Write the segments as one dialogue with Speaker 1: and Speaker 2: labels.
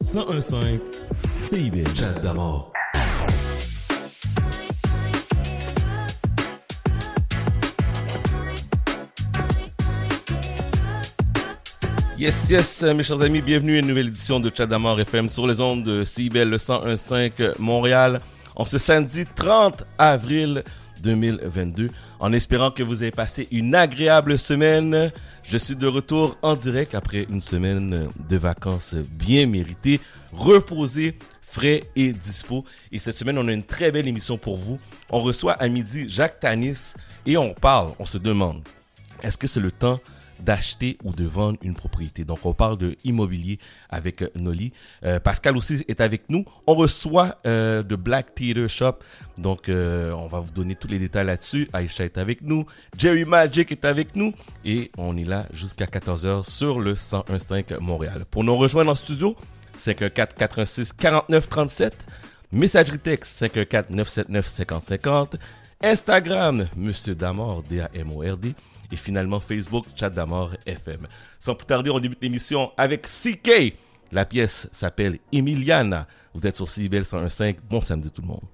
Speaker 1: 101.5 CIBL.
Speaker 2: Chat d'amour.
Speaker 3: Yes, mes chers amis, bienvenue à une nouvelle édition de Chat d'Amour FM sur les ondes de CIBL 101.5 Montréal en ce samedi 30 avril 2022. En espérant que vous avez passé une agréable semaine, je suis de retour en direct après une semaine de vacances bien méritées, reposée, frais et dispo. Et cette semaine, on a une très belle émission pour vous. On reçoit à midi Jacques Tanis et on se demande, est-ce que c'est le temps d'acheter ou de vendre une propriété? Donc, on parle de immobilier avec Noli. Pascal aussi est avec nous. On reçoit de Black Theater Shop. Donc, on va vous donner tous les détails là-dessus. Aïcha est avec nous. Jerry Magic est avec nous. Et on est là jusqu'à 14h sur le 101.5 Montréal. Pour nous rejoindre en studio, 514-416-4937. Messagerie texte 514-979-5050. Instagram, Monsieur Damord, D-A-M-O-R-D. Et finalement, Facebook, Chat d'Amour FM. Sans plus tarder, on débute l'émission avec CK. La pièce s'appelle Emiliana. Vous êtes sur CIBL 101.5. Bon samedi tout le monde.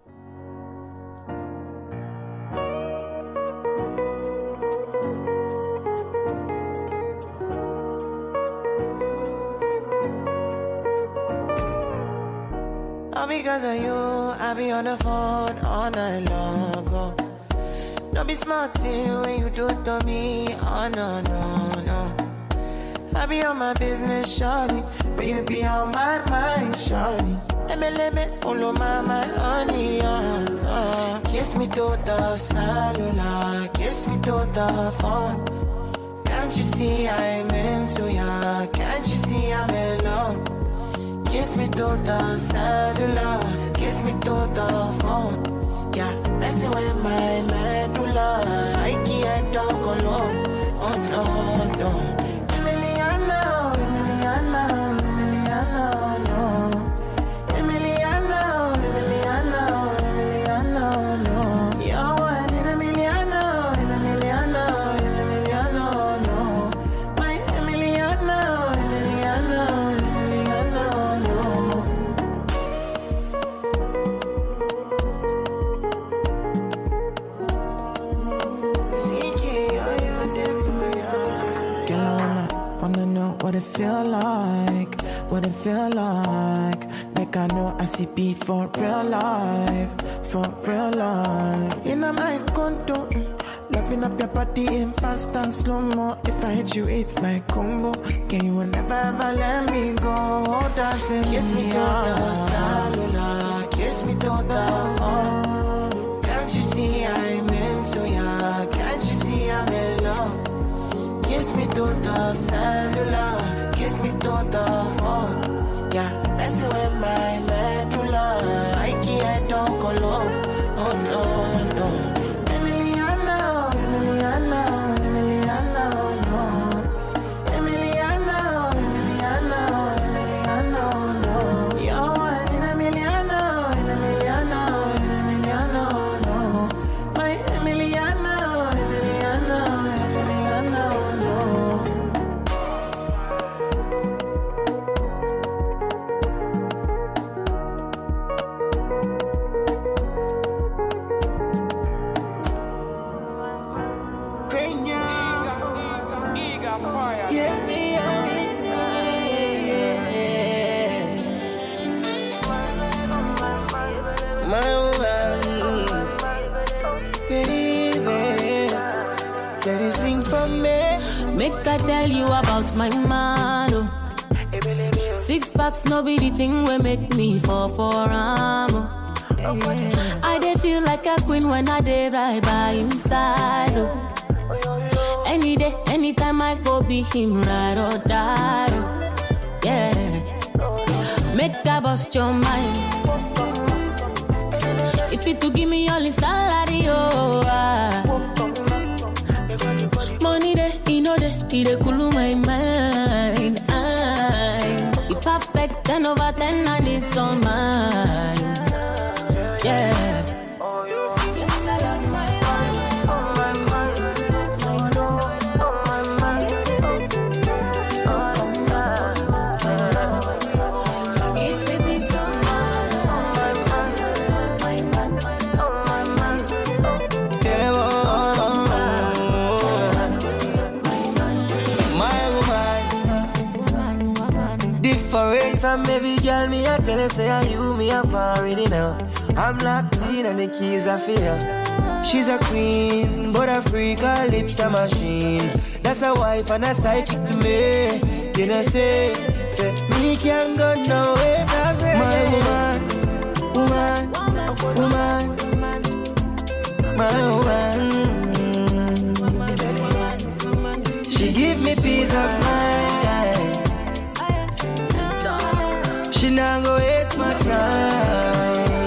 Speaker 4: All because of you, I be on the phone all night long. Oh. Don't be smart when you do it to me. Oh no, no, no. I be on my business, shawty, but you be on my mind, shawty. Let me all on my honey, Kiss me to the cellular, kiss me to the phone. Can't you see I'm into ya? Can't you see I'm in love? Kiss me to the cellular, kiss me to the phone. Yeah, messing with my medulla. I can't talk alone. Oh no, no. Emiliana, Emiliana, Emiliana, no. Emiliana, Emiliana, Emiliana, no. You're one in Emiliana, Emiliana, Emiliana, no. My Emiliana, Emiliana, Emiliana, no. What it feel like, what it feel like. Like I know I see beat for real life, for real life. In my condo, loving up your body in fast and slow-mo. If I hit you, it's my combo. Can you never ever let me go? Dancing kiss me to the cellular, kiss me to the phone. Can't you see I'm into ya? Can't you see I'm in love? Kiss me to the cellular, kiss me to the phone. Yeah, messing with my medulla. I can't talk alone. Oh no, no. Emiliana, Emiliana, Emiliana, no. Emiliana, Emiliana, Emiliana, no. You're one in Emiliana, Emiliana, Emiliana, no. My Emiliana, Emiliana, Emiliana, no.
Speaker 5: Make I tell you about my man. Oh. 6 packs, no be the thing will make me fall for him. I dey feel like a queen when I dey right by inside. Oh. Any day, anytime I go be him, ride or die. Oh. Yeah, make I bust your mind. If you to give me all the salary, oh. Money there, you know that he dey cool my mind. You perfect 10 over 10 and it's all mine. Yeah.
Speaker 4: Foreign from every girl, me I tell her, say, you, me I'm already now. I'm locked in and the keys are for her. She's a queen, but a freak, her lips a machine. That's a wife and a side chick to me. You know, say, me can't go nowhere. My woman, my woman. She give me peace of mind. She not go waste my time.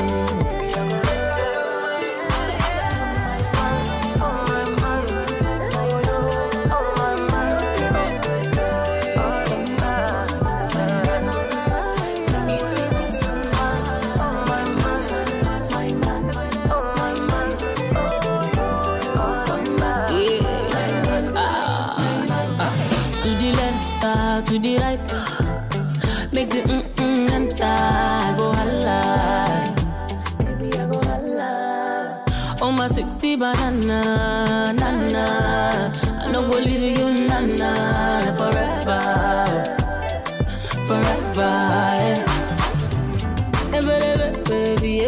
Speaker 5: To the right, make the enter, go holla, baby I go holla. Oh my sweetie banana, nana, I no go leave you nana, forever, yeah. Baby,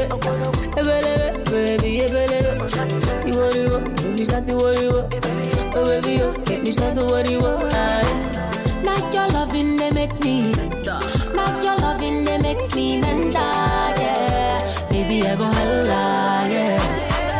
Speaker 5: you what you want, baby, shout to what you want, oh baby, you make me shout to what you want. Not your loving, they make me. Not your loving, they make me menda, yeah. Baby, I go holla, yeah.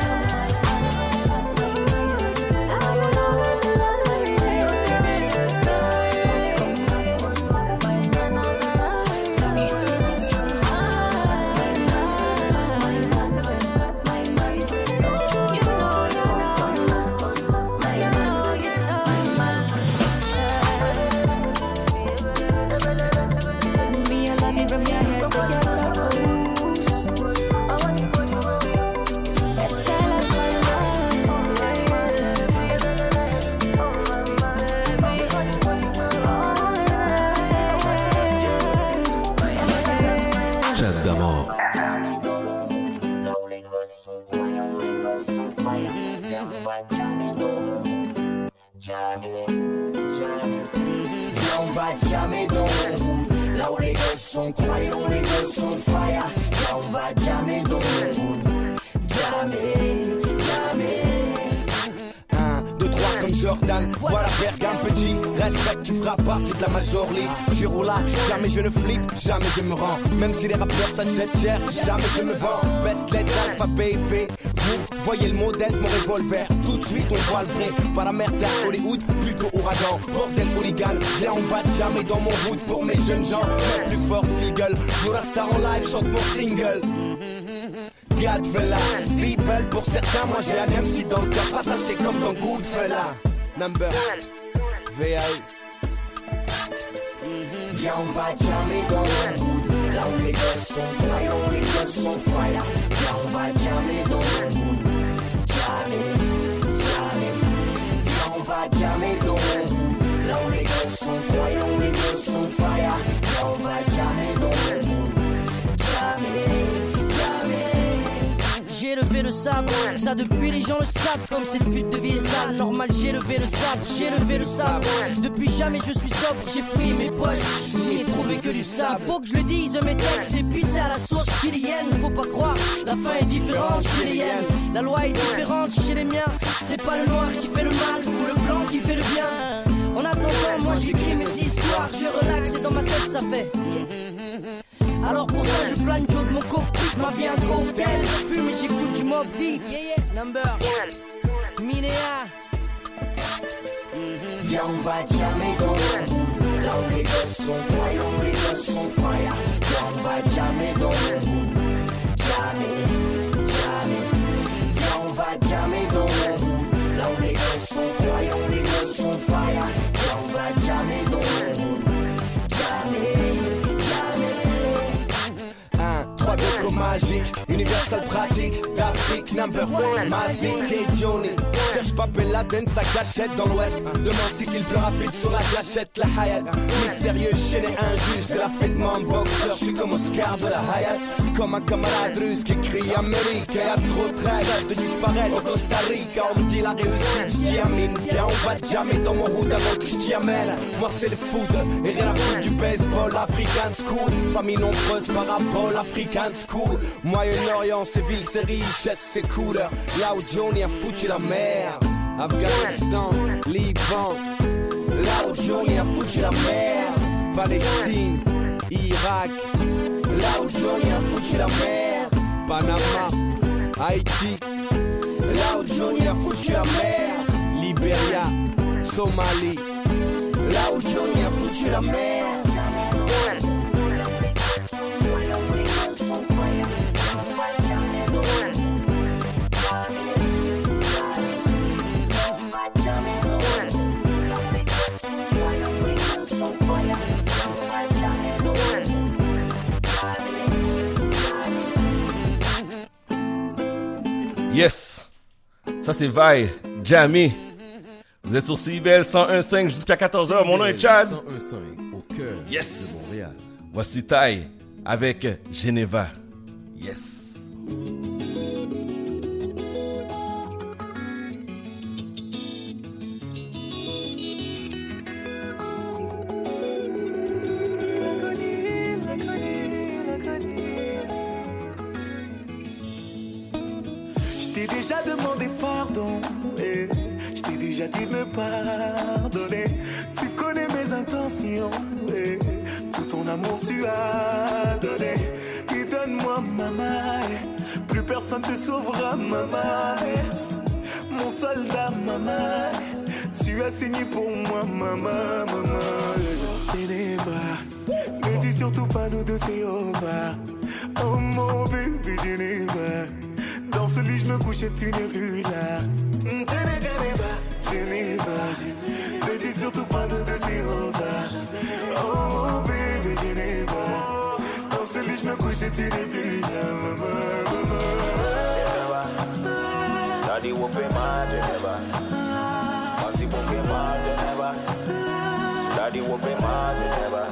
Speaker 2: On va jammer dans le mood. Là où les gosses sont croyants, les gosses sont fire. Là on va jammer dans le mood. Jammer.
Speaker 6: 1, 2, 3 comme Jordan. Voilà Bergame petit. Respect, tu feras partie de la Major League. Giro là, jamais je ne flippe, jamais je me rends. Même si les rappeurs s'achètent cher, jamais je me vends. Best lettre, alphabet fait. Vous voyez le modèle de mon revolver. Tout de suite on voit le vrai. Pas la merde à Hollywood, plutôt ouragan. Bordel hooligan, viens on va jammer dans mon hood. Pour mes jeunes gens, même plus fort s'ils gueulent. Joue la star en live, chante mon single. Godfella, people pour certains, moi j'ai un MC dans le cœur. Attaché comme dans Goodfella. Number VAE.
Speaker 2: Viens on va jammer dans le mood. Là où les gosses sont croyants, les gosses sont fire. Viens on va jammer dans le mood. Jammer. Viens on va jammer dans le mood. Là où les gosses sont croyants, les gosses sont fire. Viens on va jammer dans le mood. Jammer.
Speaker 7: J'ai levé le sabre, ça depuis les gens le savent. Comme cette pute de vieille sale, normal j'ai levé le sabre. Depuis jamais je suis sobre, j'ai fouillé mes poches, je n'y ai trouvé que du sable. Faut que je le dise, mes textes épicés à la sauce chilienne. Faut pas croire, la fin est différente chez les hyènes. La loi est différente chez les miens. C'est pas le noir qui fait le mal ou le blanc qui fait le bien. En attendant, moi j'écris mes histoires, je relaxe et dans ma tête ça fait. Alors pour ça je plane Joe de mon cockpit, ma vie un cocktail. Je fume et j'écoute du Mobb Deep. Number Minéa.
Speaker 2: Viens on va jammer dans le mood. Là où les gosses sont croyants, les gosses sont fire. Viens on va jammer dans le mood. Jammer. Viens on va jammer dans le mood. Là où les gosses sont croyants, les gosses sont fire. Viens on va jammer dans le mood. Jammer.
Speaker 6: 1, 3, 2 comme magique, universal pratique, d'Afrique number one, magique et Johnny. Cherche pas Ben Laden, sa cachette dans l'ouest. Demande si qu'il pleut rapide sur la gâchette, la Hayat. Mystérieux, chaîné, injuste, la fête mon boxeur. J'suis comme Oscar de la Hayat, comme un camarade russe qui crie Amérique. Y'a trop de rêves de disparaître au Costa Rica. On me dit la réussite, j'dis Amine. Viens, on va jamais dans mon route avant que j't'y amène. Moi c'est le foot, et rien à foutre du baseball. African school, famille nombreuse, parabole, African school. Moyen-Orient, c'est ville, c'est richesse, c'est couleur. Là où Johnny a foutu la mer. Afghanistan, Liban. Là où Johnny a foutu la mer. Palestine, Irak. Là où Johnny a foutu la mer. Panama, Haïti. Là où Johnny a foutu la mer. Libéria, Somalie. Là où Johnny a foutu la mer.
Speaker 3: Yes, ça c'est Vai, Jamie. Vous êtes sur CIBL 101.5 jusqu'à 14h. Mon nom est Chad.
Speaker 1: 101.5 au cœur
Speaker 3: Yes.
Speaker 1: de Montréal.
Speaker 3: Voici Tai avec Geneva. Yes.
Speaker 8: Je t'ai déjà demandé pardon et je t'ai déjà dit de me pardonner. Tu connais mes intentions et tout ton amour tu as donné. Et donne-moi maman, plus personne te sauvera maman. Mon soldat maman, tu as saigné pour moi maman, maman. Geneva, ne dis surtout pas nous deux c'est over. Oh mon bébé Geneva. Dans ce lit je me couche et tu n'es plus là. Geneva, ne dis surtout pas nous deux c'est over. Oh mon bébé Geneva. Dans ce lit je me couche et tu n'es plus là. Maman,
Speaker 9: Daddy whooping my Geneva. Masi whooping my Geneva. Daddy whooping my Geneva.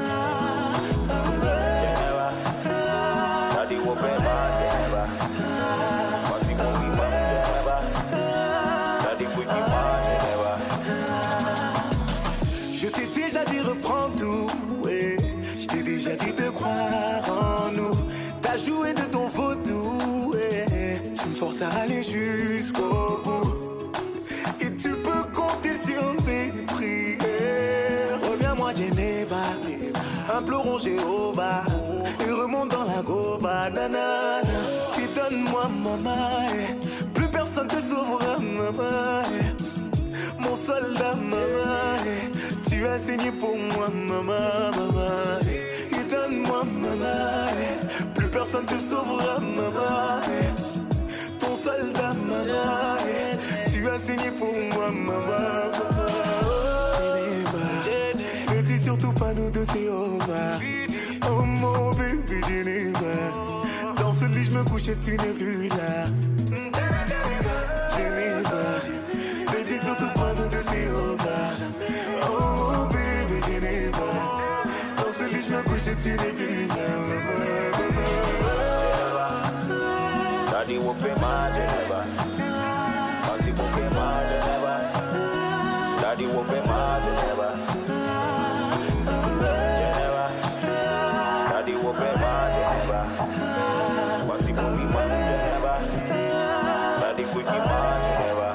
Speaker 9: Geneva. Daddy whooping my Geneva. Masi whooping my Geneva. Daddy whooping my Geneva.
Speaker 8: je t'ai déjà dit reprends tout, ouais. Je t'ai déjà dit de croire en nous. T'as joué de ton vaudou, ouais. Tu me forces à aller jusqu'au bout. Et tu peux compter sur mes prières. Reviens-moi Geneva, implorons Jéhovah. Et remonte dans la gova, nanana. Et donne-moi maman, plus personne te sauvera maman. Mon soldat maman, tu as saigné pour moi maman, maman. Et donne-moi maman, plus personne te sauvera maman. Ton soldat maman, tu as saigné pour moi maman, maman. Geneva, ne dis surtout pas nous deux c'est over. Oh mon bébé Geneva, dans ce lit je me couche et tu n'es plus là. Geneva, ne dis surtout pas nous deux c'est over. Oh mon bébé Geneva, dans ce lit je me couche et tu n'es plus là.
Speaker 9: Daddy whooping my Geneva. Masi whooping my Geneva. Daddy whooping my Geneva. Geneva. Daddy whooping my Geneva. Masi whooping my Geneva. Daddy whooping my Geneva.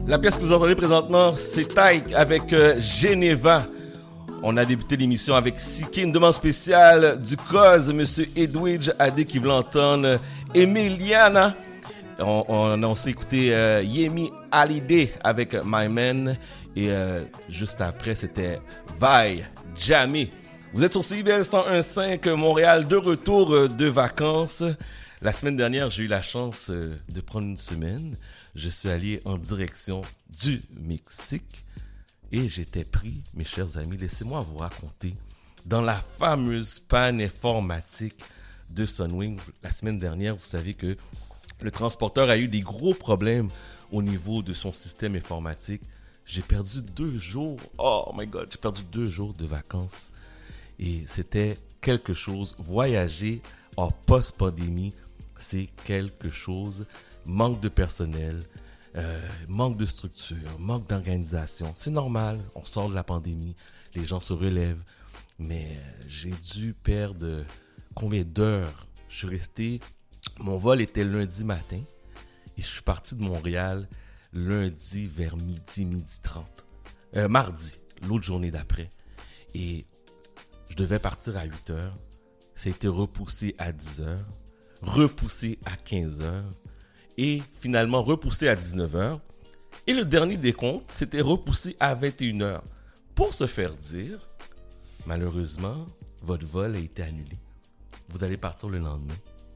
Speaker 3: La pièce que vous entendez présentement, c'est Tyke avec Geneva. On a débuté l'émission avec Siki, une demande spéciale du cause, Monsieur Edwidge Adé qui veut l'entendre, Emiliana. On s'est écouté Yemi Hallyday avec My Man et juste après c'était Vi Jamie. Vous êtes sur CIBL 101.5 Montréal, de retour de vacances. La semaine dernière, j'ai eu la chance de prendre une semaine. Je suis allé en direction du Mexique et j'étais pris, mes chers amis, laissez-moi vous raconter, dans la fameuse panne informatique de Sunwing. La semaine dernière, vous savez que le transporteur a eu des gros problèmes au niveau de son système informatique. J'ai perdu 2 jours, oh my God, j'ai perdu 2 jours de vacances et c'était quelque chose. Voyager en post-pandémie, c'est quelque chose. Manque de personnel, manque de structure, manque d'organisation. C'est normal, on sort de la pandémie, les gens se relèvent. Mais j'ai dû perdre combien d'heures? Je suis resté, mon vol était lundi matin et je suis parti de Montréal lundi vers midi 30. Mardi, l'autre journée d'après. Et je devais partir à 8 heures. Ça a été repoussé à 10 heures, repoussé à 15 heures. Et finalement repoussé à 19h. Et le dernier décompte, c'était repoussé à 21h. Pour se faire dire, malheureusement, votre vol a été annulé. Vous allez partir le lendemain.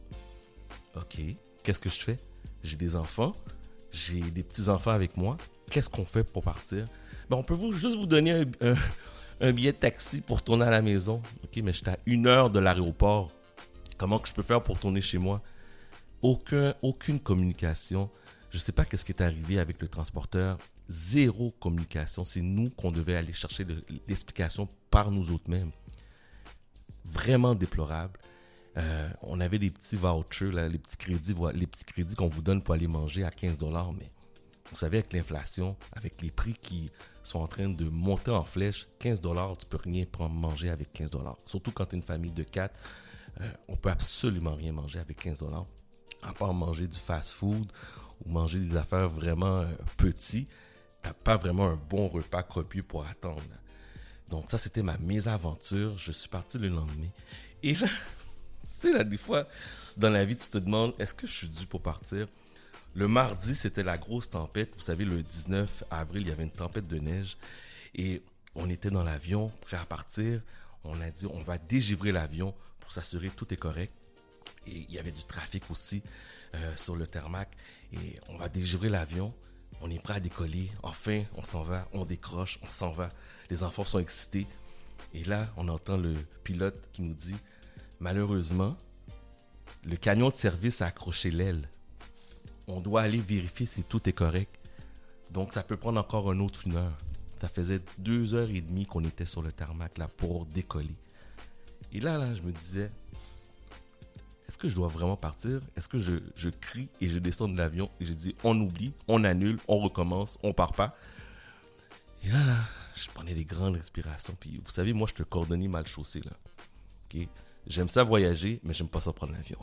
Speaker 3: OK, qu'est-ce que je fais? J'ai des enfants, j'ai des petits-enfants avec moi. Qu'est-ce qu'on fait pour partir? Ben, on peut juste vous donner un billet de taxi pour tourner à la maison. OK, mais j'étais à 1 heure de l'aéroport. Comment que je peux faire pour tourner chez moi? Aucune communication. Je ne sais pas qu'est-ce qui est arrivé avec le transporteur. 0 communication. C'est nous qu'on devait aller chercher l'explication par nous autres mêmes. Vraiment déplorable. On avait des petits vouchers, là, les petits crédits qu'on vous donne pour aller manger à 15$. Mais vous savez, avec l'inflation, avec les prix qui sont en train de monter en flèche, 15$, tu peux rien prendre manger avec 15$. Surtout quand tu es une famille de 4, on peut absolument rien manger avec 15$. À part manger du fast-food ou manger des affaires vraiment petits, t'as pas vraiment un bon repas copieux pour attendre. Donc ça, c'était ma mésaventure. Je suis parti le lendemain. Et là, tu sais, là, des fois, dans la vie, tu te demandes, est-ce que je suis dû pour partir? Le mardi, c'était la grosse tempête. Vous savez, le 19 avril, il y avait une tempête de neige. Et on était dans l'avion, prêt à partir. On a dit, on va dégivrer l'avion pour s'assurer que tout est correct. Et il y avait du trafic aussi sur le tarmac. Et on va dégivrer l'avion. On est prêt à décoller. Enfin, on s'en va. On décroche. On s'en va. Les enfants sont excités. Et là, on entend le pilote qui nous dit, malheureusement, le camion de service a accroché l'aile. On doit aller vérifier si tout est correct. Donc, ça peut prendre encore une autre 1 heure. Ça faisait 2h30 qu'on était sur le tarmac là pour décoller. Et là, je me disais, est-ce que je dois vraiment partir? Est-ce que je crie et je descends de l'avion et je dis on oublie, on annule, on recommence, on part pas? Et là, je prenais des grandes respirations. Puis vous savez, moi, je suis un cordonnier mal chaussé là. Okay? J'aime ça voyager, mais j'aime pas ça prendre l'avion.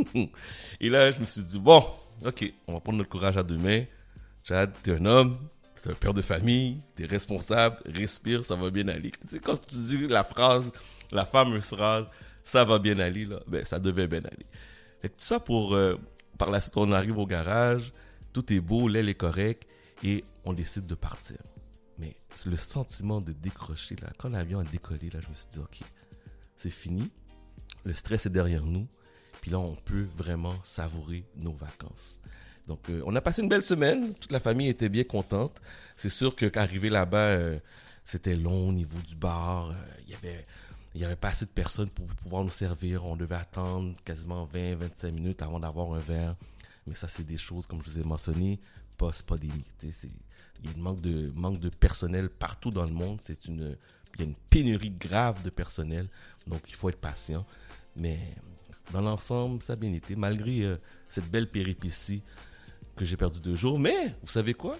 Speaker 3: Et là, je me suis dit, bon, OK, on va prendre notre courage à 2 mains. Chad, t'es un homme, t'es un père de famille, t'es responsable, respire, ça va bien aller. Tu sais, quand tu dis la phrase, la fameuse phrase, ça va bien aller, là, ben, ça devait bien aller. Fait que tout ça pour, par la suite, on arrive au garage, tout est beau, l'aile est correcte, et on décide de partir. Mais le sentiment de décrocher, là, quand l'avion a décollé, là, je me suis dit, OK, c'est fini, le stress est derrière nous, puis là, on peut vraiment savourer nos vacances. Donc, on a passé une belle semaine, toute la famille était bien contente. C'est sûr qu'arriver là-bas, c'était long au niveau du bar, il y avait pas assez de personnes pour pouvoir nous servir. On devait attendre quasiment 20-25 minutes avant d'avoir un verre. Mais ça, c'est des choses, comme je vous ai mentionné, post-pandémie. Il y a un manque de personnel partout dans le monde. Il y a une pénurie grave de personnel. Donc, il faut être patient. Mais dans l'ensemble, ça a bien été. Malgré cette belle péripétie que j'ai perdu 2 jours. Mais, vous savez quoi?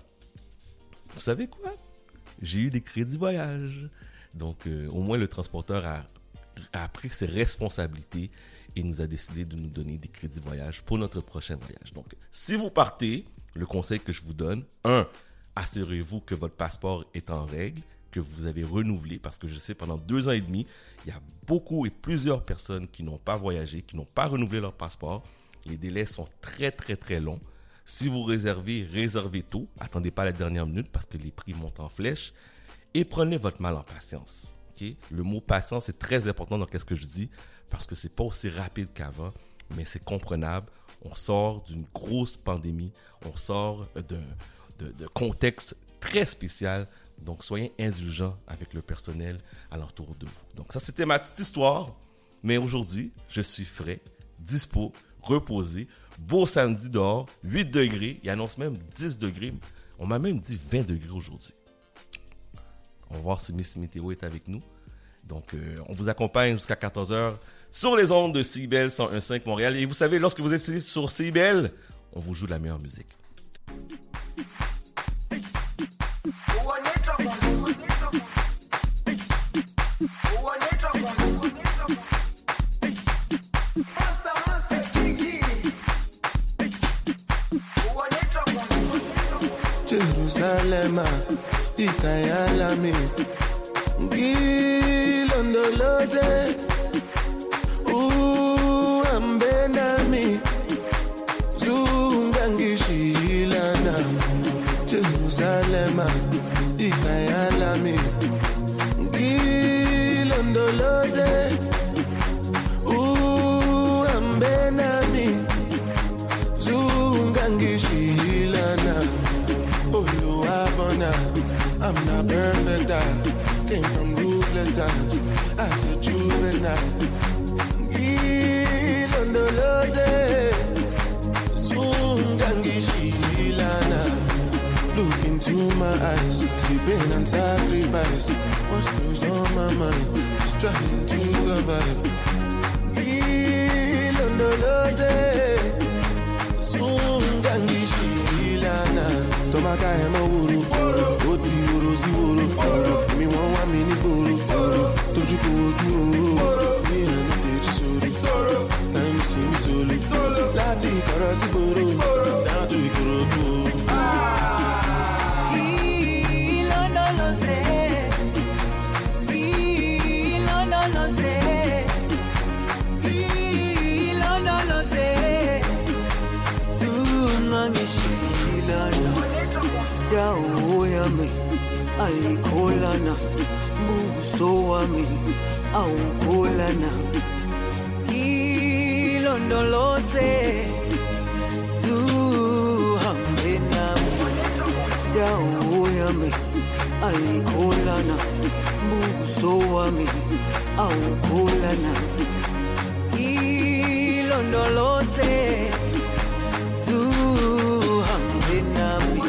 Speaker 3: J'ai eu des crédits voyage. Donc, au moins, le transporteur a pris ses responsabilités et nous a décidé de nous donner des crédits voyage pour notre prochain voyage. Donc, si vous partez, le conseil que je vous donne, 1, assurez-vous que votre passeport est en règle, que vous avez renouvelé, parce que je sais, pendant 2 ans et demi, il y a beaucoup et plusieurs personnes qui n'ont pas voyagé, qui n'ont pas renouvelé leur passeport. Les délais sont très, très, très longs. Si vous réservez tôt. Attendez pas la dernière minute parce que les prix montent en flèche. Et prenez votre mal en patience. Okay? Le mot patience est très important dans ce que je dis parce que c'est pas aussi rapide qu'avant, mais c'est comprenable. On sort d'une grosse pandémie. On sort de contexte très spécial. Donc, soyez indulgents avec le personnel alentour de vous. Donc, ça, c'était ma petite histoire. Mais aujourd'hui, je suis frais, dispo, reposé. Beau samedi dehors, 8 degrés. Il annonce même 10 degrés. On m'a même dit 20 degrés aujourd'hui. On va voir si Miss Météo est avec nous. Donc, on vous accompagne jusqu'à 14h sur les ondes de CIBEL 101.5 Montréal. Et vous savez, lorsque vous êtes sur CIBEL, on vous joue la meilleure musique.
Speaker 10: Jerusalem, Ikayalami, Gilondoloze, Ambenami, Zungangishilana, Jerusalem, Ikayalami, Gilondoloze, Ambenami, Zungangishilana. I'm not perfect, I came from ruthless times. As a juvenile, Ilondoloze, Sungangishilana. Look into my eyes, see pain and sacrifice. What's goes on my mind, struggling to survive. Ilondoloze, Sungangishilana. Tomaka emo wuru, oti wuru si wuru. Mi won wa mi ni boru, toju ko oju o. Mi eni teju sori, time si mi soli. Lati ikoro si boru, down to Ikorodu.
Speaker 11: Ilondoloze, Ilondoloze, Ilondoloze, Sungangishilana. Dawo yami ayikholana, buso wami awukholana. Ilondoloze, zuhambe nami. Dawo yami ayikholana, buso wami awukholana. Ilondoloze, zuhambe nami.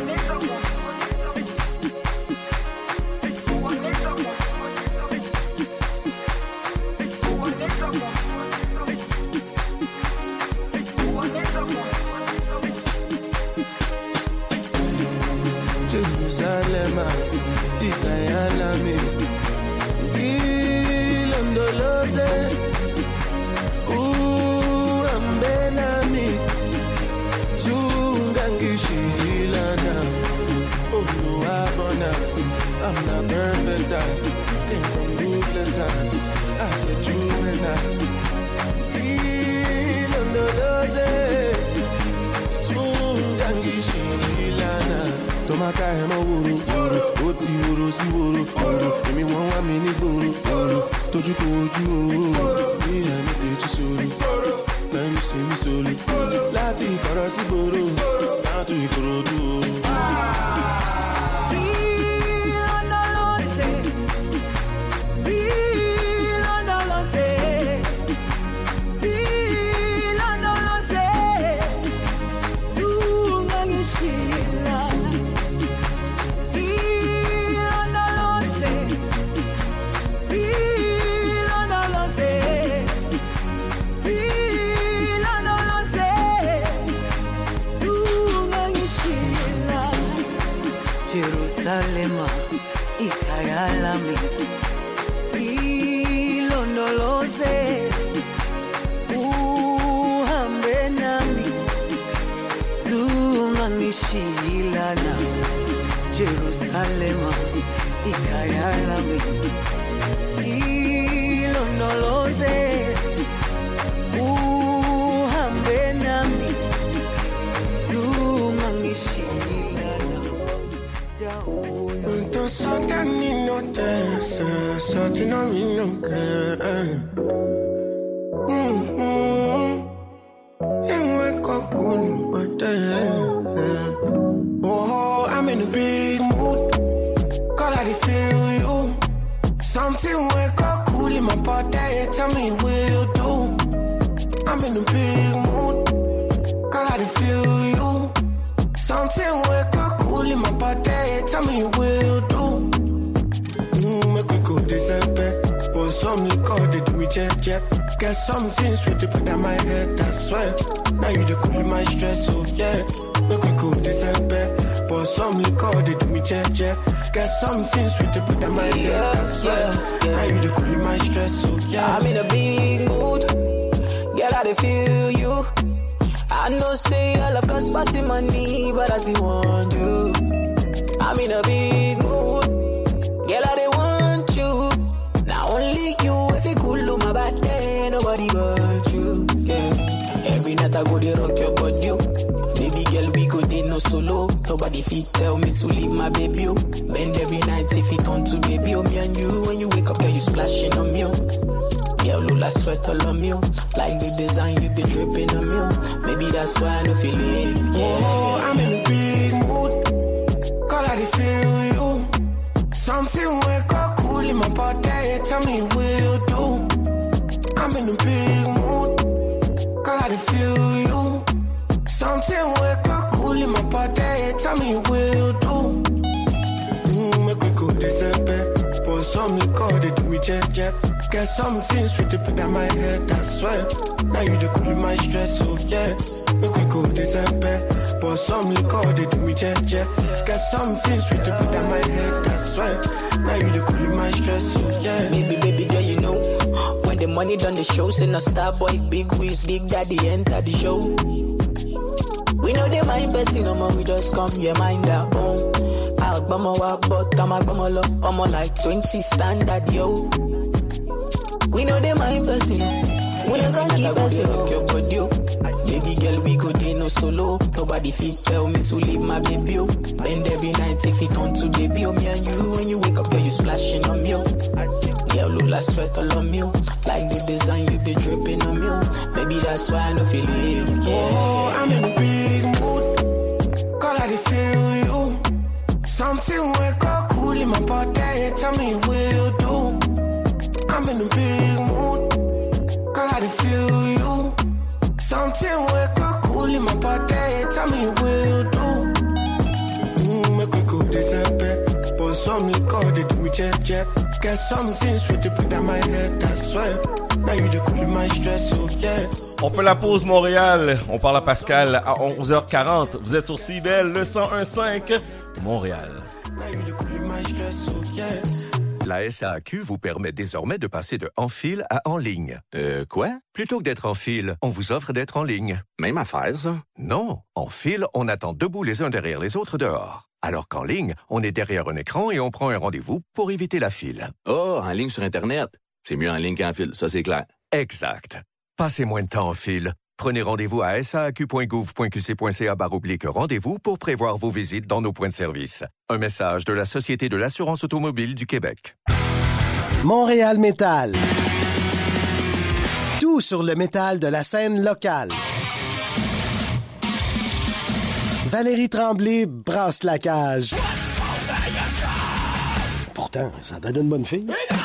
Speaker 10: Jerusalem, Ikayalami, Ilondoloze, Ambenami, Zungangishilana. Oh no, I'm not perfect, I came from ruthless times. As a juvenile, Ilondoloze, Sungangishilana. Tomaka emo wuru, oti wuru si wuru. Emi won wa mi ni boru, toju ko oju o. Mi eni teju sori, time si mi soli. Lati ikoro si boru, down to Ikorodu.
Speaker 11: Jerusalema, Ikayalami, Ilondoloze, uhambe nami, zungangishilana. Jerusalem, ikayalami, ilondoloze, uhambe nami, zungangishilana, dawo.
Speaker 10: Sotani no dance, sotina mi no care. Oh, I'm in a big mood. Call I feel you. Something wake up cool in my body. Tell me what you do. I'm in a big mood. Call I feel you. Something wake up cool in my body. Tell me what you do. Make we go December. But some liquor they do me jet. Get something sweet to put on my head, I swear. Now you the cool my stress, so yeah. Make we go December. But some liquor they do me jet. Get something sweet to put on my head, I swear. Now you the cool my stress, so yeah.
Speaker 12: I'm in a big mood. Girl, I dey feel you. I know say I love cause passing money, but I still want you. I'm in a big mood. Girl, I dey want you. Not only you, if you cool my body, nobody but you. Yeah. Every night I go dey rock your body. Baby girl, we go dey no solo. Nobody fit tell me to leave my baby. Bend every night if it on to baby. Me and you, when you wake up, girl, you splashing on me. Girl, Lula sweat all on me. Like the design, you be dripping on me. Maybe that's why I don't feel it. Yeah.
Speaker 10: Oh, I'm in a big mood. Call I feel you. Something wake up cool in my body. Tell me what you do. I'm in a big mood. Call I feel you. Something wake up cool in my body. Tell me what you do. Make we go December. But some liquor they do me jet. Get something sweet to put on my head, I swear. Now you the cool my stress, so yeah. Make we go December. But some liquor they do me jet. Get something sweet to put on my head, I swear. Now you the cool my stress, so yeah.
Speaker 12: Baby, girl, you know. When the money done the show, send a star boy, big whiz, big daddy enter the show. We know they mind person, we just come, yeah, mind our own. I'll bum a walk, but I'm a bum a low. I'm like 20 standard, yo. We know they mind person, we don't gonna keep person, your body. Baby girl, we go dey no solo. Nobody fit tell me to leave my baby. Bend every night if it on to baby. Me and you, when you wake up, girl, you splashing on me. Girl, Lula sweat all on me. Like the design, you be dripping on me. Maybe that's why I don't feel it. Yeah.
Speaker 10: Oh, I'm in a big mood. Call I feel you. Something wake up cool in my body. Tell me what you do. I'm in a big mood. Call I feel you. Something wake up cool in my body. Tell me what you do. Make we go December. But some liquor they do me jet. Get something sweet to put on my head, I swear. Now you the cool my stress, so yeah.
Speaker 3: On fait la pause Montréal. On parle à Pascal à 11h40. Vous êtes sur CIBEL, le 101.5 Montréal.
Speaker 10: Now you the cool my stress, so yeah.
Speaker 13: La SAQ vous permet désormais de passer de en file à en ligne.
Speaker 14: Quoi?
Speaker 13: Plutôt que d'être en file, on vous offre d'être en ligne.
Speaker 14: Même affaire, ça?
Speaker 13: Non. En file, on attend debout les uns derrière les autres dehors. Alors qu'en ligne, on est derrière un écran et on prend un rendez-vous pour éviter la file.
Speaker 14: Oh, en ligne sur Internet. C'est mieux en ligne qu'en file, ça c'est clair.
Speaker 13: Exact. Passez moins de temps en file. Prenez rendez-vous à saaq.gouv.qc.ca/rendez-vous pour prévoir vos visites dans nos points de service. Un message de la Société de l'assurance automobile du Québec.
Speaker 15: Montréal Métal. Tout sur le métal de la scène locale. Valérie Tremblay brasse la cage. Pourtant, ça donne une bonne fille.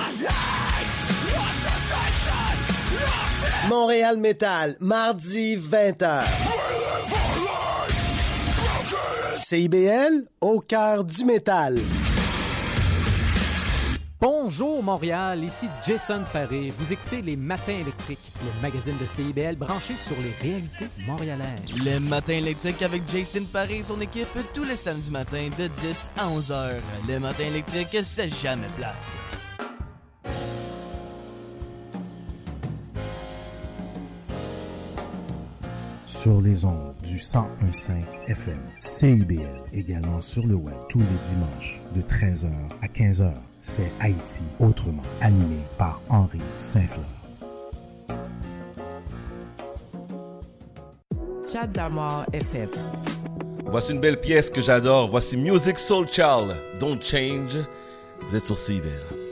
Speaker 15: Montréal Métal, mardi 20h. CIBL, au cœur du métal.
Speaker 16: Bonjour Montréal, ici Jason Paré. Vous écoutez Les Matins électriques, le magazine de CIBL branché sur les réalités montréalaises.
Speaker 17: Les Matins électriques avec Jason Paré et son équipe tous les samedis matins de 10 à 11h. Les Matins électriques, c'est jamais plate.
Speaker 18: Sur les ondes du du 101.5 FM. CIBL, également sur le web, tous les dimanches, de 13h à 15h. C'est Haïti autrement, animé par Henri Saint-Fleur.
Speaker 19: Chadamar FM.
Speaker 3: Voici une belle pièce que j'adore. Voici Musiq Soulchild, Don't Change. Vous êtes sur CIBL.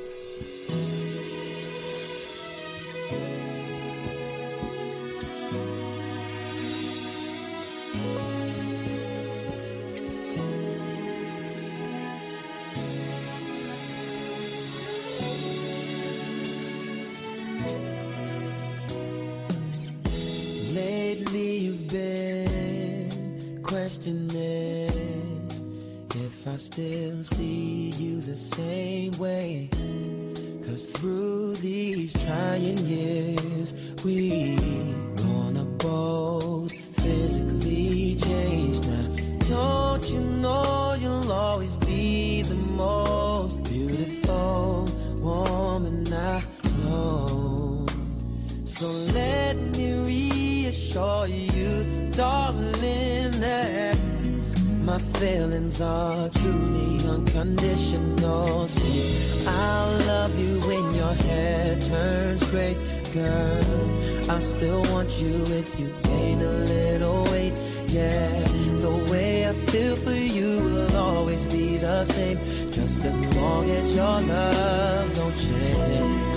Speaker 11: Lately you've been questioning if I still see you the same way. 'Cause through these trying years we wanna both physically change now. Don't you know you'll always be the most beautiful woman I know. So let me reassure you, darling, that my feelings are truly unconditional. See, I'll love you when your hair turns gray, girl. I still want you if you gain a little weight. Yeah, the way I feel for you will always be the same, just as long as your love don't change.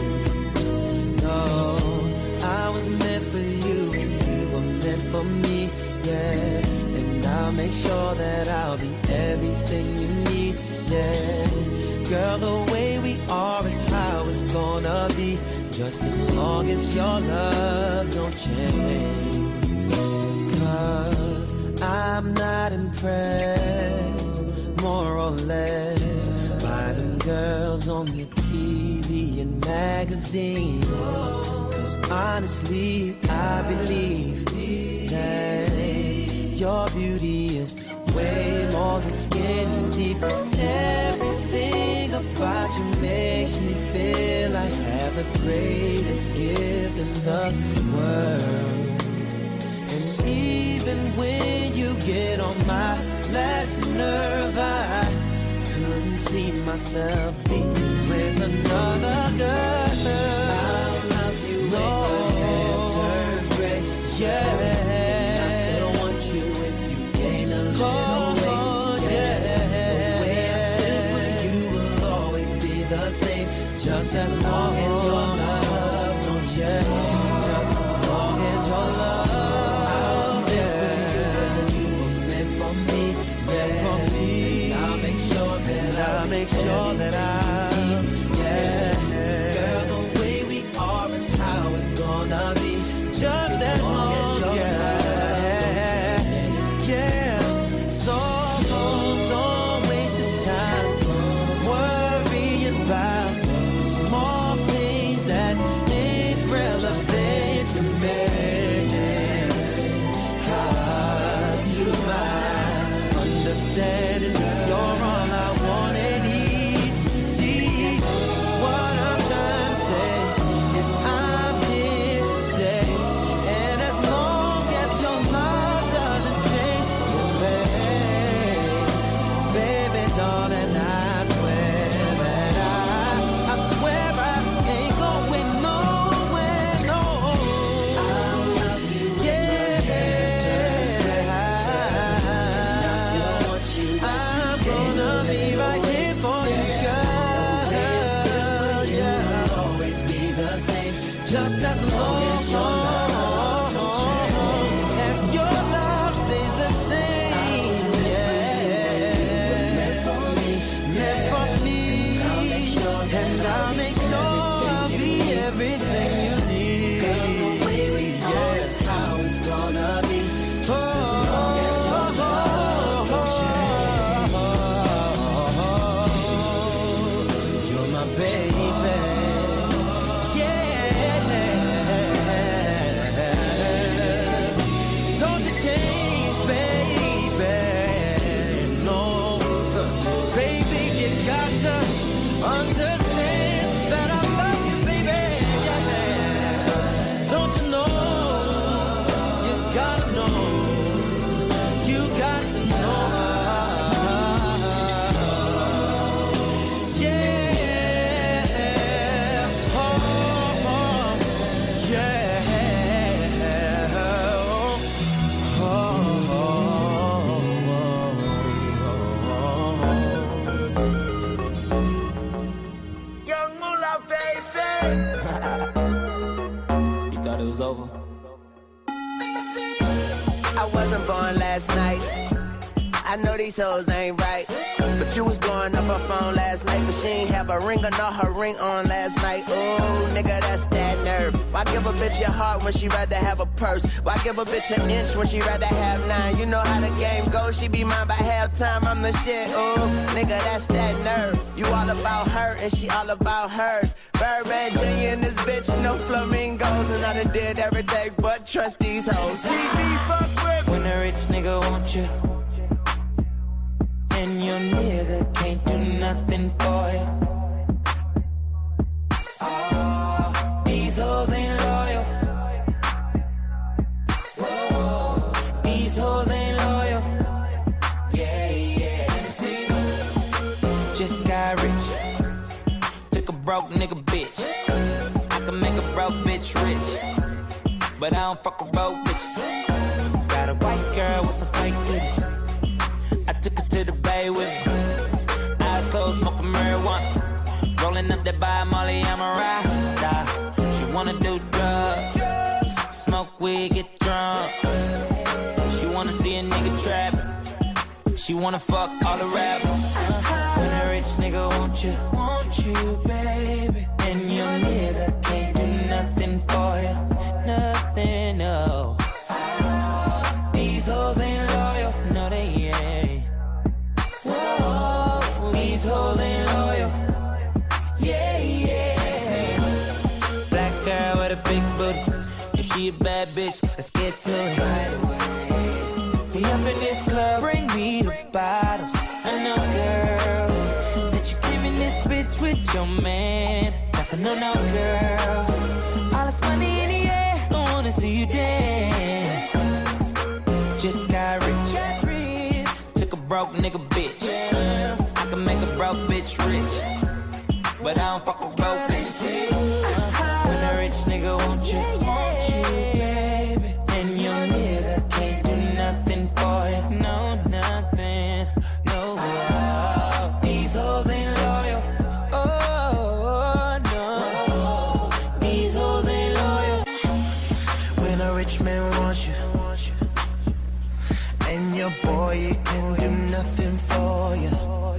Speaker 11: No, I was meant for you and you were meant for me, yeah. And I'll make sure that I'll be everything you need, yeah. Girl, the way we are is how it's gonna be, just as long as your love don't change. 'Cause I'm not impressed, more or less, by them girls on the TV and magazines. 'Cause honestly, I believe that your beauty is way more than skin deep. 'Cause everything about you makes me feel I have the greatest gift in the world. And even when you get on my last nerve, I couldn't see myself being with another girl. I'll love you when your hair turns gray, yeah. I still want you if you gain a little weight, yeah. The way I feel for you will always be the same, just as long as your love don't change. Just as long as your love. I'll make sure that yeah. Girl, the way we are is how it's gonna be, just as long as yeah. So don't waste your time worrying about the small things that ain't relevant to me. 'Cause to my understanding, you're all I want and need. See, what I'm trying to say is I'm here to stay. And as long as your love doesn't change, baby, darling, I swear that I swear I ain't going nowhere, no. I love you, yeah. I still want you. I'm gonna be right here for you, girl. Yeah, I'll always be the same, just as long as your love stays the same. Yeah, meant for me, and I'll make sure I'll be everything you need. The way we are is how it's gonna be, just as long as your love don't change. You're my baby, yeah. Don't you change, baby, no. Baby, you got to understand that I love you, baby, yeah. Don't you know, you gotta know
Speaker 20: over. I wasn't born last night. I know these hoes ain't right. But you was blowing up her phone last night. But she ain't have a ring or not her ring on last night. Ooh, nigga, that's that nerve. Why give a bitch your heart when she rather have a purse? Why give a bitch an inch when she rather have 9? You know how the game goes, she be mine by halftime. I'm the shit, ooh, nigga, that's that nerve. You all about her and she all about hers. Birdman Jr. in this bitch, no flamingos. And I done did every day but trust these hoes. See me fuck with.
Speaker 11: When a rich nigga want you and your nigga can't do nothing for you. Oh, these hoes ain't loyal. Whoa, these hoes ain't loyal. Yeah, yeah, let me see. Just got rich. Took a broke nigga bitch. I can make a broke bitch rich, but I don't fuck with broke bitches. Got a white girl with some fake titties. I took her to the bay with me. Eyes closed, smoking marijuana. Rolling up that by Molly, I'm a rasta. She wanna do drugs, smoke weed, get drunk. She wanna see a nigga trap. She wanna fuck all the rappers. When a rich nigga want you, baby. And your nigga can't do nothing for you. Nothing, no. These hoes ain't loyal, no they ain't. Whoa, these hoes ain't loyal. Yeah, yeah. Black girl with a big booty. If she a bad bitch, let's get to it right away. We up in this club, bring me the bottles. I know, girl, that you came in this bitch with your man. That's a no-no, girl. All this money in the air, I wanna see you dance. Just got rich. Took a broke nigga bitch. I can make a broke bitch rich, but I don't fuck with broke bitches. When a rich nigga want you, baby. And your nigga can't do nothing for you. No, nothing. No, these hoes ain't loyal. Oh, no. These hoes ain't loyal. When a rich man wants you, and your boy, he can do nothing for you.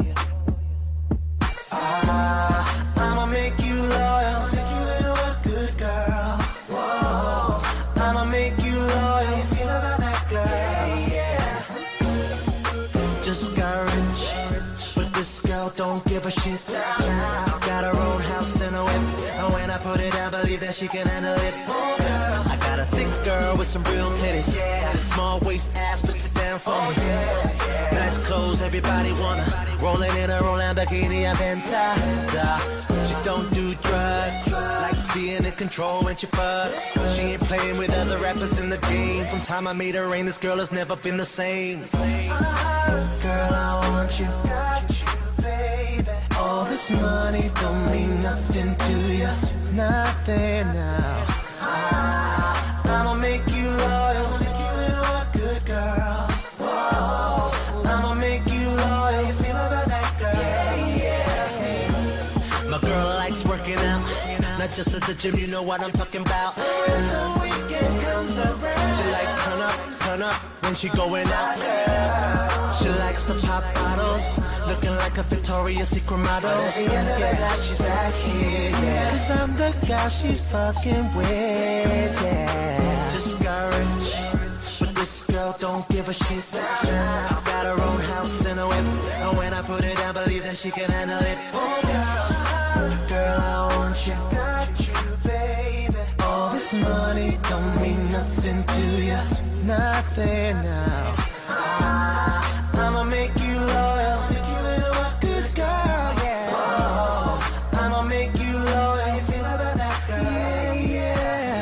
Speaker 11: I'ma make you loyal. Think you a good girl. Whoa. I'ma make you loyal. How you feel about that girl? Yeah. Just got rich, but this girl don't give a shit. Got her own house and a whip, and when I put it down, believe that she can handle it. I got a thick girl with some real titties. Small waist ass, puts it down for me. Nice clothes, everybody wanna. Rolling in a roll Lamborghini Aventador. She don't do drugs, likes being in control when she fucks. She ain't playing with other rappers in the game. From time I made her rain, this girl has never been the same. Girl, I want you, baby. All this money don't mean nothing to you. Nothing now. I'ma make you loyal. Think you a good girl. Whoa. I'ma make you loyal. You feel about that girl? Yeah, yeah. My girl likes working out, not just at the gym. You know what I'm talking about. When the weekend comes around, she like turn up when she going out. She likes to pop bottles, looking like a Victoria's Secret model. At the end of the night, she's back here, yeah. 'Cause I'm the guy she's fucking with, yeah. Just got rich, but this girl don't give a shit. Got her own house and a whip, and when I put it down, believe that she can handle it. Girl, I want you, baby. All this money don't mean nothing to you. Nothing now. I'ma make you loyal. Think you a good girl, yeah. Whoa. I'ma make you loyal. How you feel about that girl? Yeah, yeah.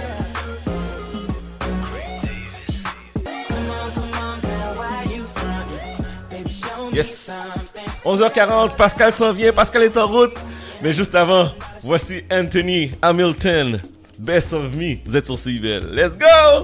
Speaker 11: Come on, girl, why you frontin'? Baby, show me
Speaker 3: Yes.
Speaker 11: something.
Speaker 3: 11h40, Pascal s'en vient, Pascal est en route. Mais juste avant, voici Anthony Hamilton, Best of Me. Vous êtes sur CIBL. Let's go!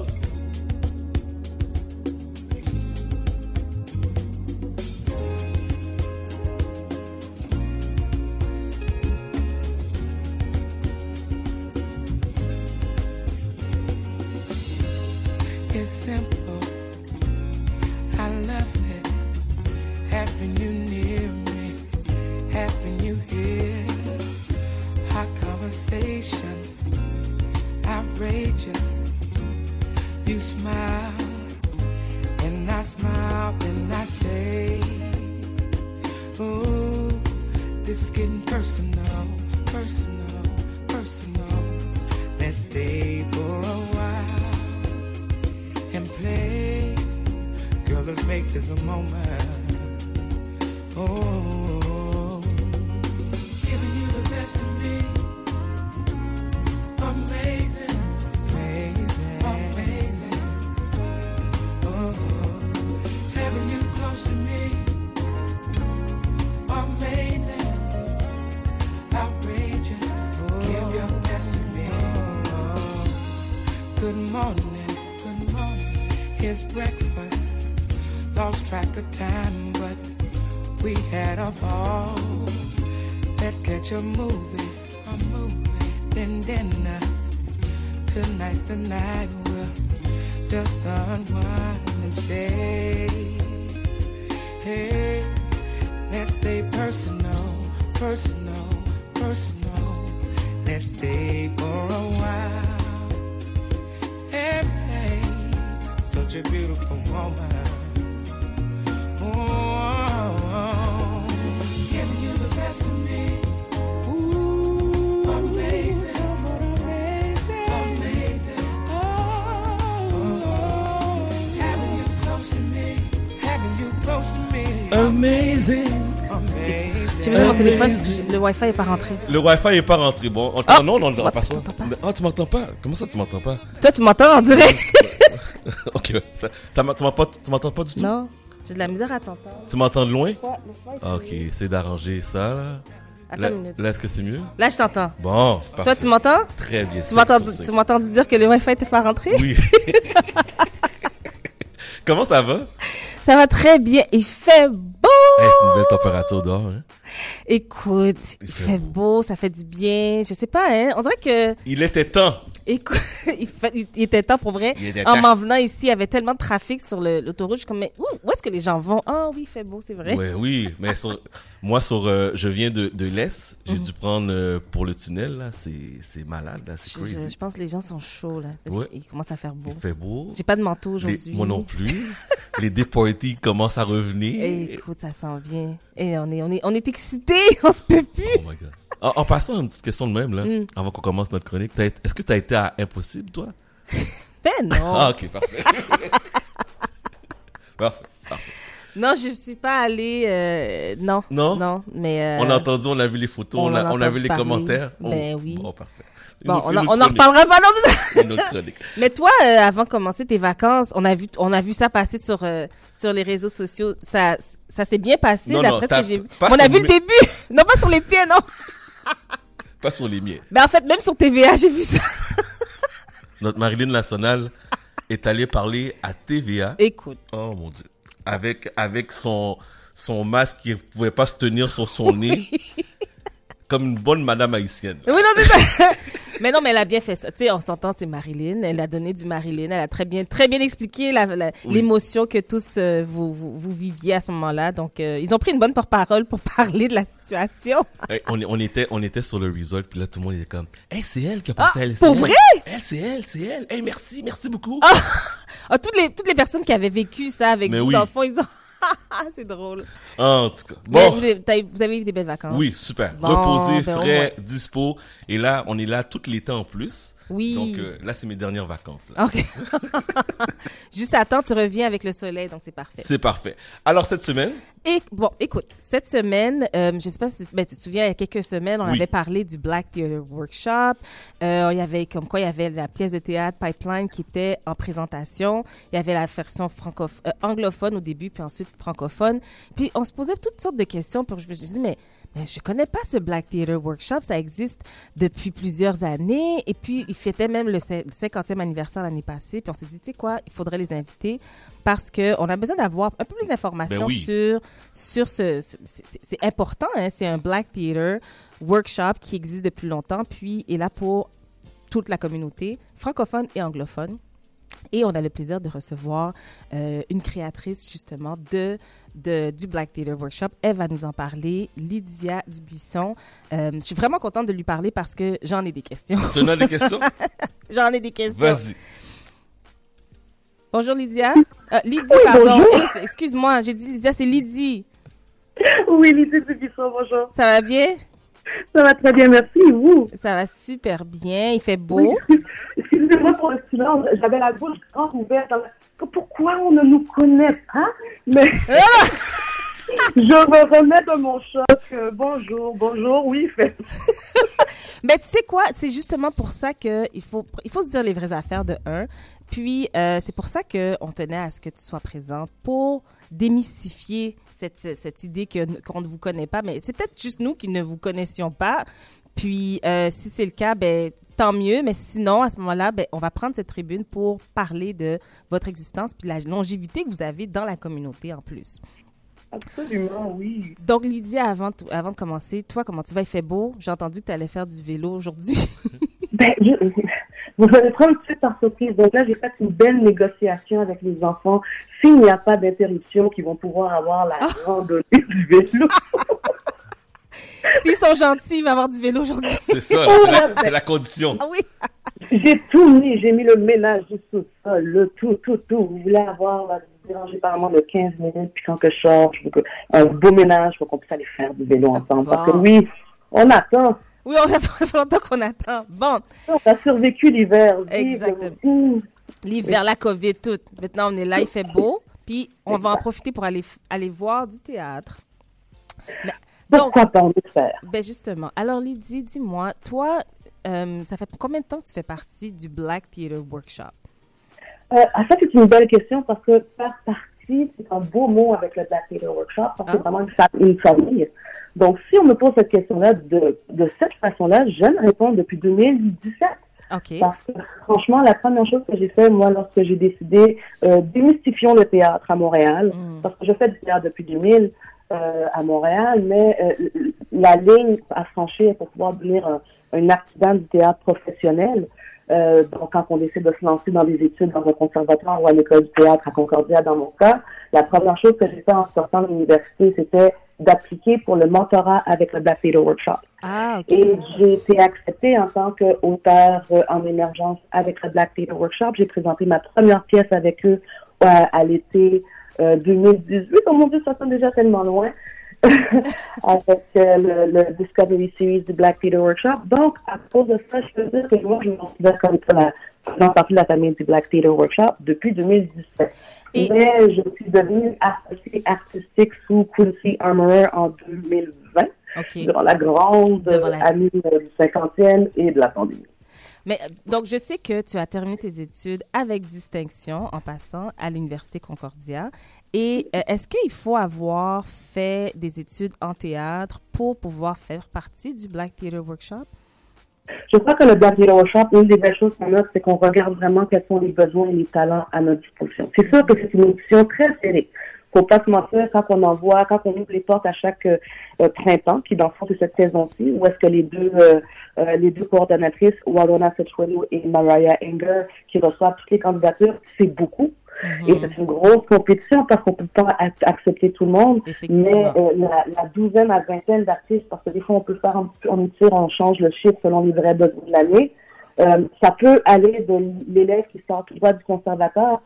Speaker 11: this is getting personal, personal, personal. Let's stay for a while and play. Girl, let's make this a moment. Oh, giving you the best of me. Amazing, amazing, amazing. Oh, having you close to me. Amazing, outrageous. Give your best to me. Good morning, good morning. Here's breakfast. Lost track of time, but we had a ball. Let's catch a movie, then dinner. Tonight's the night we'll just unwind and stay. Hey, let's stay personal, personal, personal. Let's stay for a while. Hey, hey, such a beautiful moment. Oh, giving you the best of me. Ooh, amazing, amazing, amazing. Oh, having you close to me, having you close to me.
Speaker 3: Amazing.
Speaker 14: J'ai besoin de mon téléphone parce que le Wi-Fi est pas rentré.
Speaker 3: Le Wi-Fi est pas rentré. Bon, non, on pas ça. Ah, tu m'entends pas? Comment ça, tu m'entends pas?
Speaker 14: Toi, tu m'entends, on dirait.
Speaker 3: Ok, tu m'entends pas du tout?
Speaker 14: Non. J'ai de la misère à t'entendre.
Speaker 3: Tu m'entends de loin?
Speaker 14: Ouais,
Speaker 3: ok, essaie d'arranger ça, là.
Speaker 14: Attends une minute.
Speaker 3: Là, est-ce que c'est mieux?
Speaker 14: Là, je t'entends.
Speaker 3: Bon, parfait.
Speaker 14: Toi, tu m'entends?
Speaker 3: Très bien.
Speaker 14: Tu m'as entendu dire que le Wi-Fi n'était pas rentré?
Speaker 3: Oui. Comment ça va?
Speaker 14: Ça va très bien. Il fait beau!
Speaker 3: Hey, c'est une belle température dehors, hein?
Speaker 14: Écoute, il fait beau, ça fait du bien. Je sais pas, hein? On dirait que...
Speaker 3: Il était temps.
Speaker 14: Écoute, il était temps pour vrai. En m'en venant ici, il y avait tellement de trafic sur l'autoroute. Je suis comme, mais où est-ce que les gens vont? Ah oui, il fait beau, c'est vrai.
Speaker 3: Oui, mais je viens de l'Est. J'ai dû prendre pour le tunnel, là. C'est malade, là. C'est crazy.
Speaker 14: Je pense que les gens sont chauds, là. Parce qu'il commence à faire beau.
Speaker 3: Il fait beau.
Speaker 14: J'ai pas de manteau aujourd'hui.
Speaker 3: Moi non plus. Les départies commencent à revenir.
Speaker 14: Écoute, ça s'en vient. Et on est excités. On se peut plus.
Speaker 3: Oh my God. En passant, une petite question de même, là, avant qu'on commence notre chronique. Est-ce que tu as été à Impossible, toi?
Speaker 14: Ben non.
Speaker 3: Ah, ok, parfait. Parfait.
Speaker 14: Non, je suis pas allée. Non. Non, mais.
Speaker 3: On a entendu, on a vu les photos, on a vu les commentaires.
Speaker 14: Ben oui.
Speaker 3: Bon, parfait.
Speaker 14: Bon, on en reparlera pas, non, c'est ça?
Speaker 3: Une autre chronique. Mais
Speaker 14: toi, avant de commencer tes vacances, on a vu ça passer sur les réseaux sociaux. Ça s'est bien passé, d'après ce que j'ai vu. On a vu le début. Non, pas sur les tiens, non.
Speaker 3: Pas sur les miens.
Speaker 14: Ben, en fait, même sur TVA, j'ai vu ça.
Speaker 3: Notre Marilyn Lassonal est allée parler à TVA.
Speaker 14: Écoute.
Speaker 3: Oh, mon Dieu. Avec son masque qui ne pouvait pas se tenir sur son nez. Comme une bonne madame haïtienne.
Speaker 14: Oui, non, c'est ça. Mais non, mais elle a bien fait ça. Tu sais, on s'entend, c'est Marilyn. Elle a donné du Marilyn. Elle a très bien expliqué l'émotion que tous vous viviez à ce moment-là. Donc, ils ont pris une bonne porte-parole pour parler de la situation.
Speaker 3: Hey, on était sur le resort, puis là, tout le monde était comme, hey, c'est elle qui a passé à elle.
Speaker 14: Pour vrai?
Speaker 3: C'est elle. Hey, merci beaucoup.
Speaker 14: Toutes les personnes qui avaient vécu ça avec vous, dans le fond, ils ont... C'est drôle.
Speaker 3: En tout cas. Bon.
Speaker 14: Vous avez eu des belles vacances.
Speaker 3: Oui, super. Reposé, frais, dispo. Et là, on est là tout l'été en plus.
Speaker 14: Oui.
Speaker 3: Donc là, c'est mes dernières vacances. Là.
Speaker 14: OK. Juste à temps, tu reviens avec le soleil, donc c'est parfait.
Speaker 3: C'est parfait. Alors, cette semaine?
Speaker 14: Écoute, cette semaine, je sais pas si tu te souviens, il y a quelques semaines, on avait parlé du Black Theater Workshop. Il y avait la pièce de théâtre Pipeline qui était en présentation. Il y avait la version anglophone au début, puis ensuite francophone. Puis on se posait toutes sortes de questions. Puis je me suis dit, mais je connais pas ce Black Theater Workshop. Ça existe depuis plusieurs années. Et puis, il fêtait même le 50e anniversaire l'année passée. Puis on s'est dit, tu sais quoi, il faudrait les inviter parce qu'on a besoin d'avoir un peu plus d'informations sur ce... C'est important, hein? C'est un Black Theater Workshop qui existe depuis longtemps, puis est là pour toute la communauté, francophone et anglophone. Et on a le plaisir de recevoir une créatrice, justement, du Black Theater Workshop. Elle va nous en parler, Lydia Dubuisson. Je suis vraiment contente de lui parler parce que j'en ai des questions.
Speaker 3: Tu en as des questions?
Speaker 14: J'en ai des questions.
Speaker 3: Vas-y.
Speaker 14: Bonjour, Lydia. Lydie, pardon.
Speaker 21: Bonjour.
Speaker 14: Excuse-moi, j'ai dit Lydia, c'est Lydie.
Speaker 21: Oui, Lydie Dubuisson, bonjour.
Speaker 14: Ça va bien?
Speaker 21: Ça va très bien, merci. Et vous?
Speaker 14: Ça va super bien. Il fait beau.
Speaker 21: Oui. Excusez-moi pour le silence. J'avais la bouche grande ouverte. Pourquoi on ne nous connaît pas? Mais je me remets de mon choc. Bonjour. Oui, il fait.
Speaker 14: Mais tu sais quoi? C'est justement pour ça qu'il faut se dire les vraies affaires de un. Puis, c'est pour ça qu'on tenait à ce que tu sois présente pour démystifier cette idée qu'on ne vous connaît pas. Mais c'est peut-être juste nous qui ne vous connaissions pas. Puis, si c'est le cas, ben tant mieux. Mais sinon, à ce moment-là, ben on va prendre cette tribune pour parler de votre existence puis la longévité que vous avez dans la communauté en plus.
Speaker 21: Absolument, oui.
Speaker 14: Donc, Lydie, avant de commencer, toi, comment tu vas? Il fait beau. J'ai entendu que tu allais faire du vélo aujourd'hui.
Speaker 21: Vous allez prendre tout de suite par surprise. Donc là, j'ai fait une belle négociation avec les enfants. S'il n'y a pas d'interruption, qu'ils vont pouvoir avoir la randonnée du vélo.
Speaker 14: S'ils sont gentils, ils vont avoir du vélo aujourd'hui.
Speaker 3: C'est ça, c'est la condition.
Speaker 14: Ah oui.
Speaker 21: J'ai tout mis. J'ai mis le ménage du sous-sol, le tout. Vous voulez avoir déranger par moment de 15 minutes, puis quand que je sors, je veux un beau ménage pour qu'on puisse aller faire du vélo ensemble. Parce que oui, on attend.
Speaker 14: Oui, on fait longtemps qu'on attend. Bon.
Speaker 21: On a survécu l'hiver.
Speaker 14: Exactement. L'hiver, la COVID, tout. Maintenant, on est là, il fait beau. Puis, on va en profiter pour aller voir du théâtre. Mais,
Speaker 21: pourquoi pas en faire?
Speaker 14: Ben justement. Alors, Lydie, dis-moi, toi, ça fait combien de temps que tu fais partie du Black Theatre Workshop?
Speaker 21: En fait, c'est une belle question parce que faire partie, c'est un beau mot avec le Black Theatre Workshop parce que c'est vraiment une famille. Donc, si on me pose cette question-là de cette façon-là, j'aime répondre depuis 2017.
Speaker 14: Okay.
Speaker 21: Parce que, franchement, la première chose que j'ai fait, moi, lorsque j'ai décidé, démystifions le théâtre à Montréal, parce que je fais du théâtre depuis 2000 à Montréal, mais la ligne à franchir pour pouvoir devenir un artisan du théâtre professionnel, donc quand on décide de se lancer dans des études dans un conservatoire ou à l'école du théâtre à Concordia, dans mon cas, la première chose que j'ai fait en sortant de l'université, c'était d'appliquer pour le mentorat avec le Black Theatre Workshop.
Speaker 14: Ah, okay.
Speaker 21: Et j'ai été acceptée en tant qu'auteur en émergence avec le Black Theatre Workshop. J'ai présenté ma première pièce avec eux à l'été 2018. Oh mon Dieu, ça sonne déjà tellement loin. avec le Discovery Series du Black Theatre Workshop. Donc, à cause de ça, je peux dire que moi, je me considère comme la faisant partie de la famille du Black Theatre Workshop depuis 2017. Mais je suis devenue associée artistique sous Quincy Armorer en 2020, durant la grande année du 50e et de la pandémie.
Speaker 14: Mais donc, je sais que tu as terminé tes études avec distinction en passant à l'Université Concordia. Et est-ce qu'il faut avoir fait des études en théâtre pour pouvoir faire partie du Black Theatre Workshop?
Speaker 21: Je crois que le Black Theatre Workshop, une des belles choses qu'on a, c'est qu'on regarde vraiment quels sont les besoins et les talents à notre disposition. C'est sûr que c'est une édition très serrée. Faut pas se mentir, quand on ouvre les portes à chaque printemps, qui dans le fond c'est cette saison-ci, où est-ce que les deux coordonnatrices, Walona Setchwelo et Mariah Enger, qui reçoivent toutes les candidatures, c'est beaucoup. Et c'est une grosse compétition parce qu'on peut pas accepter tout le monde. Mais la douzaine à vingtaine d'artistes, parce que des fois on peut faire on change le chiffre selon les vrais besoins de l'année. Ça peut aller de l'élève qui sort tout droit du conservatoire,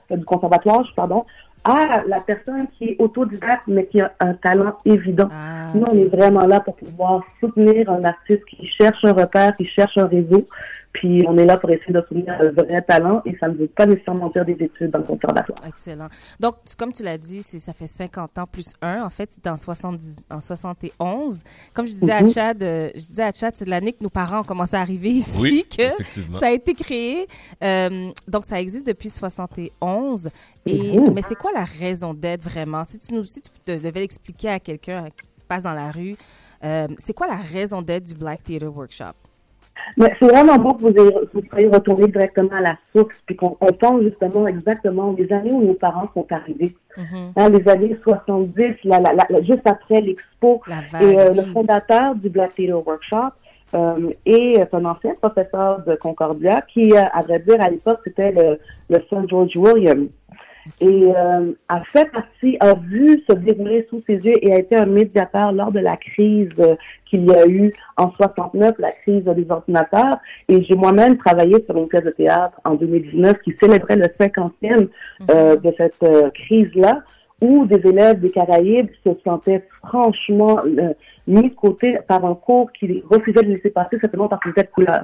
Speaker 21: à la personne qui est autodidacte mais qui a un talent évident. Nous, on est vraiment là pour pouvoir soutenir un artiste qui cherche un repère, qui cherche un réseau. Puis on est là pour essayer de soutenir un vrai talent et ça ne veut pas nécessairement dire des études dans le conservatoire.
Speaker 14: Excellent. Donc, comme tu l'as dit, ça fait 50 ans plus 1. En fait, c'est en 71. Comme je disais à Chad, c'est l'année que nos parents ont commencé à arriver ici, que ça a été créé. Donc, ça existe depuis 71. Mais c'est quoi la raison d'être vraiment? Si tu devais l'expliquer à quelqu'un qui passe dans la rue, c'est quoi la raison d'être du Black Theatre Workshop?
Speaker 21: Mais c'est vraiment beau que vous soyez retourné directement à la source, puis qu'on pense justement exactement les années où nos parents sont arrivés. Les années 70, juste après l'Expo. Et le fondateur du Black Theatre Workshop est un ancien professeur de Concordia qui, à vrai dire, à l'époque, c'était le Sir George Williams. Et a vu se dérouler sous ses yeux et a été un médiateur lors de la crise qu'il y a eu en 69, la crise des ordinateurs. Et j'ai moi-même travaillé sur une pièce de théâtre en 2019 qui célébrait le 50e de cette crise-là, où des élèves des Caraïbes se sentaient franchement mis de côté par un cours qui refusait de laisser passer simplement parce qu'ils étaient de couleur.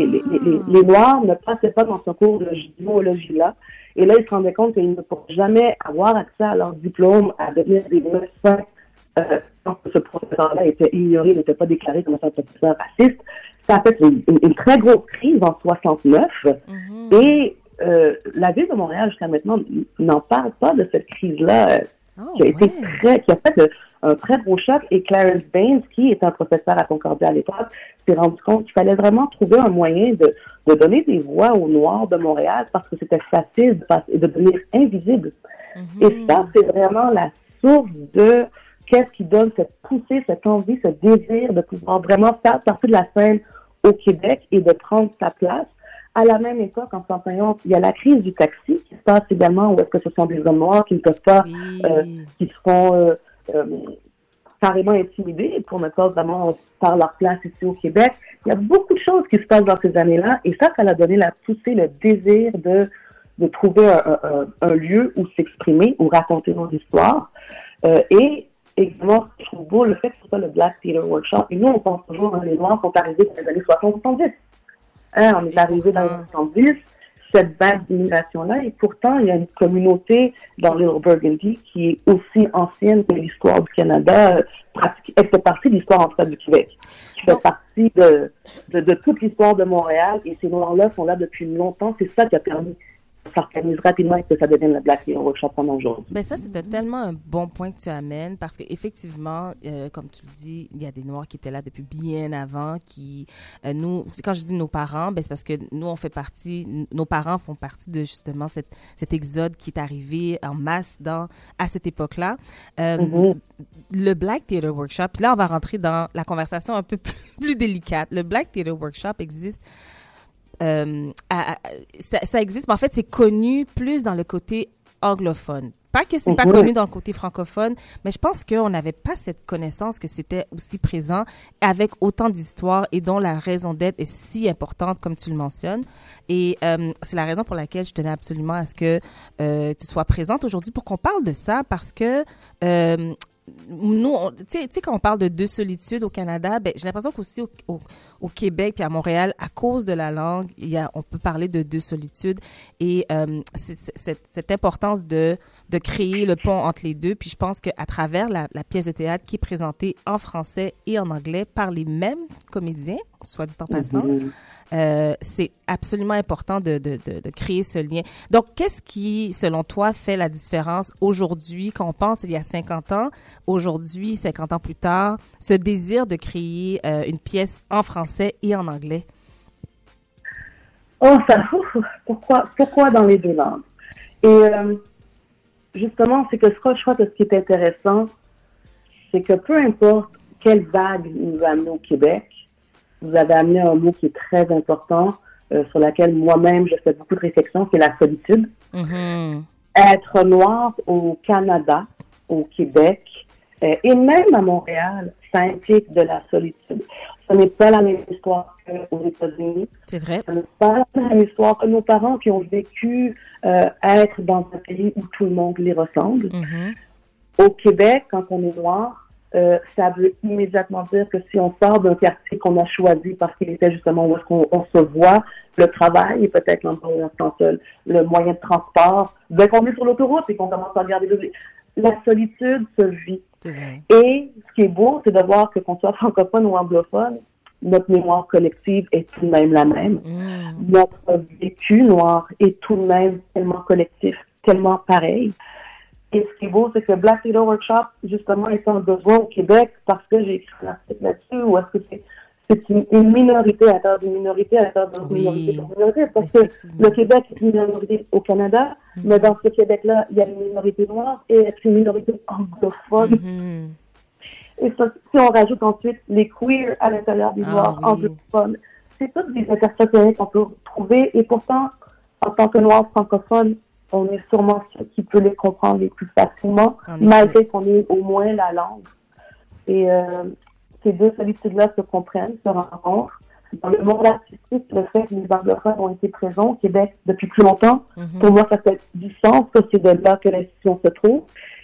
Speaker 21: Les Noirs ne passaient pas dans ce cours de géologie-là. Et là, ils se rendaient compte qu'ils ne pourraient jamais avoir accès à leur diplôme, à devenir des médecins, tant que ce professeur-là était ignoré, n'était pas déclaré comme un professeur raciste. Ça a fait une très grosse crise en 69. Et la ville de Montréal, jusqu'à maintenant, n'en parle pas de cette crise-là qui a fait un très gros choc. Et Clarence Baines, qui était un professeur à Concordia à l'époque, s'est rendu compte qu'il fallait vraiment trouver un moyen de donner des voix aux Noirs de Montréal parce que c'était facile de devenir invisible. Et ça, c'est vraiment la source de qu'est-ce qui donne cette poussée, cette envie, ce désir de pouvoir vraiment faire partie de la scène au Québec et de prendre sa place. À la même époque, en 1951, il y a la crise du taxi qui se passe également, où est-ce que ce sont des hommes noirs qui ne peuvent pas, qui seront carrément intimidés pour ne pas vraiment faire leur place ici au Québec. Il y a beaucoup de choses qui se passent dans ces années-là, et ça a donné la poussée, le désir de trouver un lieu où s'exprimer, où raconter nos histoires. Et également, je trouve beau le fait que ce soit le Black Theatre Workshop. Et nous, on pense toujours, les Noirs sont arrivés dans les années 60-70. On est arrivé dans les 70, cette vague d'immigration-là, et pourtant, il y a une communauté dans Little Burgundy qui est aussi ancienne que l'histoire du Canada. Elle fait partie de l'histoire, en tout cas, du Québec. Qui fait partie de toute l'histoire de Montréal, et ces Noirs-là sont là depuis longtemps. C'est ça qui a permis s'organise rapidement et que ça devienne le Black Theatre Workshop pendant aujourd'hui.
Speaker 14: Ben ça, c'était tellement un bon point que tu amènes parce qu'effectivement, comme tu le dis, il y a des Noirs qui étaient là depuis bien avant, qui, nous, quand je dis nos parents, ben c'est parce que nous, on fait partie, nos parents font partie de justement cet exode qui est arrivé en masse à cette époque-là. Le Black Theatre Workshop, puis là, on va rentrer dans la conversation un peu plus délicate. Le Black Theatre Workshop existe ça existe, mais en fait, c'est connu plus dans le côté anglophone. Pas que c'est pas connu dans le côté francophone, mais je pense qu'on n'avait pas cette connaissance que c'était aussi présent avec autant d'histoires et dont la raison d'être est si importante, comme tu le mentionnes. Et c'est la raison pour laquelle je tenais absolument à ce que tu sois présente aujourd'hui pour qu'on parle de ça, parce que nous, tu sais, quand on parle de deux solitudes au Canada, ben, j'ai l'impression qu'aussi au Québec puis à Montréal, à cause de la langue, on peut parler de deux solitudes, et cette importance de créer le pont entre les deux. Puis je pense qu'à travers la pièce de théâtre qui est présentée en français et en anglais par les mêmes comédiens, soit dit en passant, c'est absolument important de créer ce lien. Donc, qu'est-ce qui, selon toi, fait la différence aujourd'hui, quand on pense il y a 50 ans, aujourd'hui, 50 ans plus tard, ce désir de créer une pièce en français et en anglais?
Speaker 21: Pourquoi dans les deux langues? Et justement, c'est que je crois que ce qui est intéressant, c'est que peu importe quelle vague nous amène au Québec, vous avez amené un mot qui est très important, sur laquelle moi-même je fais beaucoup de réflexion, c'est la solitude. Être noir au Canada, au Québec, et même à Montréal, ça implique de la solitude. Ce n'est pas la même histoire qu'aux États-Unis.
Speaker 14: C'est vrai.
Speaker 21: Ce n'est pas la même histoire que nos parents qui ont vécu être dans un pays où tout le monde les ressemble. Au Québec, quand on est noir, ça veut immédiatement dire que si on sort d'un quartier qu'on a choisi parce qu'il était justement où est-ce qu'on se voit, le travail et peut-être l'endroit où on se sent seul, le moyen de transport, dès qu'on est sur l'autoroute et qu'on commence à regarder la solitude se vit. Et ce qui est beau, c'est de voir que qu'on soit francophone ou anglophone, notre mémoire collective est tout de même la même. Notre vécu noir est tout de même tellement collectif, tellement pareil. Et ce qui est beau, c'est que Black Theatre Workshop, justement, est un besoin au Québec parce que j'ai écrit un article là-dessus, ou est-ce que c'est une minorité à l'intérieur d'une minorité à l'intérieur d'une minorité pour minorité, parce que le Québec est une minorité au Canada, mais dans ce Québec-là, il y a une minorité noire et une minorité anglophone. Et ça, si on rajoute ensuite les queers à l'intérieur des noirs anglophones, c'est toutes des intersectionnalités qu'on peut trouver, et pourtant, en tant que noirs francophones, on est sûrement ceux qui peuvent les comprendre les plus facilement, malgré qu'on ait au moins la langue. Et ces deux solitudes-là se comprennent, se rencontrent. Dans le monde artistique, le fait que les anglophones ont été présents au Québec depuis plus longtemps, pour moi, ça fait du sens que c'est de là que l'institution se trouve.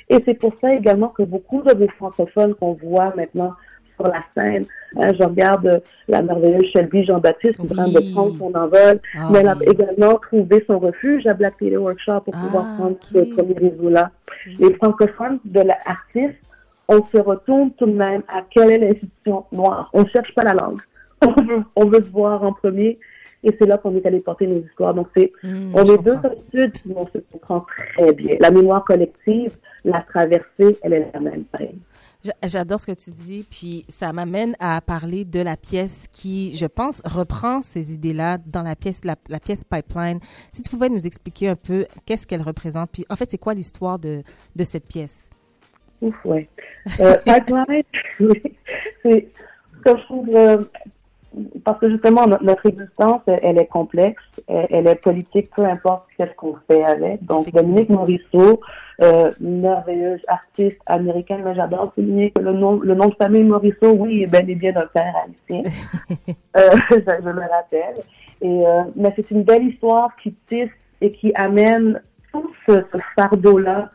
Speaker 21: Et c'est pour ça également que beaucoup de vos francophones qu'on voit maintenant sur la scène, je regarde la merveilleuse Shelby Jean-Baptiste qui est en train de prendre son envol, mais elle a également trouvé son refuge à Black Theatre Workshop pour pouvoir prendre ce premier réseau-là. Les francophones de l'artiste, on se retourne tout de même à quelle est l'institution noire. On ne cherche pas la langue. On veut se voir en premier. Et c'est là qu'on est allé porter nos histoires. Donc, on est deux solitudes, mais on se comprend très bien. La mémoire collective, la traversée, elle est la même.
Speaker 14: J'adore ce que tu dis, puis ça m'amène à parler de la pièce qui, je pense, reprend ces idées-là dans la pièce Pipeline. Si tu pouvais nous expliquer un peu qu'est-ce qu'elle représente, puis en fait, c'est quoi l'histoire de cette pièce?
Speaker 21: Ouf, ouais. Pipeline, c'est ce que je trouve... parce que justement, notre existence, elle est complexe, elle est politique, peu importe qu'est-ce qu'on fait avec. Donc, Dominique Morisseau, merveilleuse artiste américaine, mais j'adore souligner que le nom de famille Morisseau, oui, est bel et bien d'un père haïtien. Je le rappelle. Mais c'est une belle histoire qui tisse et qui amène tout ce fardeau-là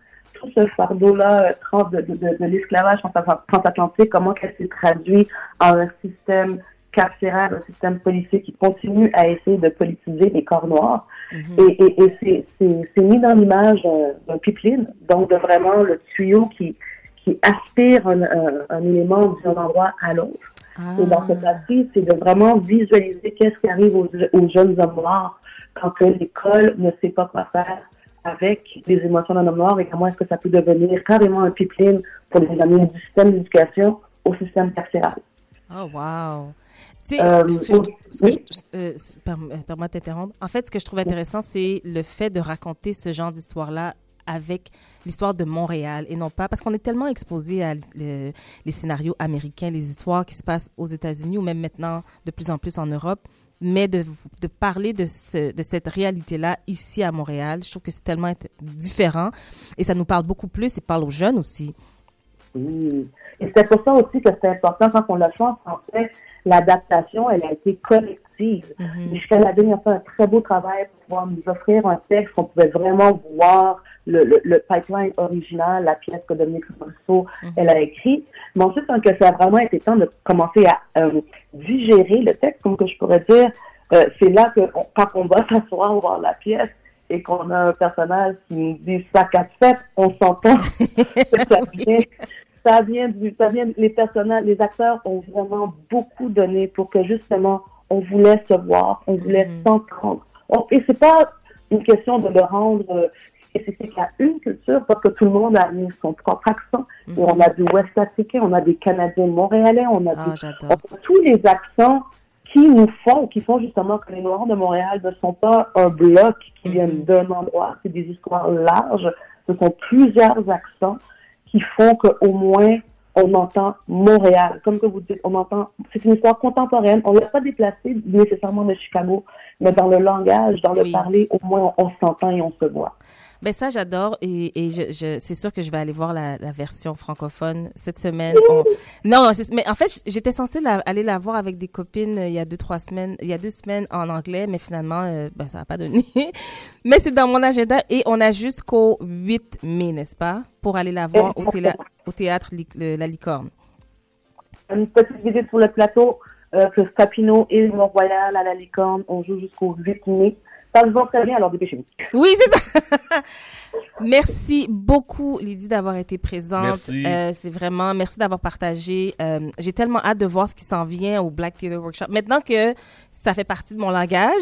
Speaker 21: de l'esclavage transatlantique, comment qu'elle s'est traduite en un système carcéraire, un système policier qui continue à essayer de politiser les corps noirs. Et c'est mis dans l'image d'un pipeline, donc de vraiment le tuyau qui aspire un élément d'un endroit à l'autre. Et dans cette partie, c'est de vraiment visualiser qu'est-ce qui arrive aux jeunes hommes noirs quand l'école ne sait pas quoi faire avec les émotions d'un homme noir et comment est-ce que ça peut devenir carrément un pipeline pour les amener du système d'éducation au système carcéral.
Speaker 14: Oh, wow! Tu sais, permets de t'interrompre. En fait, ce que je trouve intéressant, c'est le fait de raconter ce genre d'histoire-là avec l'histoire de Montréal et non pas... Parce qu'on est tellement exposé à les scénarios américains, les histoires qui se passent aux États-Unis ou même maintenant de plus en plus en Europe, mais de parler de cette réalité-là ici à Montréal, je trouve que c'est tellement différent et ça nous parle beaucoup plus et parle aux jeunes aussi.
Speaker 21: Oui. Et c'est pour ça aussi que c'est important quand on l'a fait en français, l'adaptation, elle a été collective. Michel Ladin a fait un très beau travail pour pouvoir nous offrir un texte qu'on pouvait vraiment voir le pipeline original, la pièce que Dominique Morisseau, elle a écrite. Mais ensuite, quand ça a vraiment été temps de commencer à digérer le texte, comme que je pourrais dire, c'est là que quand on va s'asseoir voir la pièce et qu'on a un personnage qui nous dit « sac à fête », on s'entend que ça vient, les personnages, les acteurs ont vraiment beaucoup donné pour que justement, on voulait se voir, on voulait s'entendre. Et c'est pas une question de le rendre spécifique à une culture, parce que tout le monde a mis son propre accent. Et on a du West africain, on a des Canadiens montréalais, on a tous les accents qui font justement que les Noirs de Montréal ne sont pas un bloc qui viennent d'un endroit, c'est des histoires larges, ce sont plusieurs accents qui font qu'au moins, on entend Montréal. Comme que vous dites, c'est une histoire contemporaine. On ne l'a pas déplacée nécessairement de Chicago, mais dans le langage, dans le parler, au moins, on s'entend et on se voit.
Speaker 14: Ben ça, j'adore et c'est sûr que je vais aller voir la version francophone cette semaine. Mais en fait, j'étais censée aller la voir avec des copines il y a 2 semaines en anglais, mais finalement, ça n'a pas donné. Mais c'est dans mon agenda et on a jusqu'au 8 mai, n'est-ce pas, pour aller la voir au théâtre La Licorne.
Speaker 21: Une petite visite sur le plateau, que Papineau et Mont-Royal à La Licorne, on joue jusqu'au 8 mai. Ça se voit très bien, alors dépêchez-vous.
Speaker 14: Oui, c'est ça. Merci beaucoup, Lydie, d'avoir été présente.
Speaker 3: Merci.
Speaker 14: C'est vraiment, merci d'avoir partagé. J'ai tellement hâte de voir ce qui s'en vient au Black Theatre Workshop. Maintenant que ça fait partie de mon langage,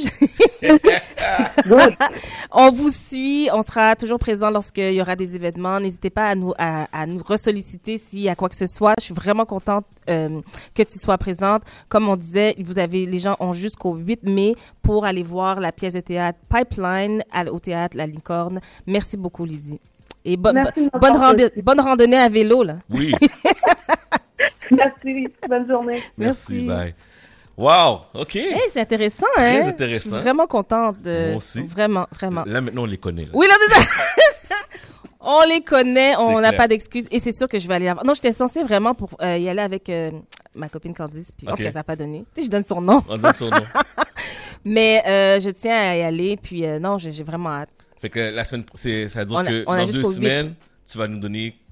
Speaker 14: on vous suit. On sera toujours présent lorsqu'il y aura des événements. N'hésitez pas à nous ressolliciter s'il y a quoi que ce soit. Je suis vraiment contente que tu sois présente. Comme on disait, les gens ont jusqu'au 8 mai pour aller voir la pièce de théâtre Pipeline au théâtre La Licorne. Merci beaucoup, Lydie. Et bonne randonnée à vélo, là.
Speaker 3: Oui.
Speaker 21: Merci. Bonne journée.
Speaker 3: Merci. Bye. Wow, OK.
Speaker 14: Hey, c'est intéressant,
Speaker 3: Très
Speaker 14: hein?
Speaker 3: intéressant.
Speaker 14: Je suis vraiment contente.
Speaker 3: Moi aussi.
Speaker 14: Vraiment, vraiment.
Speaker 3: Là, maintenant, on les connaît. Là.
Speaker 14: Oui, là, c'est ça. On les connaît, on n'a pas d'excuses. Et c'est sûr que je vais aller la voir. Non, j'étais censée vraiment pour y aller avec ma copine Candice. Puis, en tout cas, ça n'a pas donné. Tu sais, je donne son nom.
Speaker 3: On donne son nom.
Speaker 14: Mais je tiens à y aller. Puis, non, j'ai vraiment hâte.
Speaker 3: Fait que la semaine, ça veut dire que dans 2 semaines, tu vas nous donner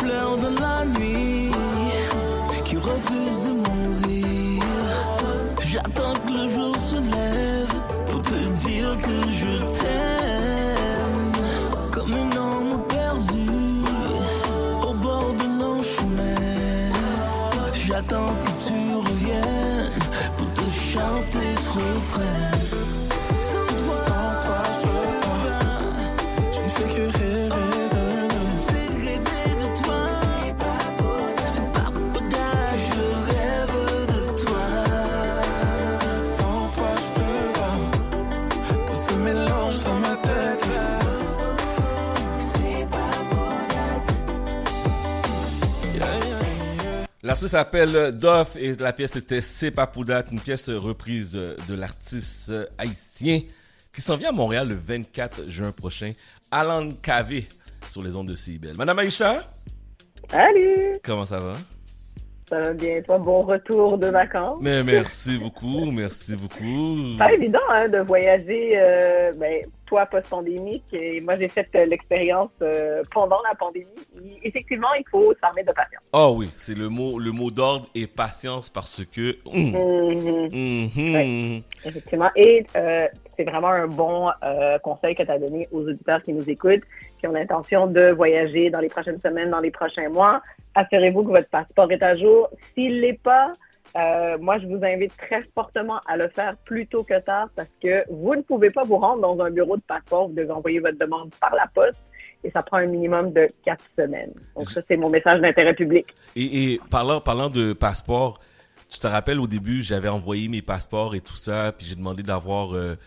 Speaker 11: fleur de la nuit qui refuse de mourir. J'attends que le jour se lève pour te dire que je t'aime. Comme un homme perdu au bord de nos chemins. J'attends que tu reviennes pour te chanter ce refrain. Sans toi, je peux pas. Je ne fais que rêver de nous. J'essaie de rêver de toi. C'est pas pour que je rêve de toi.
Speaker 22: Sans toi, je peux pas. Tout se mélange dans ma tête.
Speaker 11: C'est pas pour
Speaker 3: L'artiste s'appelle Doff et la pièce était C'est pas pour date, une pièce reprise de l'artiste haïtien qui s'en vient à Montréal le 24 juin prochain. Alan Kavé sur les ondes de CIBEL. Madame Aïcha?
Speaker 2: Salut!
Speaker 3: Comment ça va?
Speaker 2: Ça va bien, toi? Bon retour de vacances.
Speaker 3: Mais merci beaucoup, merci beaucoup.
Speaker 2: Pas évident hein, de voyager, toi post-pandémique, et moi j'ai fait l'expérience pendant la pandémie. Effectivement, il faut s'armer de patience.
Speaker 3: Oh oui, c'est le mot d'ordre est patience parce que...
Speaker 2: Oui, effectivement. Et c'est vraiment un bon conseil que tu as donné aux auditeurs qui nous écoutent, qui ont l'intention de voyager dans les prochaines semaines, dans les prochains mois. Assurez-vous que votre passeport est à jour. S'il l'est pas, moi, je vous invite très fortement à le faire plus tôt que tard parce que vous ne pouvez pas vous rendre dans un bureau de passeport. Vous devez envoyer votre demande par la poste et ça prend un minimum de 4 semaines. Donc ça, c'est mon message d'intérêt public.
Speaker 3: Et parlant de passeport, tu te rappelles au début, j'avais envoyé mes passeports et tout ça, puis j'ai demandé d'avoir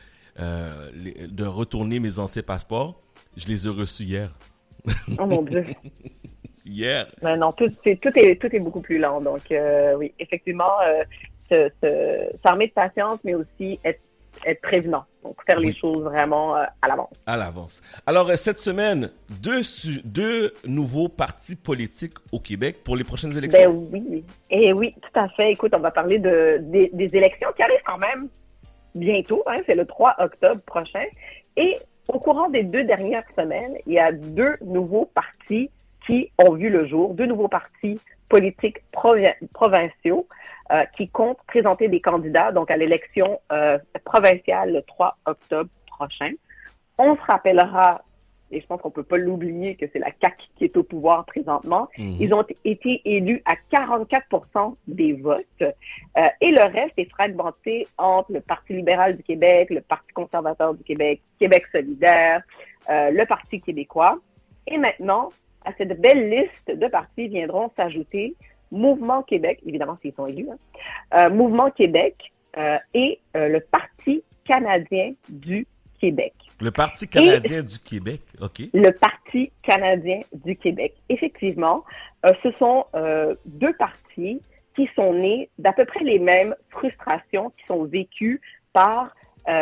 Speaker 3: de retourner mes anciens passeports. Je les ai reçus hier.
Speaker 2: Oh mon Dieu.
Speaker 3: Hier.
Speaker 2: Mais non, tout est beaucoup plus lent. Donc, oui, effectivement, s'armer de patience, mais aussi être prévenant. Donc, faire les choses vraiment à l'avance.
Speaker 3: À l'avance. Alors, cette semaine, deux nouveaux partis politiques au Québec pour les prochaines élections.
Speaker 2: Ben oui. Et oui, tout à fait. Écoute, on va parler des élections qui arrivent quand même bientôt. Hein, c'est le 3 octobre prochain. Et au courant des 2 dernières semaines, il y a 2 nouveaux partis qui ont vu le jour, 2 nouveaux partis politiques provinciaux qui comptent présenter des candidats donc à l'élection provinciale le 3 octobre prochain. On se rappellera, et je pense qu'on peut pas l'oublier, que c'est la CAQ qui est au pouvoir présentement. Ils ont été élus à 44% des votes et le reste est fragmenté entre le Parti libéral du Québec, le Parti conservateur du Québec, Québec solidaire, le Parti québécois. Et maintenant, à cette belle liste de partis viendront s'ajouter Mouvement Québec, évidemment s'ils sont élus, Mouvement Québec et le Parti canadien du Québec.
Speaker 3: Le Parti canadien du Québec, OK.
Speaker 2: Le Parti canadien du Québec. Effectivement, ce sont 2 partis qui sont nés d'à peu près les mêmes frustrations qui sont vécues par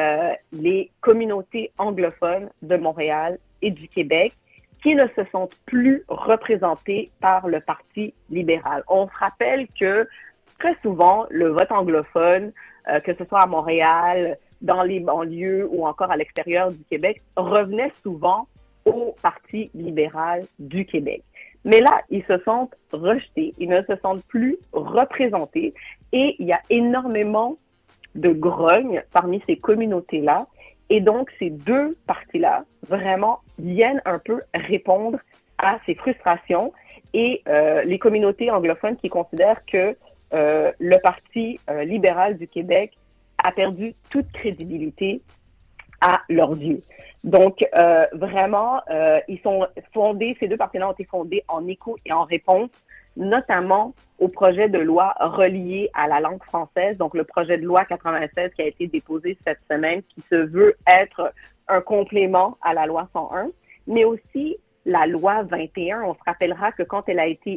Speaker 2: les communautés anglophones de Montréal et du Québec, qui ne se sentent plus représentés par le Parti libéral. On se rappelle que très souvent, le vote anglophone, que ce soit à Montréal, dans les banlieues ou encore à l'extérieur du Québec, revenait souvent au Parti libéral du Québec. Mais là, ils se sentent rejetés, ils ne se sentent plus représentés et il y a énormément de grogne parmi ces communautés-là. Et donc, ces 2 partis-là, vraiment, viennent un peu répondre à ces frustrations et les communautés anglophones qui considèrent que le Parti libéral du Québec a perdu toute crédibilité à leurs yeux. Donc, vraiment, ils sont fondés, ces 2 partis-là ont été fondés en écho et en réponse, notamment au projet de loi relié à la langue française, donc le projet de loi 96 qui a été déposé cette semaine, qui se veut être un complément à la loi 101, mais aussi la loi 21. On se rappellera que quand elle a été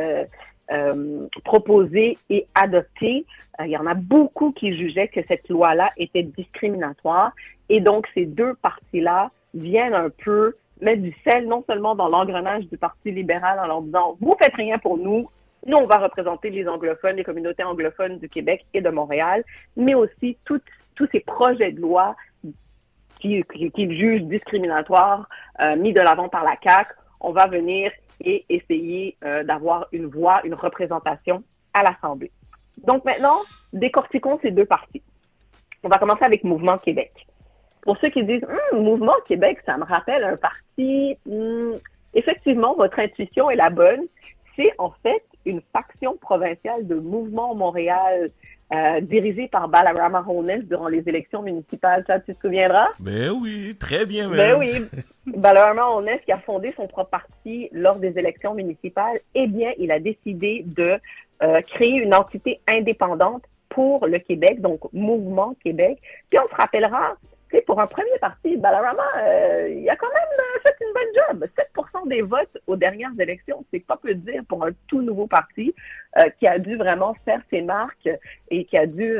Speaker 2: proposée et adoptée, il y en a beaucoup qui jugeaient que cette loi-là était discriminatoire, et donc ces 2 partis-là viennent un peu mettre du sel non seulement dans l'engrenage du Parti libéral en leur disant « Vous faites rien pour nous, nous on va représenter les anglophones, les communautés anglophones du Québec et de Montréal », mais aussi tous ces projets de loi qu'ils jugent discriminatoires mis de l'avant par la CAQ. On va venir et essayer d'avoir une voix, une représentation à l'Assemblée. Donc maintenant, décortiquons ces deux partis. On va commencer avec Mouvement Québec. Pour ceux qui disent « Mouvement Québec, ça me rappelle un parti. » Effectivement, votre intuition est la bonne. C'est en fait une faction provinciale de Mouvement Montréal dirigée par Balarama Honest durant les élections municipales. Ça, tu te souviendras?
Speaker 3: Ben oui, très bien même.
Speaker 2: Ben oui. Balarama Honest, qui a fondé son propre parti lors des élections municipales, eh bien, il a décidé de créer une entité indépendante pour le Québec, donc Mouvement Québec. Puis on se rappellera, pour un premier parti, Balarama, il a quand même fait une bonne job. 7% des votes aux dernières élections, c'est pas peu dire pour un tout nouveau parti qui a dû vraiment faire ses marques et qui a dû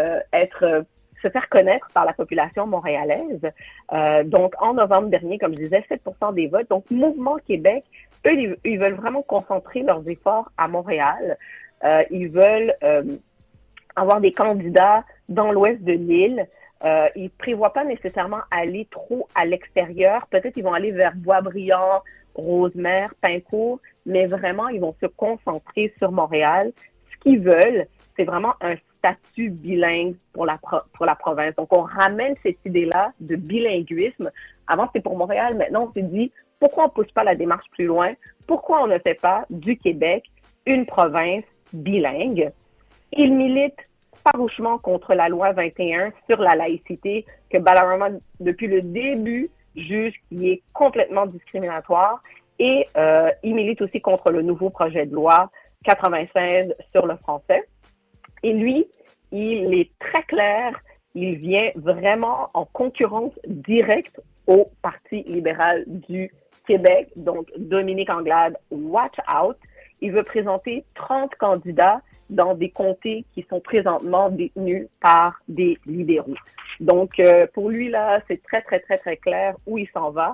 Speaker 2: se faire connaître par la population montréalaise. Donc, en novembre dernier, comme je disais, 7% des votes. Donc, Mouvement Québec, eux, ils veulent vraiment concentrer leurs efforts à Montréal. Ils veulent avoir des candidats dans l'ouest de l'île. Ils prévoient pas nécessairement aller trop à l'extérieur. Peut-être ils vont aller vers Boisbriand, Rosemère, Pincourt, mais vraiment, ils vont se concentrer sur Montréal. Ce qu'ils veulent, c'est vraiment un statut bilingue pour la province. Donc, on ramène cette idée-là de bilinguisme. Avant, c'était pour Montréal. Maintenant, on s'est dit, pourquoi on pousse pas la démarche plus loin? Pourquoi on ne fait pas du Québec une province bilingue? Ils militent farouchement contre la loi 21 sur la laïcité que Balarama, depuis le début, juge qui est complètement discriminatoire et il milite aussi contre le nouveau projet de loi 96 sur le français. Et lui, il est très clair, il vient vraiment en concurrence directe au Parti libéral du Québec, donc Dominique Anglade, watch out. Il veut présenter 30 candidats dans des comtés qui sont présentement détenus par des libéraux. Donc, pour lui, là, c'est très, très, très, très clair où il s'en va.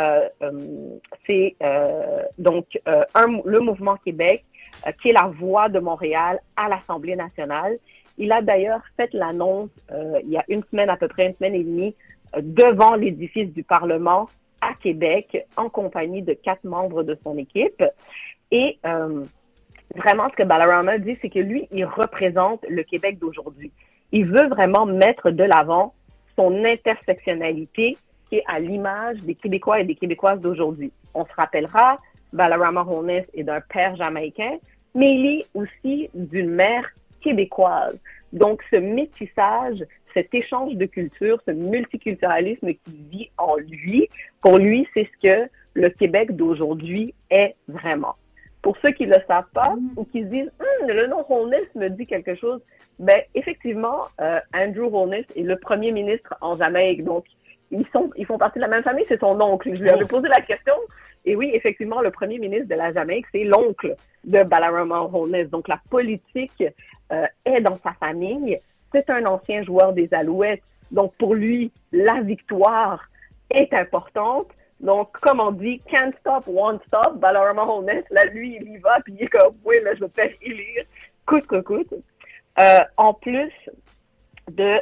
Speaker 2: C'est donc le Mouvement Québec, qui est la voix de Montréal à l'Assemblée nationale. Il a d'ailleurs fait l'annonce il y a une semaine, à peu près une semaine et demie, devant l'édifice du Parlement à Québec, en compagnie de 4 membres de son équipe. Et vraiment, ce que Balarama dit, c'est que lui, il représente le Québec d'aujourd'hui. Il veut vraiment mettre de l'avant son intersectionnalité qui est à l'image des Québécois et des Québécoises d'aujourd'hui. On se rappellera, Balarama Honest est d'un père jamaïcain, mais il est aussi d'une mère québécoise. Donc, ce métissage, cet échange de culture, ce multiculturalisme qui vit en lui, pour lui, c'est ce que le Québec d'aujourd'hui est vraiment. Pour ceux qui ne le savent pas ou qui se disent « le nom Honest me dit quelque chose », ben effectivement, Andrew Honest est le premier ministre en Jamaïque. Donc, ils font partie de la même famille, c'est son oncle. Je lui avais posé la question. Et oui, effectivement, le premier ministre de la Jamaïque, c'est l'oncle de Balarama Honest. Donc, la politique est dans sa famille. C'est un ancien joueur des Alouettes. Donc, pour lui, la victoire est importante. Donc, comme on dit, can't stop, won't stop, Balarama Honest, là, lui, il y va, puis il est comme, oui, là, je vais te faire élire, coûte que coûte. En plus de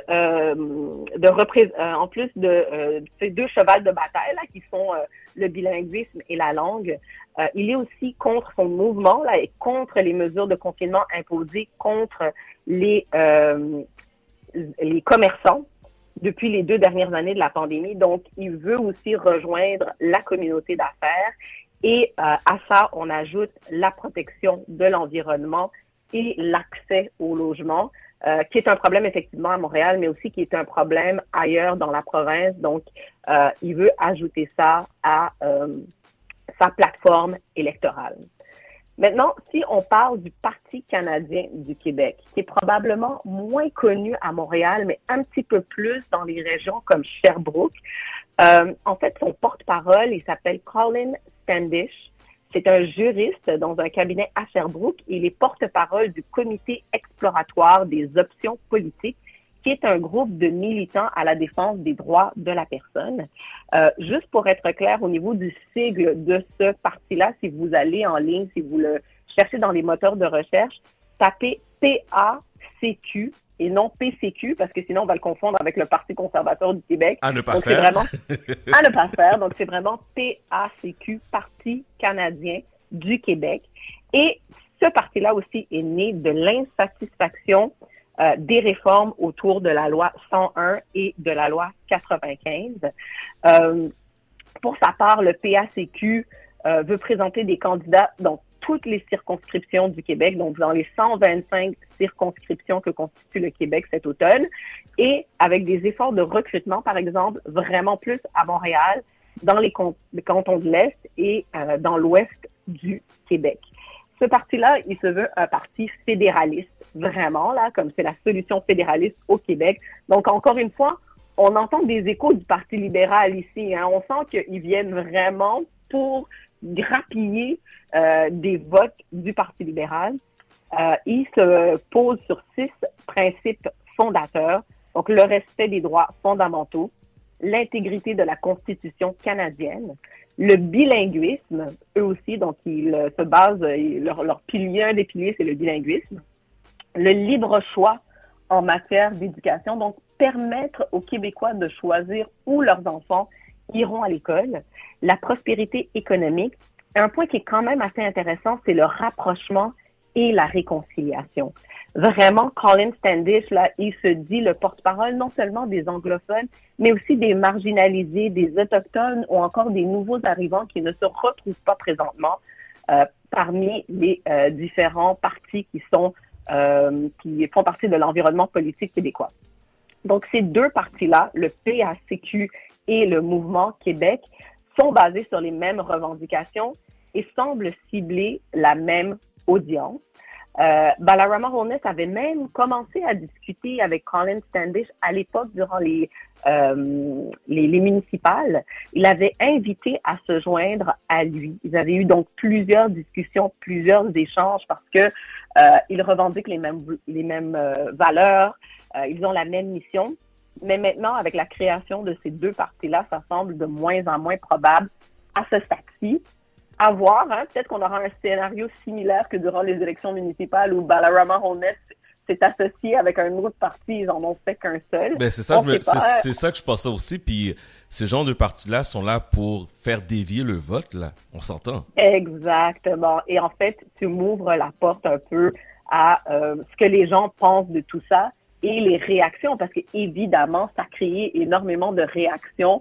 Speaker 2: ces 2 chevals de bataille, là, qui sont le bilinguisme et la langue, il est aussi contre son mouvement, là, et contre les mesures de confinement imposées contre les commerçants depuis les 2 dernières années de la pandémie. Donc, il veut aussi rejoindre la communauté d'affaires et à ça, on ajoute la protection de l'environnement et l'accès au logement, qui est un problème effectivement à Montréal, mais aussi qui est un problème ailleurs dans la province. Donc, il veut ajouter ça à sa plateforme électorale. Maintenant, si on parle du Parti canadien du Québec, qui est probablement moins connu à Montréal, mais un petit peu plus dans les régions comme Sherbrooke, en fait, son porte-parole, il s'appelle Colin Standish. C'est un juriste dans un cabinet à Sherbrooke. Il est porte-parole du Comité exploratoire des options politiques, qui est un groupe de militants à la défense des droits de la personne. Juste pour être clair, au niveau du sigle de ce parti-là, si vous allez en ligne, si vous le cherchez dans les moteurs de recherche, tapez PACQ et non PCQ, parce que sinon on va le confondre avec le Parti conservateur du Québec.
Speaker 3: À ne pas
Speaker 2: Donc,
Speaker 3: faire.
Speaker 2: à ne pas faire. Donc, c'est vraiment PACQ, Parti canadien du Québec. Et ce parti-là aussi est né de l'insatisfaction des réformes autour de la loi 101 et de la loi 95. Pour sa part, le PACQ veut présenter des candidats dans toutes les circonscriptions du Québec, donc dans les 125 circonscriptions que constitue le Québec cet automne, et avec des efforts de recrutement, par exemple, vraiment plus à Montréal, dans les cantons de l'Est et dans l'Ouest du Québec. Ce parti-là, il se veut un parti fédéraliste, vraiment, là, comme c'est la solution fédéraliste au Québec. Donc, encore une fois, on entend des échos du Parti libéral ici. Hein. On sent qu'ils viennent vraiment pour grappiller des votes du Parti libéral. Il se pose sur 6 principes fondateurs. Donc, le respect des droits fondamentaux, l'intégrité de la Constitution canadienne, le bilinguisme, eux aussi, donc ils se basent, leur pilier, un des piliers, c'est le bilinguisme, le libre choix en matière d'éducation, donc permettre aux Québécois de choisir où leurs enfants iront à l'école, la prospérité économique. Un point qui est quand même assez intéressant, c'est le rapprochement et la réconciliation. Vraiment, Colin Standish, là, il se dit le porte-parole non seulement des anglophones, mais aussi des marginalisés, des autochtones ou encore des nouveaux arrivants qui ne se retrouvent pas présentement parmi les différents partis qui font partie de l'environnement politique québécois. Donc, ces deux partis-là, le PACQ et le Mouvement Québec, sont basés sur les mêmes revendications et semblent cibler la même audience. Balarama Holness avait même commencé à discuter avec Colin Standish à l'époque durant les municipales. Il avait invité à se joindre à lui. Ils avaient eu donc plusieurs discussions, plusieurs échanges parce que ils revendiquent les mêmes valeurs, ils ont la même mission. Mais maintenant, avec la création de ces deux partis-là, ça semble de moins en moins probable à ce stade-ci. À voir, hein, peut-être qu'on aura un scénario similaire que durant les élections municipales où Balarama Holness s'est associé avec un autre parti, ils en ont fait qu'un seul.
Speaker 3: Ben c'est ça que je pensais aussi, puis ces genres de partis-là sont là pour faire dévier le vote, là, on s'entend.
Speaker 2: Exactement, et en fait, tu m'ouvres la porte un peu à ce que les gens pensent de tout ça et les réactions, parce que évidemment, ça a créé énormément de réactions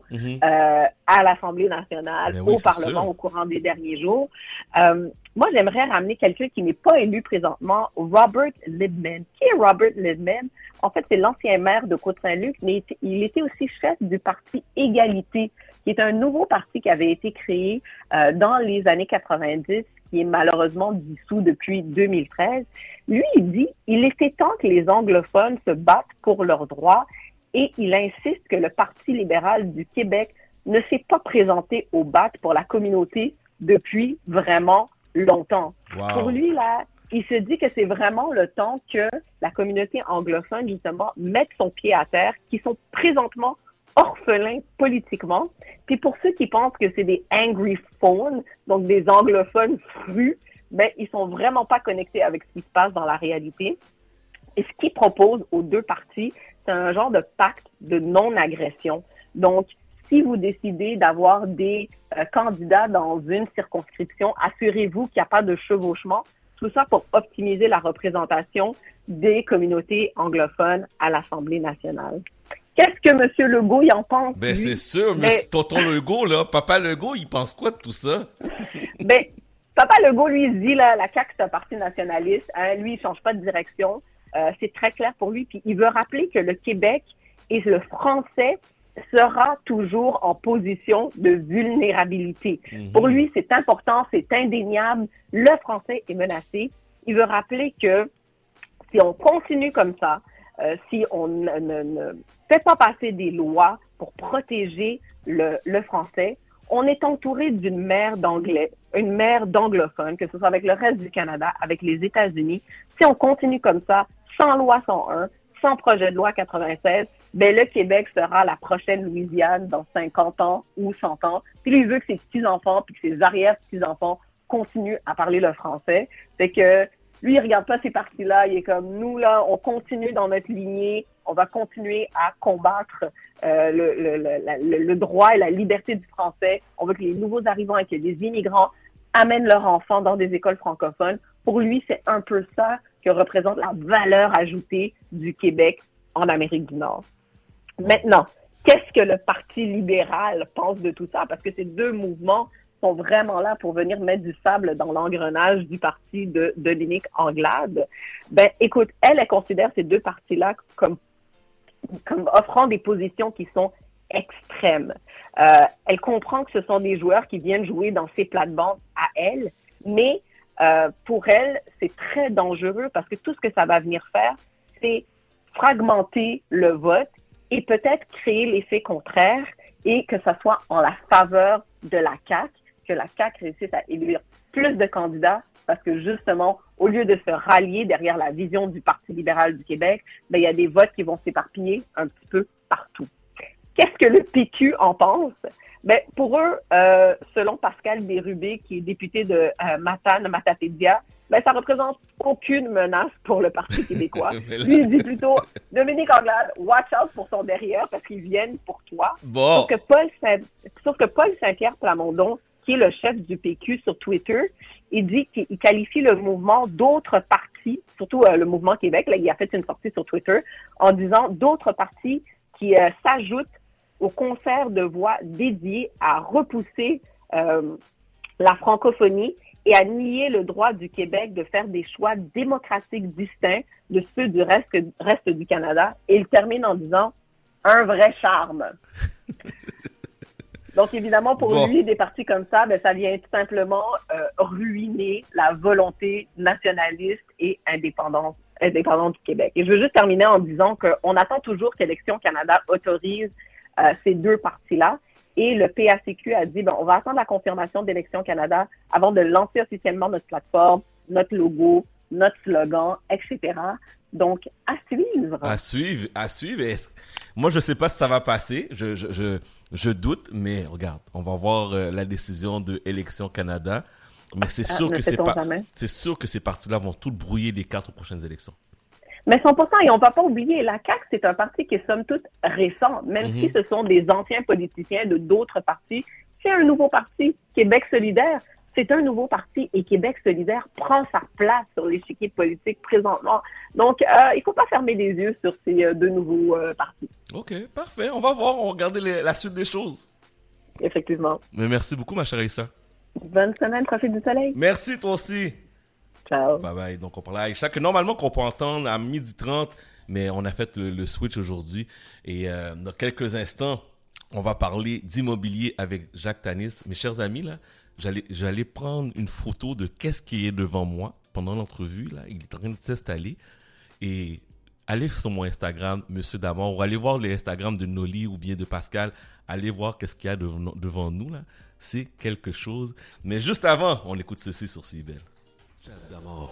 Speaker 2: à l'Assemblée nationale, au Parlement au courant des derniers jours. Moi, j'aimerais ramener quelqu'un qui n'est pas élu présentement, Robert Libman. Qui est Robert Libman? En fait, c'est l'ancien maire de Côte-Saint-Luc, mais il était aussi chef du parti Égalité, qui est un nouveau parti qui avait été créé dans les années 90, qui est malheureusement dissous depuis 2013. Lui, il dit, il était temps que les anglophones se battent pour leurs droits et il insiste que le Parti libéral du Québec ne s'est pas présenté au BAT pour la communauté depuis vraiment longtemps. Wow. Pour lui, là, il se dit que c'est vraiment le temps que la communauté anglophone, justement, mette son pied à terre, qui sont présentement orphelins politiquement. Puis pour ceux qui pensent que c'est des angry phones, donc des anglophones frus, ben, ils sont vraiment pas connectés avec ce qui se passe dans la réalité. Et ce qu'il propose aux deux partis, c'est un genre de pacte de non-agression. Donc, si vous décidez d'avoir des candidats dans une circonscription, assurez-vous qu'il n'y a pas de chevauchement. Tout ça pour optimiser la représentation des communautés anglophones à l'Assemblée nationale. Qu'est-ce que M. Legault y en pense?
Speaker 3: Ben, c'est sûr, mais tonton Legault, là, papa Legault, il pense quoi de tout ça?
Speaker 2: Ben, papa Legault, lui, il dit, là, la CAQ, c'est un parti nationaliste. Hein, lui, il change pas de direction. C'est très clair pour lui. Puis, il veut rappeler que le Québec et le français sera toujours en position de vulnérabilité. Pour lui, c'est important, c'est indéniable. Le français est menacé. Il veut rappeler que si on continue comme ça, si on ne fait pas passer des lois pour protéger le français, on est entouré d'une mer d'anglais, une mer d'anglophones, que ce soit avec le reste du Canada, avec les États-Unis. Si on continue comme ça, sans loi 101, sans projet de loi 96, ben le Québec sera la prochaine Louisiane dans 50 ans ou 100 ans. Puis lui, il veut que ses petits-enfants puis que ses arrière-petits-enfants continuent à parler le français. C'est que lui, il regarde pas ces partis-là. Il est comme nous, là, on continue dans notre lignée. On va continuer à combattre le droit et la liberté du français. On veut que les nouveaux arrivants et que les immigrants amènent leurs enfants dans des écoles francophones. Pour lui, c'est un peu ça que représente la valeur ajoutée du Québec en Amérique du Nord. Maintenant, qu'est-ce que le Parti libéral pense de tout ça? Parce que ces deux mouvements sont vraiment là pour venir mettre du sable dans l'engrenage du parti de Dominique Anglade. Ben, écoute, elle considère ces deux partis-là comme offrant des positions qui sont extrêmes. Elle comprend que ce sont des joueurs qui viennent jouer dans ses plates-bandes à elle, mais pour elle, c'est très dangereux parce que tout ce que ça va venir faire, c'est fragmenter le vote et peut-être créer l'effet contraire et que ça soit en la faveur de la CAQ, que la CAQ réussisse à élire plus de candidats parce que justement, au lieu de se rallier derrière la vision du Parti libéral du Québec, ben, il y a des votes qui vont s'éparpiller un petit peu partout. Qu'est-ce que le PQ en pense? Ben, pour eux, selon Pascal Bérubé, qui est député de Matane-Matapédia, ben, ça représente aucune menace pour le Parti québécois. Lui, il dit plutôt, Dominique Anglade, watch out pour son derrière parce qu'ils viennent pour toi.
Speaker 3: Bon.
Speaker 2: Sauf que Paul Saint-Pierre Plamondon, qui est le chef du PQ sur Twitter, il dit qu'il qualifie le mouvement d'autres partis, surtout le mouvement Québec, là, il a fait une sortie sur Twitter, en disant d'autres partis qui s'ajoutent au concert de voix dédié à repousser la francophonie et à nier le droit du Québec de faire des choix démocratiques distincts de ceux du reste du Canada. Et il termine en disant « un vrai charme ». Donc, évidemment, pour lui, des partis comme ça, ben, ça vient tout simplement ruiner la volonté nationaliste et indépendante du Québec. Et je veux juste terminer en disant qu'on attend toujours qu'Élections Canada autorise ces deux partis-là. Et le PACQ a dit, on va attendre la confirmation d'Élections Canada avant de lancer officiellement notre plateforme, notre logo, notre slogan, etc. Donc, à suivre.
Speaker 3: À suivre. Moi, je sais pas si ça va passer. Je doute, mais regarde, on va voir la décision de Élections Canada. Mais c'est sûr que ces partis-là vont tout brouiller les cartes aux prochaines élections.
Speaker 2: Mais 100%, et on ne va pas oublier, la CAQ, c'est un parti qui est somme toute récent, même si ce sont des anciens politiciens de d'autres partis. C'est un nouveau parti, Québec solidaire. C'est un nouveau parti et Québec solidaire prend sa place sur l'échiquier politique présentement. Donc, il ne faut pas fermer les yeux sur ces deux nouveaux partis.
Speaker 3: OK, parfait. On va voir, on va regarder la suite des choses.
Speaker 2: Effectivement.
Speaker 3: Mais merci beaucoup, ma chère Aïssa.
Speaker 2: Bonne semaine, profite du soleil.
Speaker 3: Merci, toi aussi.
Speaker 2: Ciao.
Speaker 3: Bye bye. Donc, on parlait à Aïcha, que normalement qu'on peut entendre à 12h30, mais on a fait le switch aujourd'hui. Et dans quelques instants, on va parler d'immobilier avec Jacques Tanis. Mes chers amis, là, j'allais prendre une photo de qu'est-ce qui est devant moi pendant l'entrevue. Là, il est en train de s'installer. Et allez sur mon Instagram, Monsieur Damor, ou allez voir les Instagram de Noli ou bien de Pascal. Allez voir qu'est-ce qu'il y a devant nous, là. C'est quelque chose. Mais juste avant, on écoute ceci sur CIBEL. Chat d'Amor.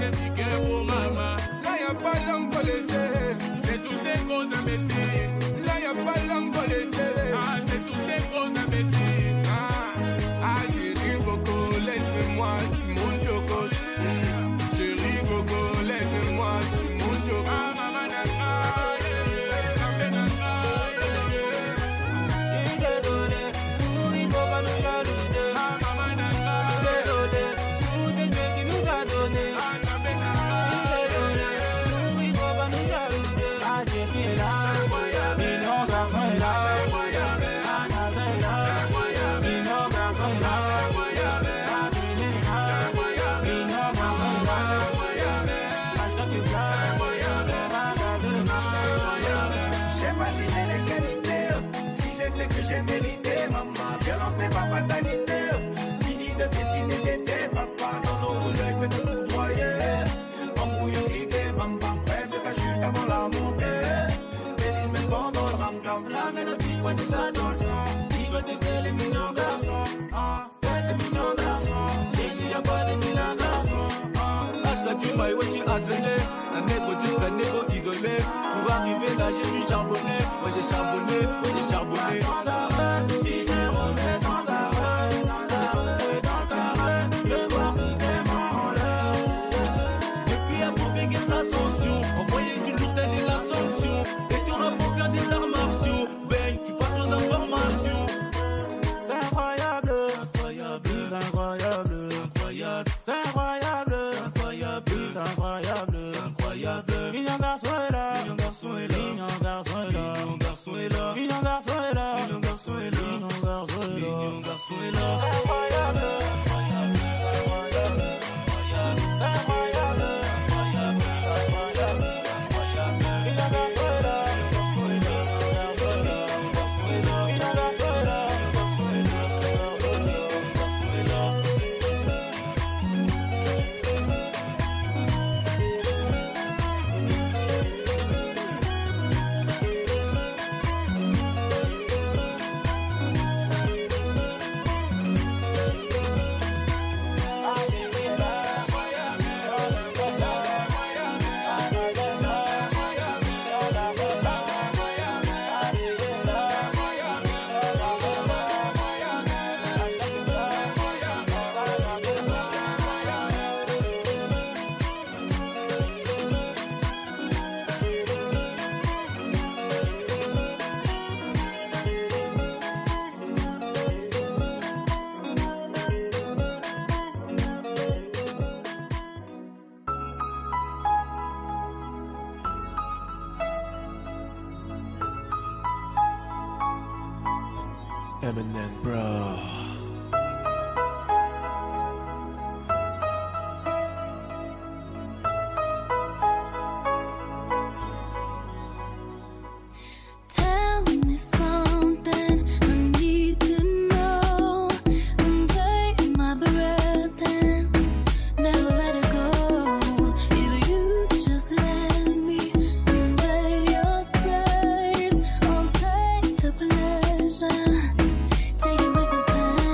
Speaker 5: j'ai piqué pour maman. Là y'a pas langue pour laisser. C'est tous des gros imbéciles. Là y'a pas langue pour laisser. Ah, c'est tous des gros imbéciles. Ah, chérie Coco, laisse-moi, c'est mon chocos. Chérie Coco, laisse-moi, c'est mon chocos. Ah, maman nana, Zambé nana, il t'a donné, nous il faut pas nous jalouser. Ah, maman nana, désolé, tout c'est Dieu qui nous a donné. Ah, Zambé nana, il t'a donné, nous il faut pas nous jalouser. Ah, Dieu qui est là, million garçon est là. J'ai mérité, maman, violence n'est pas fatalité. Fini de piétiner t'étais, papa, dans nos rouleaux que de foudroyer. Embrouillé, cliqué, bam bam, rêve de ta chute avant la montée. Bêtise même pendant le ram-cam. La mélodie, ouais, c'est ça dans le sang. Ils veulent tester les mignons garçons. Teste les mignons garçons. J'ai dit y'a pas des vilains garçons. Hashtag tu m'as ouais, j'ai asséné. Un négro discret, négro isolé. Pour arriver là, j'ai dû charbonner. Moi j'ai charbonné, moi j'ai charbonné. Envoyer du lourd, telle est la sanction. Et tu auras pour faire des arts martiaux. Bang, tu passes aux informations. C'est incroyable, incroyable, c'est incroyable, incroyable, c'est incroyable, incroyable, c'est incroyable, c'est incroyable. Mignon garçon est là, mignon garçon est là, mignon garçon est là, mignon garçon est là, mignon garçon est là, mignon garçon est là, mignon garçon est là, mignon garçon est là. C'est incroyable, incroyable, c'est incroyable, c'est incroyable.
Speaker 10: Eminem, bro.
Speaker 6: Tell me something I need to know. And take my breath and never let it go. If you just let me invade your space, I'll take the pleasure. Take it with the pain.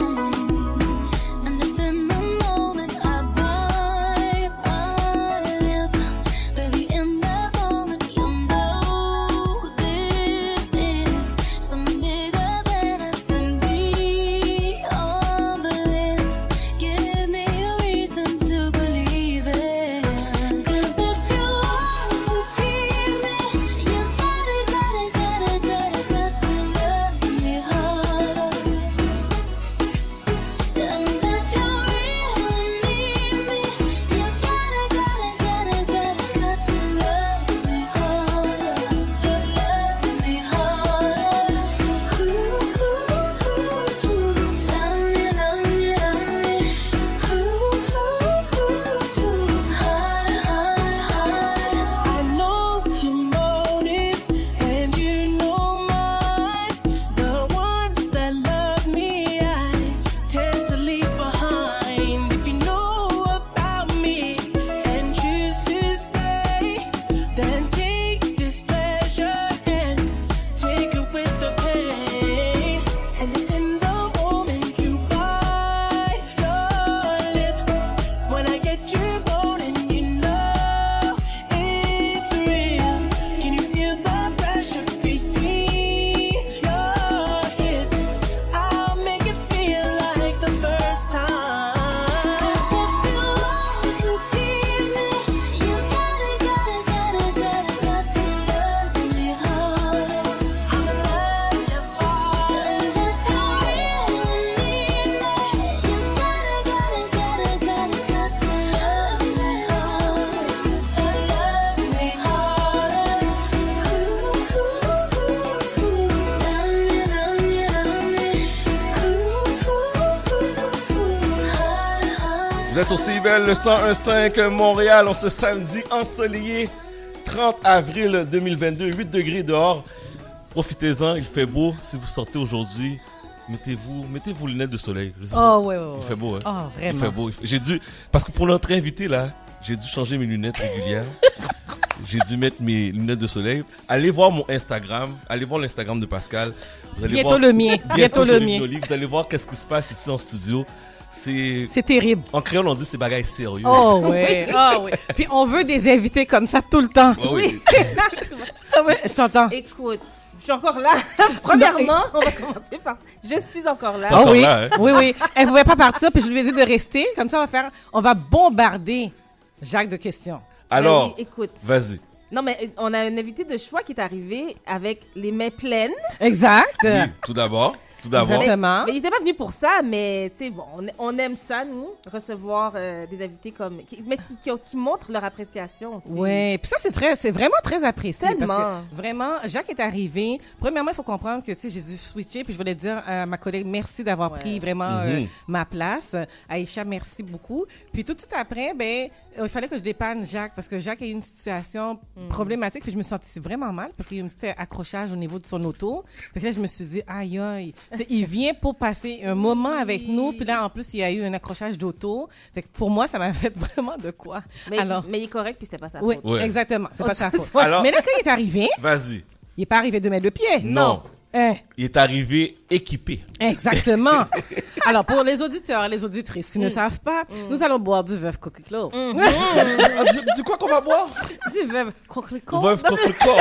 Speaker 3: êtes sur CIBEL, le 101.5 Montréal, on se samedi ensoleillé, 30 avril 2022, 8 degrés dehors. Profitez-en, il fait beau. Si vous sortez aujourd'hui, mettez-vous les lunettes de soleil.
Speaker 7: Ouais.
Speaker 3: Il fait beau, hein?
Speaker 7: Oh, vraiment.
Speaker 3: Il fait beau. Parce que pour notre invité, là, j'ai dû changer mes lunettes régulières. J'ai dû mettre mes lunettes de soleil. Allez voir mon Instagram. Allez voir l'Instagram de Pascal. Vous allez
Speaker 7: Bientôt
Speaker 3: voir,
Speaker 7: le mien. Bientôt le mien.
Speaker 3: Vous allez voir qu'est-ce qui se passe ici en studio.
Speaker 7: C'est terrible.
Speaker 3: En créole, on dit c'est bagaille sérieux.
Speaker 7: Oh ouais. Puis on veut des invités comme ça tout le temps.
Speaker 3: Oui.
Speaker 7: Je t'entends.
Speaker 14: Écoute, je suis encore là. Premièrement, on va commencer par... Je suis encore là.
Speaker 7: Ah oui.
Speaker 3: Là, hein?
Speaker 7: Oui. Elle ne pouvait pas partir, puis je lui ai dit de rester. Comme ça, on va bombarder Jacques de questions.
Speaker 3: Alors,
Speaker 14: oui, écoute.
Speaker 3: Vas-y.
Speaker 14: Non, mais on a un invité de choix qui est arrivé avec les mains pleines.
Speaker 7: Exact.
Speaker 3: Oui, tout d'abord.
Speaker 7: Exactement.
Speaker 14: Mais il n'était pas venu pour ça, mais tu sais, bon, on aime ça, nous, recevoir des invités qui montrent leur appréciation aussi.
Speaker 7: Oui, puis ça, c'est vraiment très apprécié.
Speaker 14: Tellement.
Speaker 7: Parce que vraiment, Jacques est arrivé. Premièrement, il faut comprendre que, tu sais, j'ai dû switcher, puis je voulais dire à ma collègue, merci d'avoir pris vraiment ma place. Aïcha, merci beaucoup. Puis tout après, il fallait que je dépanne Jacques, parce que Jacques a eu une situation problématique, puis je me sentais vraiment mal, parce qu'il y a eu un petit accrochage au niveau de son auto. Puis là, je me suis dit, aïe. Il vient pour passer un moment avec nous, puis là, en plus, il y a eu un accrochage d'auto. Fait que pour moi, ça m'a fait vraiment de quoi.
Speaker 14: Mais il est correct, puis c'était pas sa faute.
Speaker 7: Oui, exactement. C'est pas sa faute.
Speaker 3: Alors,
Speaker 7: mais là, quand il est arrivé...
Speaker 3: Vas-y.
Speaker 7: Il n'est pas arrivé de mettre le pied.
Speaker 3: Non. Il est arrivé équipé.
Speaker 7: Exactement. Alors, pour les auditeurs et les auditrices qui ne savent pas, nous allons boire du veuve coquelicot.
Speaker 3: Du quoi qu'on va boire?
Speaker 7: Du veuve coquelicot.
Speaker 3: Veuve coquelicot.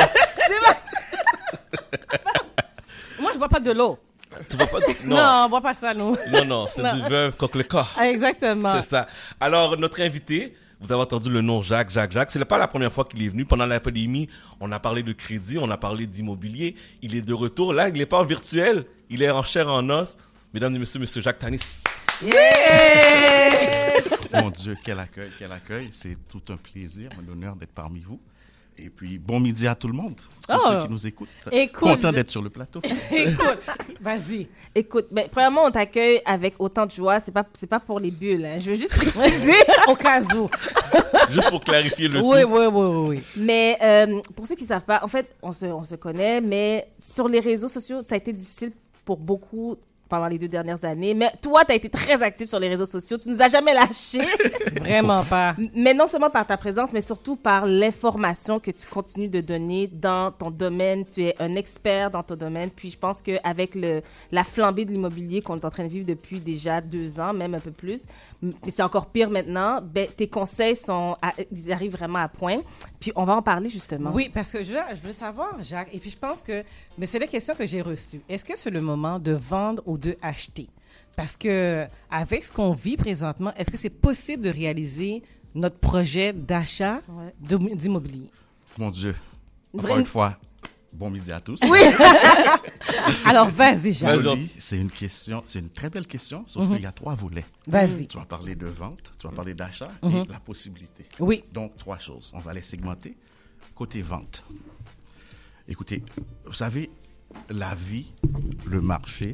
Speaker 7: Moi, je bois pas de l'eau.
Speaker 3: Tu vois pas
Speaker 7: Non, on boit pas ça, nous.
Speaker 3: Non, c'est du veuve coquelicot.
Speaker 7: Exactement.
Speaker 3: C'est ça. Alors, notre invité, vous avez entendu le nom Jacques. C'est pas la première fois qu'il est venu. Pendant la pandémie, on a parlé de crédit, on a parlé d'immobilier. Il est de retour. Là, il n'est pas en virtuel. Il est en chair en os. Mesdames et messieurs, monsieur Jacques Tanis.
Speaker 23: Mon Dieu, quel accueil. C'est tout un plaisir, un honneur d'être parmi vous. Et puis, bon midi à tout le monde, tous ceux qui nous écoutent. Content d'être sur le plateau.
Speaker 7: Écoute, vas-y.
Speaker 14: Écoute, premièrement, on t'accueille avec autant de joie. C'est pas pour les bulles. Hein. Je veux juste préciser
Speaker 7: au cas où.
Speaker 3: Juste pour clarifier le
Speaker 7: tout. Oui.
Speaker 14: Mais pour ceux qui ne savent pas, en fait, on se connaît, mais sur les réseaux sociaux, ça a été difficile pour beaucoup pendant les 2 dernières années. Mais toi, tu as été très actif sur les réseaux sociaux. Tu nous as jamais lâchés.
Speaker 7: Vraiment pas.
Speaker 14: Mais non seulement par ta présence, mais surtout par l'information que tu continues de donner dans ton domaine. Tu es un expert dans ton domaine. Puis je pense qu'avec la flambée de l'immobilier qu'on est en train de vivre depuis déjà 2 ans, même un peu plus, mais c'est encore pire maintenant, tes conseils ils arrivent vraiment à point. Puis on va en parler justement.
Speaker 7: Oui, parce que je veux savoir, Jacques, et puis je pense que c'est la question que j'ai reçue. Est-ce que c'est le moment de vendre ou de acheter? Parce que avec ce qu'on vit présentement, est-ce que c'est possible de réaliser notre projet d'achat d'immobilier?
Speaker 23: Mon Dieu. Encore une fois, bon midi à tous.
Speaker 7: Oui. Alors, vas-y, Jacques.
Speaker 23: C'est une très belle question, sauf qu'il y a 3 volets.
Speaker 7: Vas-y.
Speaker 23: Tu vas parler de vente, tu vas parler d'achat et la possibilité.
Speaker 7: Oui.
Speaker 23: Donc, 3 choses. On va les segmenter. Côté vente. Écoutez, vous savez, la vie, le marché,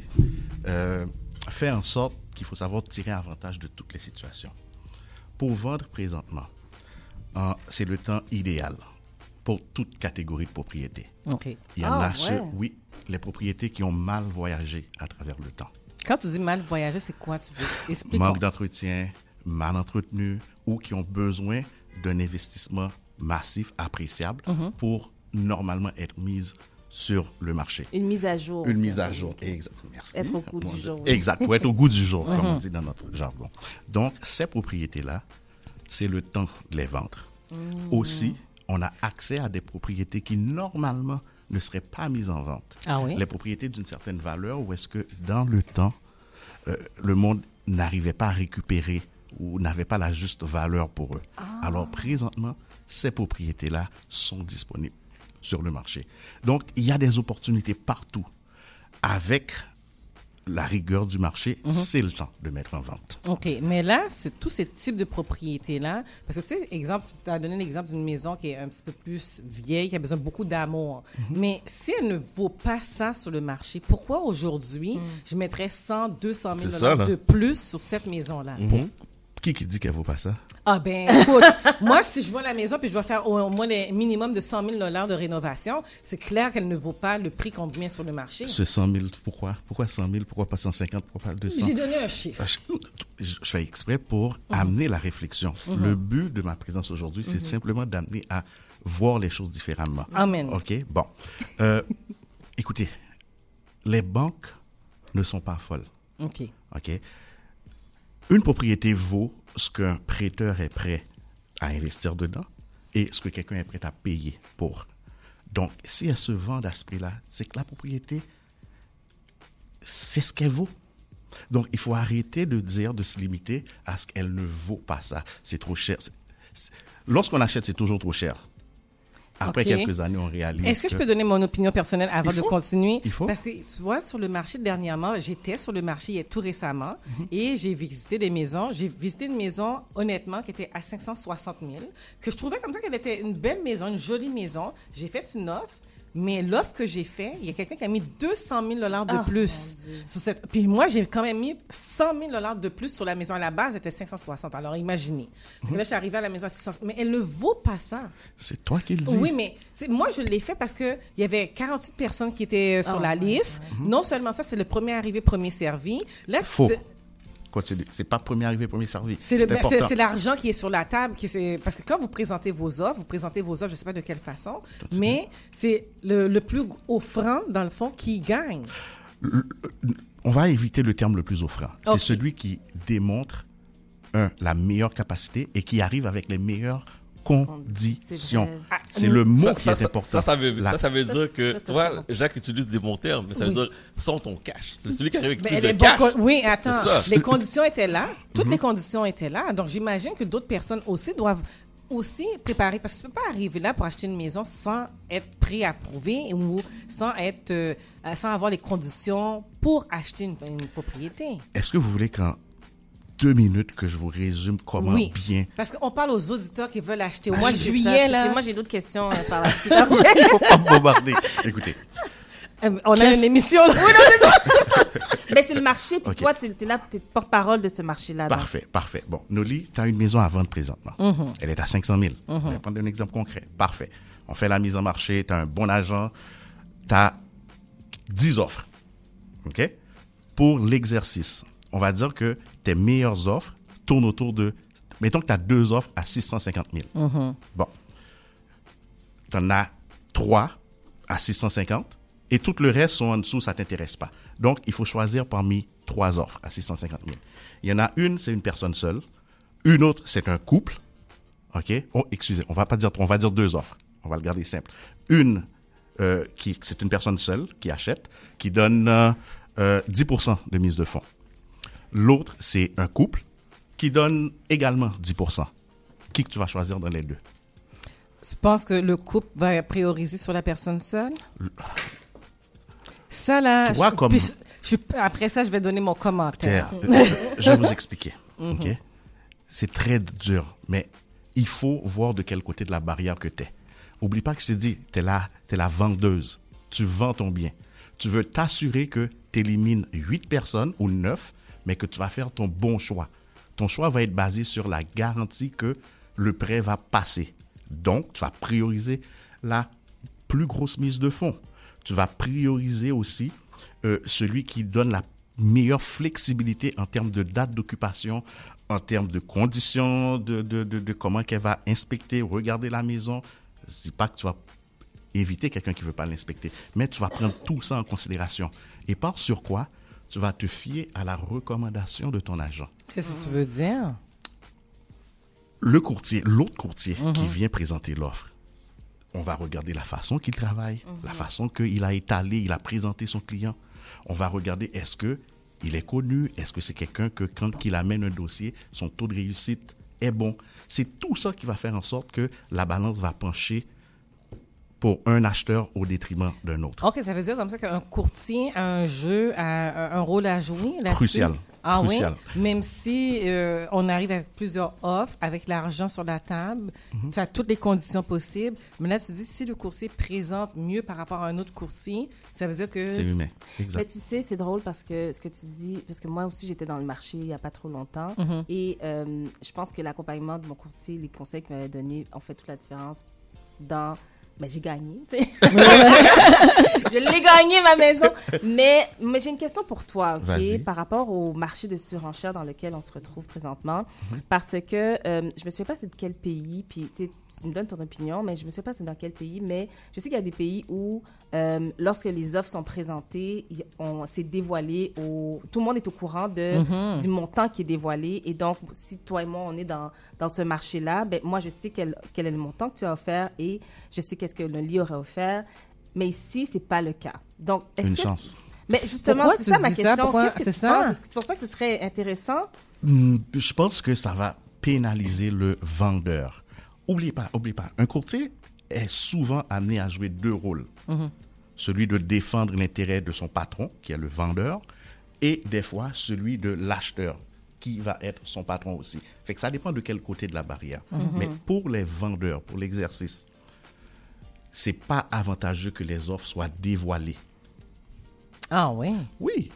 Speaker 23: fait en sorte qu'il faut savoir tirer avantage de toutes les situations. Pour vendre présentement, c'est le temps idéal pour toute catégorie de propriétés.
Speaker 7: Okay.
Speaker 23: Il y en a les propriétés qui ont mal voyagé à travers le temps.
Speaker 7: Quand tu dis mal voyagé, c'est quoi? Tu veux expliquer?
Speaker 23: Manque d'entretien, mal entretenu, ou qui ont besoin d'un investissement massif, appréciable, pour normalement être mises sur le marché.
Speaker 14: Une mise à jour.
Speaker 23: Une mise à jour, exact. Merci.
Speaker 14: Être au goût du jour.
Speaker 23: Exact, pour être au goût du jour, comme on dit dans notre jargon. Donc, ces propriétés-là, c'est le temps de les vendre. Aussi, on a accès à des propriétés qui, normalement, ne seraient pas mises en vente.
Speaker 7: Ah oui?
Speaker 23: Les propriétés d'une certaine valeur, où est-ce que, dans le temps, le monde n'arrivait pas à récupérer ou n'avait pas la juste valeur pour eux. Alors, présentement, ces propriétés-là sont disponibles sur le marché. Donc, il y a des opportunités partout. Avec la rigueur du marché, c'est le temps de mettre en vente.
Speaker 7: OK, mais là, c'est tous ces types de propriétés-là. Parce que, tu sais, exemple, tu as donné l'exemple d'une maison qui est un petit peu plus vieille, qui a besoin de beaucoup d'amour. Mais si elle ne vaut pas ça sur le marché, pourquoi aujourd'hui, je mettrais 100, 200 000 $ de plus sur cette maison-là?
Speaker 23: Qui dit qu'elle vaut pas ça?
Speaker 7: Ah ben, écoute, moi, si je vois la maison puis je dois faire au moins un minimum de 100 000 $ de rénovation, c'est clair qu'elle ne vaut pas le prix qu'on met sur le marché.
Speaker 23: Ce 100 000, pourquoi? Pourquoi 100 000? Pourquoi pas 150? Pourquoi pas 200?
Speaker 7: J'ai donné un chiffre.
Speaker 23: Je fais exprès pour amener la réflexion. Le but de ma présence aujourd'hui, c'est simplement d'amener à voir les choses différemment.
Speaker 7: Amen.
Speaker 23: OK? Bon. Écoutez, les banques ne sont pas folles.
Speaker 7: OK.
Speaker 23: OK? Une propriété vaut ce qu'un prêteur est prêt à investir dedans et ce que quelqu'un est prêt à payer pour. Donc, si elle se vend à ce prix-là, c'est que la propriété, c'est ce qu'elle vaut. Donc, il faut arrêter de dire, de se limiter à ce qu'elle ne vaut pas ça. C'est trop cher. Lorsqu'on achète, c'est toujours trop cher. Après quelques années, on réalise.
Speaker 7: Est-ce que je peux donner mon opinion personnelle avant de continuer?
Speaker 23: Il faut.
Speaker 7: Parce que, tu vois, sur le marché dernièrement, j'étais sur le marché tout récemment et j'ai visité des maisons. J'ai visité une maison, honnêtement, qui était à 560 000, que je trouvais comme ça qu'elle était une belle maison, une jolie maison. J'ai fait une offre. Mais l'offre que j'ai faite, il y a quelqu'un qui a mis 200 000 $ de plus sur cette. Puis moi, j'ai quand même mis 100 000 $ de plus sur la maison. À la base, c'était 560. Alors, imaginez. Là, je suis arrivée à la maison à 600. Mais elle ne vaut pas ça.
Speaker 23: C'est toi qui le dis.
Speaker 7: Oui, mais moi, je l'ai fait parce qu'il y avait 48 personnes qui étaient sur la liste. Non seulement ça, c'est le premier arrivé, premier servi. Là,
Speaker 23: faux. Continue. C'est pas premier arrivé, premier servi.
Speaker 7: C'est l'argent qui est sur la table. Parce que quand vous présentez vos offres, je ne sais pas de quelle façon, mais c'est le plus offrant, dans le fond, qui gagne.
Speaker 23: On va éviter le terme le plus offrant. C'est celui qui démontre, la meilleure capacité et qui arrive avec les meilleures conditions. C'est le mot qui est important.
Speaker 3: Ça veut dire que, tu vois, Jacques utilise des bons termes, mais ça veut dire, sont ton cash. C'est celui qui arrive avec plus de cash.
Speaker 7: Oui, attends. Les conditions étaient là. Toutes les conditions étaient là. Donc, j'imagine que d'autres personnes aussi doivent préparer, parce que tu ne peux pas arriver là pour acheter une maison sans être préapprouvé ou sans avoir les conditions pour acheter une propriété.
Speaker 23: Est-ce que vous voulez qu'en 2 minutes que je vous résume comment bien...
Speaker 7: Parce qu'on parle aux auditeurs qui veulent acheter au mois de juillet. Là.
Speaker 14: Moi, j'ai d'autres questions par la suite.
Speaker 23: Il ne faut pas me bombarder. Écoutez.
Speaker 7: On a une émission.
Speaker 14: Oui, non, c'est mais c'est le marché, puis toi, tu es là, tu es porte-parole de ce marché-là.
Speaker 23: Parfait. Bon, Noli, tu as une maison à vendre présentement. Elle est à 500 000. On va prendre un exemple concret. Parfait. On fait la mise en marché, tu as un bon agent, tu as 10 offres. OK? Pour l'exercice, on va dire que tes meilleures offres tournent autour de... Mettons que tu as 2 offres à 650 000. Bon. Tu en as 3 à 650 et tout le reste sont en dessous, ça ne t'intéresse pas. Donc, il faut choisir parmi 3 offres à 650 000. Il y en a une, c'est une personne seule. Une autre, c'est un couple. OK? Oh, excusez, on va dire 2 offres. On va le garder simple. Une, c'est une personne seule qui achète, qui donne 10% de mise de fonds. L'autre, c'est un couple qui donne également 10%. Qui que tu vas choisir dans les deux?
Speaker 7: Tu penses que le couple va prioriser sur la personne seule? Ça, là... après ça, je vais donner mon commentaire.
Speaker 23: Je vais vous expliquer. Okay? C'est très dur, mais il faut voir de quel côté de la barrière que tu es. Oublie pas que je t'ai dit, tu es la vendeuse. Tu vends ton bien. Tu veux t'assurer que tu élimines 8 personnes ou 9, mais que tu vas faire ton bon choix. Ton choix va être basé sur la garantie que le prêt va passer. Donc, tu vas prioriser la plus grosse mise de fonds. Tu vas prioriser aussi celui qui donne la meilleure flexibilité en termes de date d'occupation, en termes de conditions, de comment qu'elle va inspecter, regarder la maison. Je ne dis pas que tu vas éviter quelqu'un qui ne veut pas l'inspecter, mais tu vas prendre tout ça en considération. Et par sur quoi? Tu vas te fier à la recommandation de ton agent.
Speaker 7: Qu'est-ce que tu veux dire?
Speaker 23: L'autre courtier qui vient présenter l'offre, on va regarder la façon qu'il travaille, la façon qu'il a étalé, il a présenté son client. On va regarder est-ce qu'il est connu, est-ce que c'est quelqu'un que quand il amène un dossier, son taux de réussite est bon. C'est tout ça qui va faire en sorte que la balance va pencher pour un acheteur au détriment d'un autre.
Speaker 7: OK, ça veut dire comme ça qu'un courtier a un rôle à jouer là-dessus?
Speaker 23: Crucial.
Speaker 7: Ah
Speaker 23: crucial.
Speaker 7: oui? Même si on arrive avec plusieurs offres, avec l'argent sur la table, tu as toutes les conditions possibles. Mais là, tu dis, si le courtier présente mieux par rapport à un autre courtier, ça veut dire que...
Speaker 23: C'est humain, exact.
Speaker 14: Mais tu sais, c'est drôle parce que ce que tu dis, parce que moi aussi, j'étais dans le marché il n'y a pas trop longtemps. Et je pense que l'accompagnement de mon courtier, les conseils qu'il m'avait donnés ont fait toute la différence dans... Ben, j'ai gagné, tu sais. Je l'ai gagné, ma maison. Mais j'ai une question pour toi, OK, par rapport au marché de surenchère dans lequel on se retrouve présentement. Parce que je me souviens pas c'est de quel pays, puis tu me donnes ton opinion, mais je me souviens pas c'est dans quel pays, mais je sais qu'il y a des pays où, lorsque les offres sont présentées, c'est dévoilé, tout le monde est au courant du montant qui est dévoilé. Et donc, si toi et moi, on est dans ce marché-là, ben, moi, je sais quel est le montant que tu as offert et je sais qu'est-ce que le lit aurait offert. Mais ici, c'est pas le cas. Donc,
Speaker 23: Une chance.
Speaker 14: Mais justement,
Speaker 7: Pourquoi
Speaker 14: c'est
Speaker 7: tu
Speaker 14: ça ma
Speaker 7: dis
Speaker 14: question.
Speaker 7: ça? Pourquoi?
Speaker 14: Qu'est-ce que
Speaker 7: C'est
Speaker 14: tu
Speaker 7: ça.
Speaker 14: penses? Est-ce que tu penses pas que ce serait intéressant?
Speaker 23: Je pense que ça va pénaliser le vendeur. Oublie pas, un courtier est souvent amené à jouer deux rôles. Celui de défendre l'intérêt de son patron, qui est le vendeur, et des fois celui de l'acheteur, qui va être son patron aussi. Fait que ça dépend de quel côté de la barrière. Mais pour les vendeurs, pour l'exercice, c'est pas avantageux que les offres soient dévoilées.
Speaker 7: Ah oui?
Speaker 23: Oui.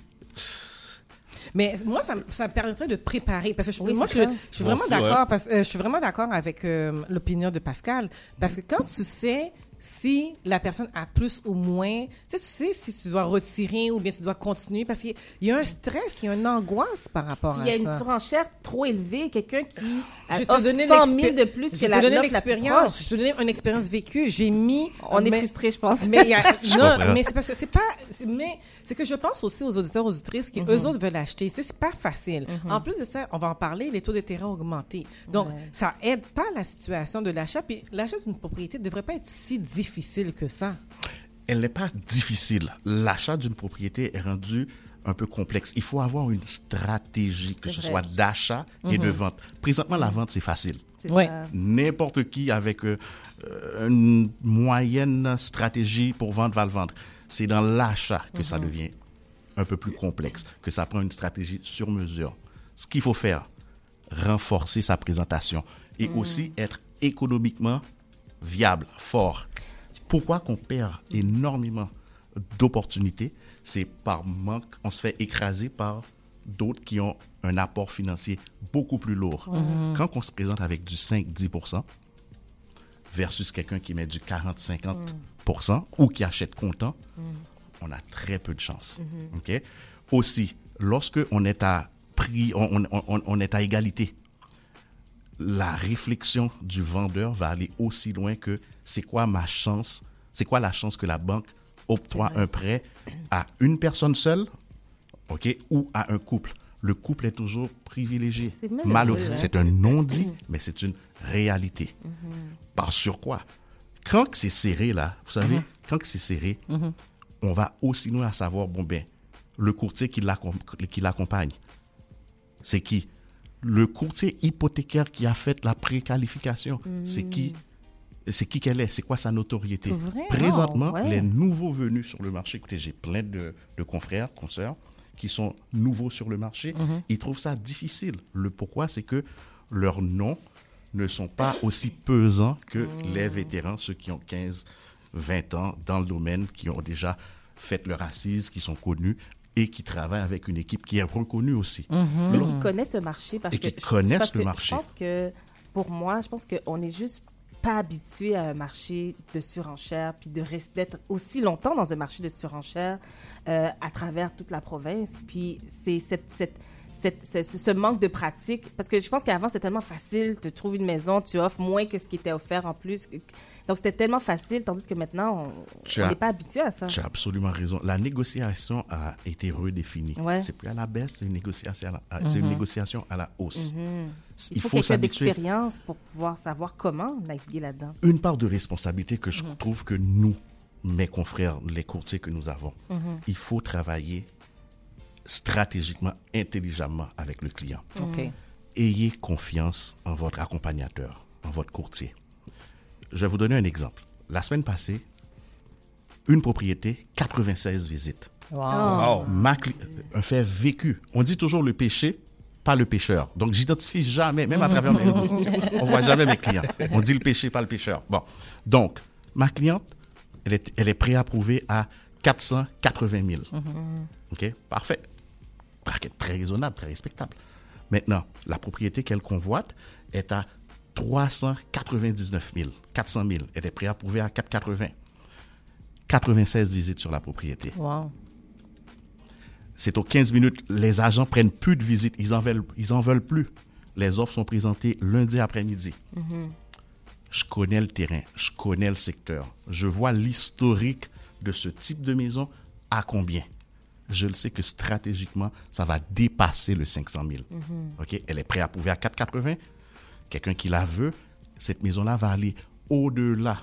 Speaker 7: Mais moi, ça me permettrait de préparer. Parce que
Speaker 14: Oui,
Speaker 7: moi,
Speaker 14: c'est
Speaker 7: je
Speaker 14: ça.
Speaker 7: suis vraiment
Speaker 3: Moi aussi,
Speaker 7: d'accord. Parce je suis vraiment d'accord avec l'opinion de Pascal. Parce que quand tu sais si la personne a plus ou moins, tu sais si tu dois retirer ou bien tu dois continuer. Parce qu'il y a un stress, il y a une angoisse par rapport
Speaker 14: Puis
Speaker 7: à
Speaker 14: il y a
Speaker 7: ça.
Speaker 14: une surenchère trop élevée, quelqu'un qui
Speaker 7: Je te
Speaker 14: offre
Speaker 7: donnais
Speaker 14: 100 000 de plus que la
Speaker 7: donnais
Speaker 14: l'offre la plus
Speaker 7: l'expérience.
Speaker 14: proche.
Speaker 7: Je te donnais une expérience vécue. J'ai mis...
Speaker 14: On est frustrés, je pense.
Speaker 7: Mais, non,
Speaker 23: comprends.
Speaker 7: mais c'est parce que c'est pas... Mais c'est que je pense aussi aux auditeurs, aux auditrices qui, eux autres, veulent acheter. Tu sais, c'est pas facile. En plus de ça, on va en parler, les taux d'intérêt ont augmenté. Donc, ça aide pas la situation de l'achat. Puis l'achat d'une propriété ne devrait pas être si difficile que ça.
Speaker 23: Elle n'est pas difficile. L'achat d'une propriété est rendu un peu complexe. Il faut avoir une stratégie, que
Speaker 14: C'est
Speaker 23: ce
Speaker 14: vrai.
Speaker 23: soit d'achat et de vente. Présentement, la vente, c'est facile.
Speaker 14: C'est
Speaker 7: Ouais.
Speaker 14: ça.
Speaker 23: N'importe qui avec une moyenne stratégie pour vendre va le vendre. C'est dans l'achat que ça devient un peu plus complexe, que ça prend une stratégie sur mesure. Ce qu'il faut faire, renforcer sa présentation et aussi être économiquement viable, fort. Pourquoi qu'on perd énormément d'opportunités? C'est par manque, on se fait écraser par d'autres qui ont un apport financier beaucoup plus lourd. Quand on se présente avec du 5-10% versus quelqu'un qui met du 40-50% ou qui achète comptant, on a très peu de chance. OK? Aussi, lorsque on est à prix, on est à égalité, la réflexion du vendeur va aller aussi loin que c'est quoi ma chance, c'est quoi la chance que la banque octroie un prêt à une personne seule, OK, ou à un couple. Le couple est toujours privilégié.
Speaker 14: C'est malheureux, hein?
Speaker 23: C'est un non-dit, mais c'est une réalité. Par sur quoi? Quand que c'est serré, là, vous savez, quand que c'est serré, on va aussi loin à savoir, bon ben, le courtier qui l'accompagne, c'est qui? Le courtier hypothécaire qui a fait la préqualification, c'est qui? C'est qui qu'elle est? C'est quoi sa notoriété?
Speaker 14: Vraiment?
Speaker 23: Présentement,
Speaker 14: Ouais.
Speaker 23: les nouveaux venus sur le marché, écoutez, j'ai plein de confrères, consoeurs, qui sont nouveaux sur le marché, ils trouvent ça difficile. Le pourquoi, c'est que leurs noms ne sont pas aussi pesants que les vétérans, ceux qui ont 15, 20 ans dans le domaine, qui ont déjà fait leur assise, qui sont connus et qui travaillent avec une équipe qui est reconnue aussi.
Speaker 14: Mais qui connaissent ce marché parce
Speaker 23: Et
Speaker 14: que
Speaker 23: qui connaissent
Speaker 14: parce
Speaker 23: le
Speaker 14: que
Speaker 23: marché.
Speaker 14: Je pense que pour moi, je pense qu'on n'est juste pas habitué à un marché de surenchère puis de rester d'être aussi longtemps dans un marché de surenchère à travers toute la province. Puis c'est ce manque de pratique, parce que je pense qu'avant, c'était tellement facile, tu trouves une maison, tu offres moins que ce qui était offert en plus. Donc, c'était tellement facile, tandis que maintenant, on n'est pas habitué à ça.
Speaker 23: Tu as absolument raison. La négociation a été redéfinie.
Speaker 14: Ouais.
Speaker 23: C'est plus à la baisse, c'est une négociation c'est une négociation à la hausse.
Speaker 14: Il faut quelqu'un d'expérience pour pouvoir savoir comment naviguer là-dedans.
Speaker 23: Une part de responsabilité que je trouve que nous, mes confrères, les courtiers que nous avons, il faut travailler stratégiquement, intelligemment avec le client.
Speaker 7: OK.
Speaker 23: Ayez confiance en votre accompagnateur, en votre courtier. Je vais vous donner un exemple. La semaine passée, une propriété, 96 visites.
Speaker 3: Wow.
Speaker 23: Un fait vécu. On dit toujours le péché, pas le pécheur. Donc, j'identifie jamais, même à travers mes réseaux sociaux, on voit jamais mes clients. On dit le péché, pas le pécheur. Bon. Donc, ma cliente, elle est préapprouvée à 480 000. OK? Parfait. Très raisonnable, très respectable. Maintenant, la propriété qu'elle convoite est à 399 000, 400 000. Elle est préapprouvée à 480. 96 visites sur la propriété.
Speaker 7: Wow.
Speaker 23: C'est aux 15 minutes. Les agents prennent plus de visites. Ils en veulent plus. Les offres sont présentées lundi après-midi. Je connais le terrain. Je connais le secteur. Je vois l'historique de ce type de maison à combien. Je le sais que stratégiquement, ça va dépasser le 500 000. OK? Elle est préapprouvée à 480. Quelqu'un qui la veut, cette maison-là va aller au-delà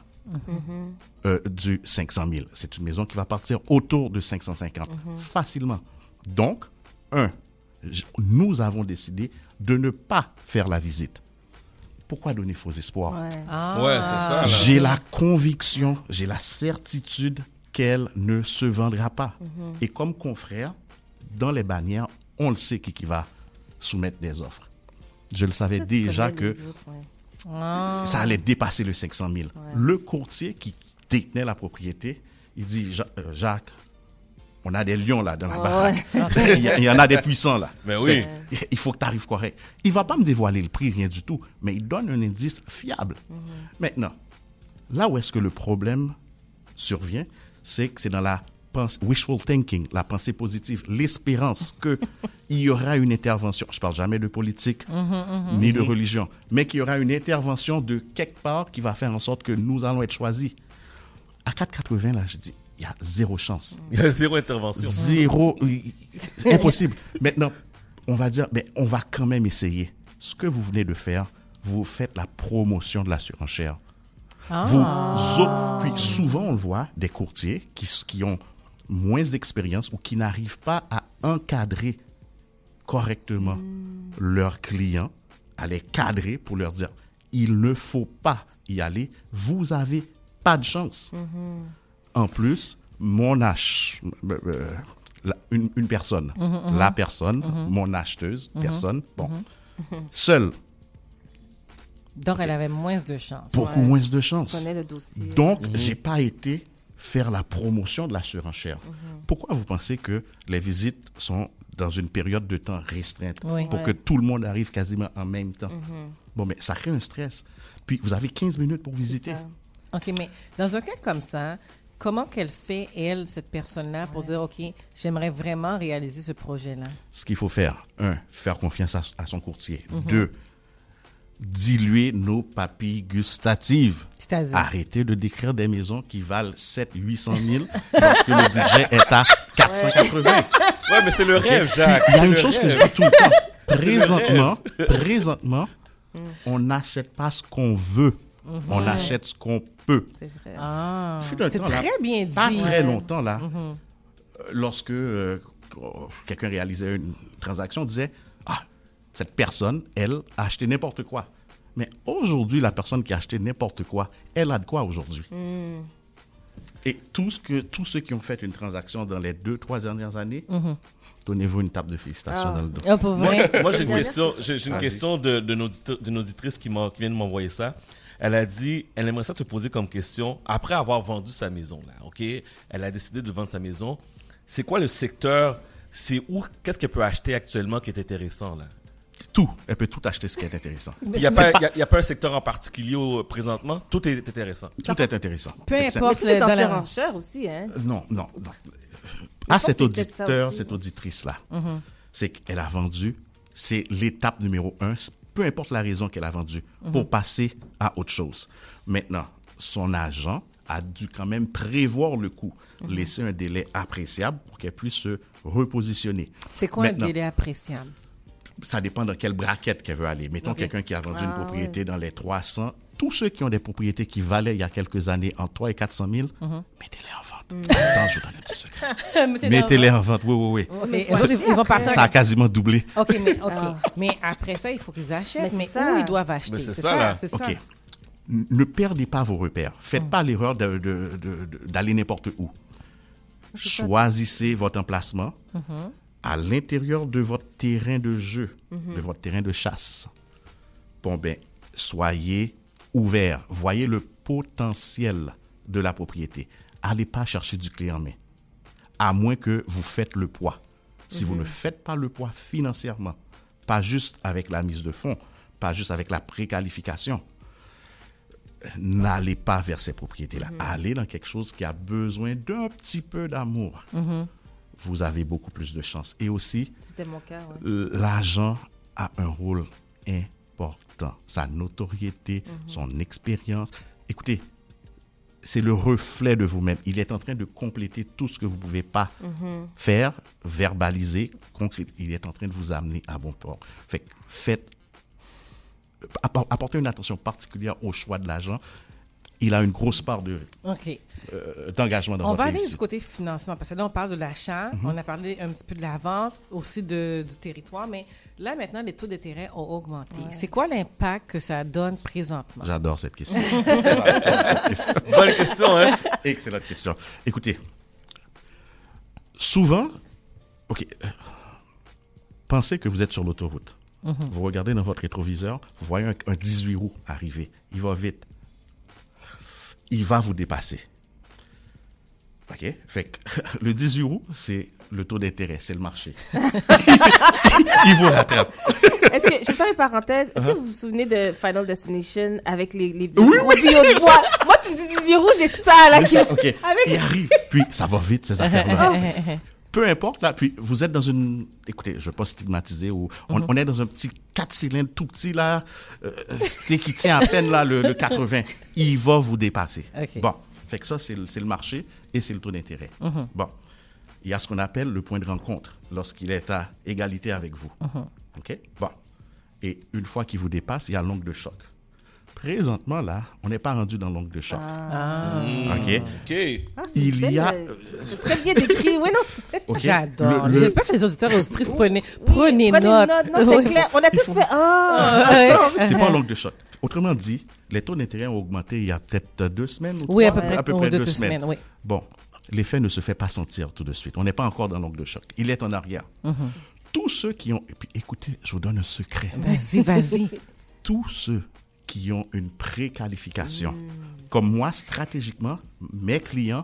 Speaker 23: du 500 000. C'est une maison qui va partir autour de 550 facilement. Donc, nous avons décidé de ne pas faire la visite. Pourquoi donner faux espoirs?
Speaker 3: Ouais, c'est ça. Là.
Speaker 23: J'ai la conviction, j'ai la certitude qu'elle ne se vendra pas. Et comme confrère, dans les bannières, on le sait qui va soumettre des offres. Je le savais déjà que ça allait dépasser le 500 000. Le courtier qui détenait la propriété, il dit, Jacques, on a des lions là dans la baraque. Il y en a des puissants là.
Speaker 3: Mais oui.
Speaker 23: Il faut que tu arrives correct. Il ne va pas me dévoiler le prix, rien du tout, mais il donne un indice fiable. Maintenant, là où est-ce que le problème survient, c'est que c'est dans la wishful thinking, la pensée positive, l'espérance qu'il y aura une intervention. Je ne parle jamais de politique ni de religion, mais qu'il y aura une intervention de quelque part qui va faire en sorte que nous allons être choisis. À 4,80, là, je dis, il y a zéro chance.
Speaker 3: Il y a zéro intervention.
Speaker 23: Zéro, c'est impossible. Maintenant, on va dire, mais on va quand même essayer. Ce que vous venez de faire, vous faites la promotion de la surenchère. Puis souvent, on le voit, des courtiers qui ont moins d'expérience ou qui n'arrivent pas à encadrer correctement leurs clients, à les cadrer pour leur dire, il ne faut pas y aller, vous avez pas de chance. En plus, mon une personne, la personne, mon acheteuse, personne, seule.
Speaker 7: Donc, elle avait moins de chance.
Speaker 23: Beaucoup moins de chance.
Speaker 14: Tu connais le dossier.
Speaker 23: Donc, j'ai pas été faire la promotion de la surenchère. Pourquoi vous pensez que les visites sont dans une période de temps restreinte pour que tout le monde arrive quasiment en même temps? Bon, mais ça crée un stress. Puis, vous avez 15 minutes pour visiter.
Speaker 7: OK, mais dans un cas comme ça, comment qu'elle fait, elle, cette personne-là, pour dire, OK, j'aimerais vraiment réaliser ce projet-là?
Speaker 23: Ce qu'il faut faire, 1, faire confiance à son courtier. 2, diluer nos papilles gustatives.
Speaker 7: C'est-à-dire?
Speaker 23: Arrêtez de décrire des maisons qui valent 700 000 lorsque le budget est à 480.
Speaker 3: Ouais, mais c'est le rêve, Jacques.
Speaker 23: Il y a une chose que je dis tout le temps. Présentement, on n'achète pas ce qu'on veut. On achète ce qu'on peut.
Speaker 7: C'est vrai.
Speaker 23: C'est
Speaker 7: très bien dit.
Speaker 23: Pas très longtemps, là, lorsque quelqu'un réalisait une transaction, on disait, cette personne, elle, a acheté n'importe quoi. Mais aujourd'hui, la personne qui a acheté n'importe quoi, elle a de quoi aujourd'hui? Et tous ceux qui ont fait une transaction dans les 2-3 dernières années, donnez-vous une tape de félicitations dans le dos.
Speaker 3: Moi, j'ai une question d'une auditrice qui vient de m'envoyer ça. Elle a dit, elle aimerait ça te poser comme question, après avoir vendu sa maison, là, OK? Elle a décidé de vendre sa maison. C'est quoi le secteur? C'est où? Qu'est-ce qu'elle peut acheter actuellement qui est intéressant, là?
Speaker 23: Tout. Elle peut tout acheter ce qui est intéressant.
Speaker 3: Il n'y a pas un secteur en particulier présentement? Tout est intéressant.
Speaker 23: Tout est intéressant.
Speaker 14: Peu importe dans la surenchère aussi, hein?
Speaker 23: Non. À cet auditeur, cette auditrice-là, c'est qu'elle a vendu, c'est l'étape numéro 1, peu importe la raison qu'elle a vendu, pour passer à autre chose. Maintenant, son agent a dû quand même prévoir le coût, laisser un délai appréciable pour qu'elle puisse se repositionner.
Speaker 7: C'est quoi un délai appréciable?
Speaker 23: Ça dépend dans quelle braquette qu'elle veut aller. Mettons quelqu'un qui a vendu une propriété dans les 300. Tous ceux qui ont des propriétés qui valaient il y a quelques années entre 300 et 400 000, mettez-les en vente. Attends, je vous donne un petit secret. Mettez-les en vente, oui.
Speaker 7: Mais ils vont partir.
Speaker 23: Ça a quasiment doublé.
Speaker 7: OK. Mais après ça, il faut qu'ils achètent. Mais où ils doivent acheter?
Speaker 3: Mais c'est ça.
Speaker 23: OK. Ne perdez pas vos repères. Faites pas l'erreur d'aller n'importe où. Choisissez votre emplacement
Speaker 14: Mhm.
Speaker 23: à l'intérieur de votre terrain de jeu,
Speaker 14: Mhm.
Speaker 23: de votre terrain de chasse. Bon, ben, soyez ouverts. Voyez le potentiel de la propriété. Allez pas chercher du clé en main, à moins que vous faites le poids. Si vous
Speaker 14: Mhm.
Speaker 23: ne faites pas le poids financièrement, pas juste avec la mise de fonds, pas juste avec la préqualification, n'allez pas vers ces propriétés-là. Allez dans quelque chose qui a besoin d'un petit peu d'amour.
Speaker 14: Mhm.
Speaker 23: Vous avez beaucoup plus de chances. Et aussi,
Speaker 14: C'était mon cas, ouais.
Speaker 23: l'argent a un rôle important. Sa notoriété, son expérience. Écoutez, c'est le reflet de vous-même. Il est en train de compléter tout ce que vous ne pouvez pas
Speaker 14: Mhm.
Speaker 23: faire, verbaliser, concrétiser. Il est en train de vous amener à bon port. Fait que apportez une attention particulière au choix de l'argent. Il a une grosse part
Speaker 7: OK.
Speaker 23: D'engagement dans
Speaker 7: On
Speaker 23: votre
Speaker 7: va aller
Speaker 23: réussite.
Speaker 7: du côté financement, parce que là, on parle de l'achat, on a parlé un petit peu de la vente, aussi du territoire, mais là, maintenant, les taux d'intérêt ont augmenté. C'est quoi l'impact que ça donne présentement?
Speaker 23: J'adore cette question.
Speaker 3: Bonne question, hein?
Speaker 23: Excellente question. Écoutez, souvent, pensez que vous êtes sur l'autoroute.
Speaker 7: Mhm.
Speaker 23: Vous regardez dans votre rétroviseur, vous voyez un 18 roues arriver. Il va vite. Il va vous dépasser. OK? Fait que le 18 roues, c'est le taux d'intérêt, c'est le marché. Il vous rattrape.
Speaker 14: Est-ce que, je peux faire une parenthèse, est-ce que vous vous souvenez de Final Destination avec les
Speaker 23: Oui,
Speaker 14: gros billots de bois? Moi, tu me dis 18 roues, j'ai ça, là.
Speaker 23: C'est ça, OK.
Speaker 14: Avec-
Speaker 23: Il arrive, puis ça va vite, ces affaires-là. Peu importe, là, puis vous êtes dans une... Écoutez, je ne veux pas stigmatiser, on est dans un petit 4 cylindres tout petit, là, qui tient à peine, là, le 80. Il va vous dépasser.
Speaker 7: OK.
Speaker 23: Bon, fait que ça, c'est le marché et c'est le taux d'intérêt.
Speaker 7: Mhm.
Speaker 23: Bon, il y a ce qu'on appelle le point de rencontre, lorsqu'il est à égalité avec vous.
Speaker 7: Mhm.
Speaker 23: OK? Bon. Et une fois qu'il vous dépasse, il y a l'ongle de choc. Présentement, là, on n'est pas rendu dans l'ongle de choc.
Speaker 7: Ah.
Speaker 23: OK?
Speaker 14: Ah, c'est
Speaker 23: Il y a...
Speaker 14: c'est très bien décrit, oui, non?
Speaker 23: OK.
Speaker 7: J'adore.
Speaker 23: Le-
Speaker 7: J'espère que les auditeurs et auditrices prenez
Speaker 14: Prenez
Speaker 7: note.
Speaker 14: note. Non, c'est
Speaker 7: Oui.
Speaker 14: clair. On a tous fait
Speaker 23: C'est pas l'ongle de choc. Autrement dit, les taux d'intérêt ont augmenté il y a peut-être 2 semaines ou
Speaker 7: Oui, à
Speaker 23: 3,
Speaker 7: peu près,
Speaker 23: 2
Speaker 7: 2
Speaker 23: semaines.
Speaker 7: semaines, oui.
Speaker 23: Bon, l'effet ne se fait pas sentir tout de suite. On n'est pas encore dans l'ongle de choc. Il est en arrière. Tous ceux qui ont... Et puis, écoutez, je vous donne un secret.
Speaker 7: Vas-y.
Speaker 23: Tous ceux qui ont une préqualification, comme moi, stratégiquement, mes clients,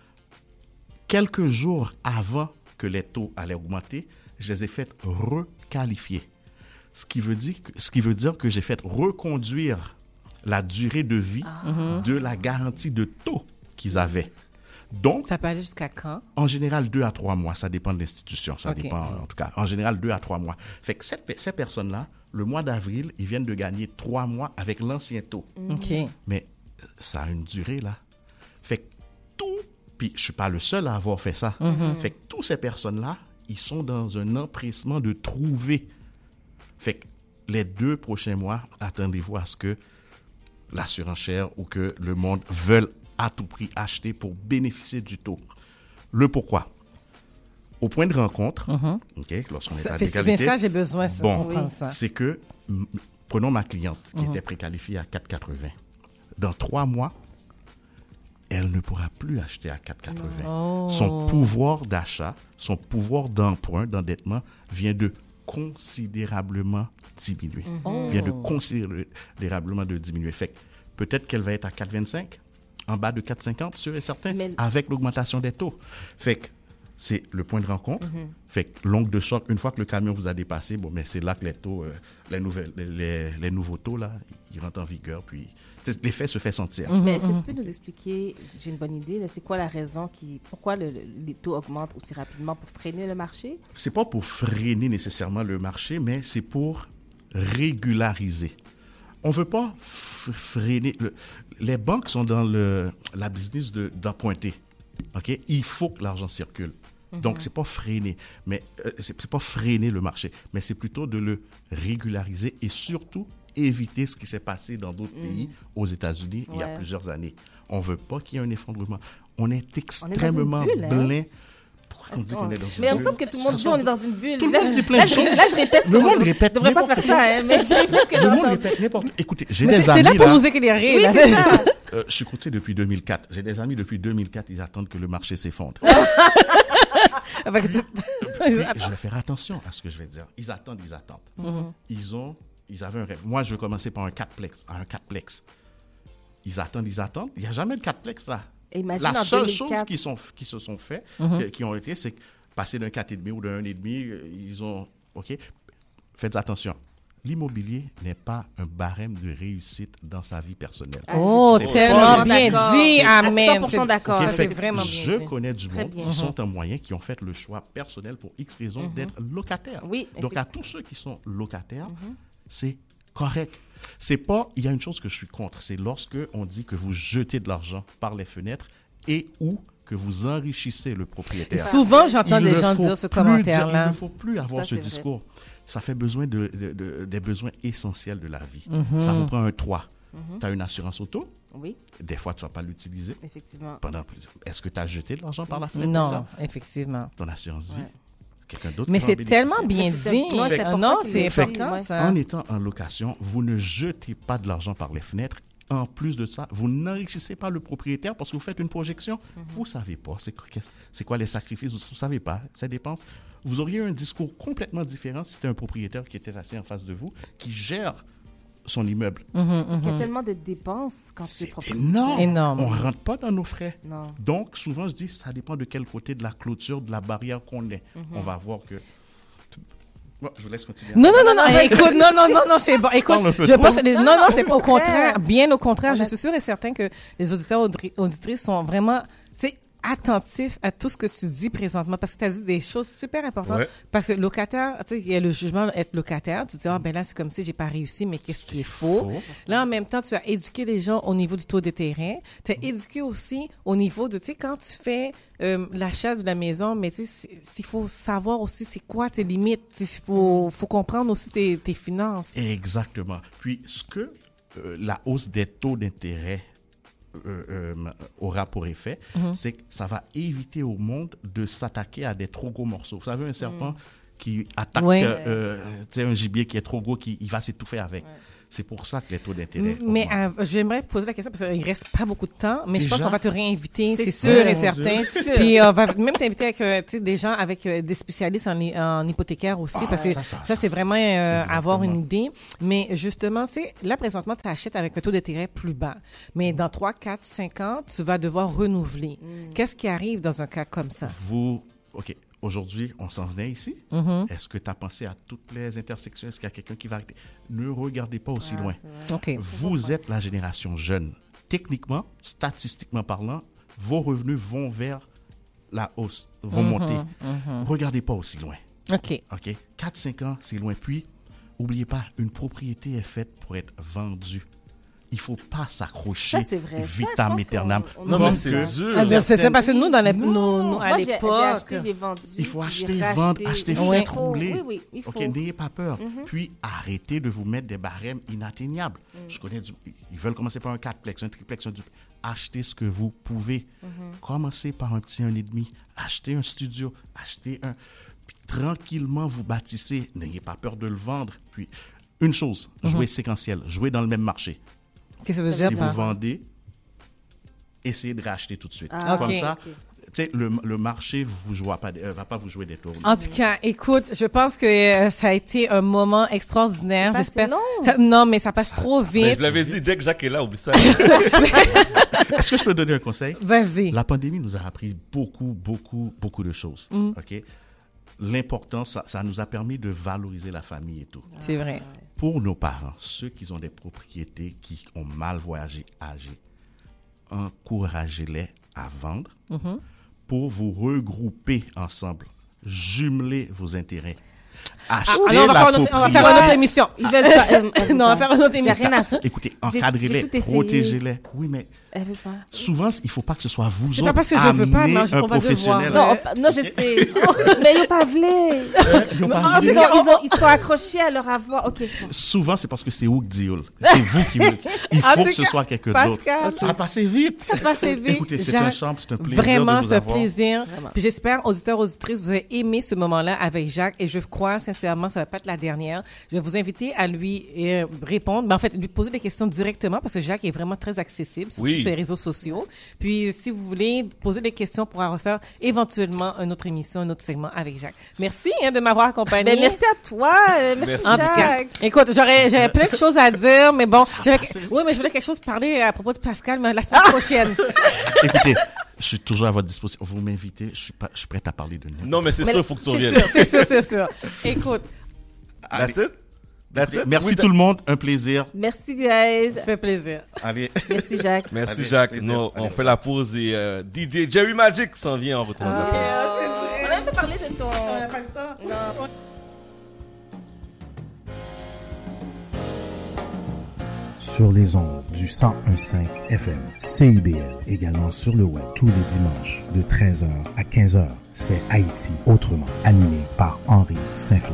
Speaker 23: quelques jours avant que les taux allaient augmenter, je les ai fait requalifier. Ce qui veut dire que j'ai fait reconduire la durée de vie de la garantie de taux qu'ils avaient. Donc,
Speaker 7: ça peut aller jusqu'à quand?
Speaker 23: En général, 2 à 3 mois. Ça dépend de l'institution. Ça
Speaker 7: OK.
Speaker 23: dépend, en tout cas. En général, 2 à 3 mois. Fait que ces personnes-là, le mois d'avril, ils viennent de gagner 3 mois avec l'ancien taux.
Speaker 7: OK.
Speaker 23: Mais ça a une durée, là. Fait que puis je suis pas le seul à avoir fait ça. Fait que toutes ces personnes-là, ils sont dans un empressement de trouver. Fait que les 2 prochains mois, attendez-vous à ce que la surenchère ou que le monde veuille à tout prix acheter pour bénéficier du taux. Le pourquoi? Au point de rencontre, OK, lorsqu'on est à
Speaker 7: C'est bien
Speaker 23: l'égalité,
Speaker 7: ça, j'ai besoin de comprendre ça.
Speaker 23: c'est que, prenons ma cliente qui était préqualifiée à 4,80. Dans 3 mois, elle ne pourra plus acheter à 4,80.
Speaker 7: Oh.
Speaker 23: Son pouvoir d'achat, son pouvoir d'emprunt, d'endettement vient de considérablement diminuer. Vient de considérablement de diminuer. Fait que peut-être qu'elle va être à 4,25, en bas de 4,50, sûr et certain, avec l'augmentation des taux. Fait que c'est le point de rencontre. Fait que l'ongle de choc, une fois que le camion vous a dépassé, bon, mais c'est là que les taux, les nouveaux taux, là, ils rentrent en vigueur, puis l'effet se fait sentir.
Speaker 14: Mais est-ce que tu peux nous expliquer, j'ai une bonne idée, là, c'est quoi la raison pourquoi les taux augmentent aussi rapidement pour freiner le marché? C'est
Speaker 23: pas pour freiner nécessairement le marché, mais c'est pour régulariser. On ne veut pas freiner. Les banques sont dans la business d'emprunter. Okay? Il faut que l'argent circule. Donc, c'est pas freiner, mais c'est pas freiner le marché, mais c'est plutôt de le régulariser et surtout éviter ce qui s'est passé dans d'autres pays, aux États-Unis, il y a plusieurs années. On ne veut pas qu'il y ait un effondrement. On est extrêmement blin. Pourquoi on dit qu'on est dans une bulle?
Speaker 14: Mais il me semble que tout le monde dit qu'on est dans une bulle.
Speaker 23: Tout le monde dit plein de choses.
Speaker 14: Là, je répète ce que
Speaker 23: le monde répète.
Speaker 14: Je ne devrais pas faire ça, hein, mais je répète ce que
Speaker 23: le
Speaker 14: j'entends.
Speaker 23: monde répète n'importe. Écoutez, j'ai
Speaker 7: mais
Speaker 23: des amis.
Speaker 7: t'es là pour nous éclairer.
Speaker 14: Oui,
Speaker 7: là.
Speaker 14: c'est ça.
Speaker 23: Je suis courtier depuis 2004. J'ai des amis depuis 2004, ils attendent que le marché s'effondre. Puis, je vais faire attention à ce que je vais dire. Ils attendent.
Speaker 7: Mhm.
Speaker 23: Ils avaient un rêve. Moi, je vais commencer par un 4plex. Ils attendent. Il n'y a jamais de 4plex là.
Speaker 14: Imagine
Speaker 23: la
Speaker 14: en
Speaker 23: seule
Speaker 14: 2004.
Speaker 23: chose qui se sont fait,
Speaker 7: Mhm.
Speaker 23: qui ont été, c'est passer d'un 4,5 ou d'un 1,5, ils ont... OK? Faites attention. L'immobilier n'est pas un barème de réussite dans sa vie personnelle.
Speaker 7: Oh,
Speaker 23: C'est
Speaker 7: tellement
Speaker 23: pas-
Speaker 7: bien dit, amen.
Speaker 14: 100% d'accord.
Speaker 23: OK,
Speaker 7: C'est
Speaker 23: fait que
Speaker 7: vraiment bien
Speaker 23: je
Speaker 7: dit.
Speaker 23: connais du
Speaker 14: Très
Speaker 23: monde
Speaker 14: bien.
Speaker 23: qui sont en moyen, qui ont fait le choix personnel pour X raisons d'être locataires.
Speaker 14: Oui,
Speaker 23: Donc, à tous ceux qui sont locataires, c'est correct. C'est pas... Il y a une chose que je suis contre, c'est lorsque on dit que vous jetez de l'argent par les fenêtres et ou que vous enrichissez le propriétaire.
Speaker 7: Souvent, j'entends
Speaker 23: Il
Speaker 7: des
Speaker 23: ne
Speaker 7: gens
Speaker 23: faut
Speaker 7: dire ce
Speaker 23: plus
Speaker 7: commentaire-là.
Speaker 23: Il ne faut plus avoir
Speaker 14: Ça,
Speaker 23: ce
Speaker 14: c'est vrai.
Speaker 23: discours. Ça fait besoin des besoins essentiels de la vie.
Speaker 7: Mhm.
Speaker 23: Ça vous prend un toit.
Speaker 14: Mhm.
Speaker 23: Tu as une assurance auto.
Speaker 14: Oui,
Speaker 23: Des fois, tu ne vas pas l'utiliser.
Speaker 14: effectivement.
Speaker 23: Est-ce que tu as jeté de l'argent par la fenêtre?
Speaker 7: Non,
Speaker 23: comme ça?
Speaker 7: effectivement.
Speaker 23: Ton assurance vie. Quelqu'un d'autre
Speaker 7: Mais
Speaker 23: qui va en
Speaker 7: c'est
Speaker 23: bénéficier.
Speaker 7: tellement bien
Speaker 14: Mais c'est-
Speaker 7: dit.
Speaker 14: ouais, c'est important
Speaker 7: Non,
Speaker 14: qu'il
Speaker 7: c'est
Speaker 14: le dise,
Speaker 7: important,
Speaker 14: ouais.
Speaker 7: ça.
Speaker 23: En étant en location, vous ne jetez pas de l'argent par les fenêtres. En plus de ça, vous n'enrichissez pas le propriétaire parce que vous faites une projection. Vous ne savez pas c'est quoi les sacrifices. Vous ne savez pas ces dépenses. Vous auriez un discours complètement différent si c'était un propriétaire qui était assis en face de vous, qui gère son immeuble.
Speaker 14: Parce qu'il y a tellement de dépenses quand c'est
Speaker 23: Énorme. On ne rentre pas dans nos frais.
Speaker 14: Non.
Speaker 23: Donc, souvent, je dis, ça dépend de quel côté de la clôture, de la barrière qu'on est. On va voir que... Bon, je vous laisse continuer.
Speaker 7: Non, écoute, non, c'est bon. Écoute,
Speaker 23: Parle un peu
Speaker 7: je
Speaker 23: trop.
Speaker 7: pense que non, c'est pas au
Speaker 14: Au
Speaker 7: contraire.
Speaker 14: contraire.
Speaker 7: Bien au contraire,
Speaker 14: On
Speaker 7: je
Speaker 14: a-
Speaker 7: suis sûre et certain que les auditeurs auditrices sont vraiment, tu sais, attentifs à tout ce que tu dis présentement parce que tu as dit des choses super importantes.
Speaker 3: Ouais.
Speaker 7: Parce que locataire, tu sais, il y a le jugement d'être locataire. Tu te dis, ah, ben là, c'est comme si j'ai pas réussi, mais qu'est-ce qui est faux? Là, en même temps, tu as éduqué les gens au niveau du taux de terrain. Tu as éduqué aussi au niveau de, tu sais, quand tu fais l'achat de la maison, mais tu sais, il faut savoir aussi c'est quoi tes limites. Il faut comprendre aussi tes finances.
Speaker 23: Exactement. Puis, ce que la hausse des taux d'intérêt aura pour effet, c'est que ça va éviter au monde de s'attaquer à des trop gros morceaux. Vous savez, un serpent qui attaque
Speaker 7: Ouais.
Speaker 23: tu sais, un gibier qui est trop gros, il va s'étouffer avec. C'est pour ça que les taux d'intérêt
Speaker 7: Mais
Speaker 23: augmentent.
Speaker 7: j'aimerais poser la question parce qu'il ne reste pas beaucoup de temps, mais je pense
Speaker 23: Déjà?
Speaker 7: qu'on va te réinviter, c'est
Speaker 14: C'est
Speaker 7: sûr
Speaker 14: sûr.
Speaker 7: et
Speaker 23: Mon
Speaker 7: certain.
Speaker 23: Dieu.
Speaker 14: C'est sûr.
Speaker 7: Puis on va même t'inviter avec tu sais, des gens, avec des spécialistes en hypothécaire aussi, parce que ça, c'est vraiment avoir une idée. Mais justement, tu sais, là, présentement, tu achètes avec un taux d'intérêt plus bas. Mais dans 3, 4, 5 ans, tu vas devoir renouveler. Qu'est-ce qui arrive dans un cas comme ça?
Speaker 23: OK. Aujourd'hui, on s'en venait ici.
Speaker 7: Mhm.
Speaker 23: Est-ce que tu as pensé à toutes les intersections? Est-ce qu'il y a quelqu'un qui va arrêter? Ne regardez pas aussi loin.
Speaker 7: OK.
Speaker 23: Vous êtes la génération jeune. Techniquement, statistiquement parlant, vos revenus vont vers la hausse, vont monter. Regardez pas aussi loin.
Speaker 7: OK.
Speaker 23: 4-5 ans, c'est loin. Puis, n'oubliez pas, une propriété est faite pour être vendue. Il ne faut pas s'accrocher
Speaker 14: Ça, c'est vrai. Ça, je
Speaker 23: vitam
Speaker 14: pense
Speaker 23: aeternam.
Speaker 14: qu'on-
Speaker 3: Non, mais
Speaker 23: Comme
Speaker 3: c'est
Speaker 23: que
Speaker 3: dur.
Speaker 7: Ah, ben, c'est ça, parce que nous, dans les,
Speaker 14: Non.
Speaker 7: à
Speaker 14: Moi, j'ai
Speaker 7: l'époque...
Speaker 14: acheté, j'ai vendu.
Speaker 23: il faut
Speaker 14: j'ai
Speaker 23: acheter,
Speaker 14: racheté.
Speaker 23: vendre, acheter,
Speaker 14: Il
Speaker 23: faire,
Speaker 14: faut.
Speaker 23: rouler.
Speaker 14: Oui, il faut.
Speaker 23: OK, n'ayez pas peur. Puis, arrêtez de vous mettre des barèmes inatteignables. Je connais ils veulent commencer par un 4plex, un triplex, un duplex. Achetez ce que vous pouvez. Commencez par un petit 1,5. Achetez un studio. Achetez un... Puis, tranquillement, vous bâtissez. N'ayez pas peur de le vendre. Puis, une chose, jouez séquentiel. Jouez dans le même marché.
Speaker 7: Qu'est-ce que ça veut dire,
Speaker 23: Si
Speaker 7: ça?
Speaker 23: vous vendez, essayez de racheter tout de suite.
Speaker 14: Ah,
Speaker 23: Comme
Speaker 7: ok.
Speaker 23: ça, tu sais, le marché va pas vous jouer des tours.
Speaker 7: En tout cas, écoute, je pense que ça a été un moment extraordinaire.
Speaker 14: C'est passé
Speaker 7: J'espère.
Speaker 14: long.
Speaker 7: Non, mais ça passe trop
Speaker 3: Ben,
Speaker 7: vite.
Speaker 3: je l'avais dit, dès que Jacques est là, oublie ça.
Speaker 23: Est-ce que je peux donner un conseil?
Speaker 7: Vas-y.
Speaker 23: La pandémie nous a appris beaucoup de choses. OK? L'important, ça nous a permis de valoriser la famille et tout.
Speaker 7: C'est vrai.
Speaker 23: Pour nos parents, ceux qui ont des propriétés, qui ont mal voyagé, âgés, encouragez-les à vendre pour vous regrouper ensemble, jumeler vos intérêts. Achetez
Speaker 7: Alors, on va
Speaker 23: la
Speaker 7: faire une autre émission.
Speaker 14: Ils veulent pas.
Speaker 7: Non, on va faire une autre
Speaker 14: J'ai
Speaker 7: émission.
Speaker 14: rien à faire.
Speaker 23: Écoutez,
Speaker 14: J'ai
Speaker 23: encadrez-les,
Speaker 14: tout essayé.
Speaker 23: protégez-les. Oui, mais
Speaker 14: Elle veut pas.
Speaker 23: souvent, il ne faut pas que ce soit vous
Speaker 7: C'est
Speaker 23: autres.
Speaker 7: pas parce que je veux pas,
Speaker 23: amenez
Speaker 7: non,
Speaker 23: un
Speaker 7: on va
Speaker 23: professionnel.
Speaker 7: devoir.
Speaker 14: Non, je sais. Mais ils n'ont pas voulu.
Speaker 23: Ils ont pas voulu.
Speaker 14: Ils sont accrochés à leur avoir. OK.
Speaker 23: Souvent, c'est parce que c'est Ouk Dioul. C'est vous qui me... Il
Speaker 7: En
Speaker 23: faut
Speaker 7: tout
Speaker 23: que ce
Speaker 7: cas,
Speaker 23: soit quelqu'un d'autre.
Speaker 7: Pascal,
Speaker 23: Ça a passé vite.
Speaker 7: ça passe vite.
Speaker 23: Écoutez, c'est
Speaker 7: Jacques,
Speaker 23: un charme, c'est un plaisir
Speaker 7: Vraiment,
Speaker 23: de vous
Speaker 7: c'est un
Speaker 23: avoir.
Speaker 7: plaisir. Puis j'espère, auditeurs, auditrices, vous avez aimé ce moment-là avec Jacques et je crois sincèrement nécessairement, ça va pas être la dernière. Je vais vous inviter à lui répondre, mais en fait, lui poser des questions directement parce que Jacques est vraiment très accessible sur tous ses réseaux sociaux. Puis, si vous voulez poser des questions pour refaire éventuellement une autre émission, un autre segment avec Jacques. Merci de m'avoir accompagné.
Speaker 14: Ben, merci à toi. Merci,
Speaker 7: en tout cas, écoute, j'avais plein de choses à dire, mais bon, oui, mais je voulais quelque chose parler à propos de Pascal, mais la semaine prochaine.
Speaker 23: Écoutez, je suis toujours à votre disposition. Vous m'invitez, je suis prête à parler de nous.
Speaker 3: Non, mais c'est sûr, il faut que tu reviennes.
Speaker 7: C'est sûr. Écoute.
Speaker 23: That's it. Merci tout le monde, un plaisir.
Speaker 14: Merci, guys.
Speaker 7: Ça fait plaisir.
Speaker 23: Allez.
Speaker 14: Merci, Jacques.
Speaker 3: Merci, Jacques. On fait la pause et DJ Jerry Magic s'en vient en retour.
Speaker 14: On a un peu parlé de ton...
Speaker 7: On n'a pas le temps. Non.
Speaker 18: Sur les ondes du 101.5 FM, CIBL, également sur le web tous les dimanches de 13h à 15h. C'est Haïti autrement, animé par Henri Saint-Fleur.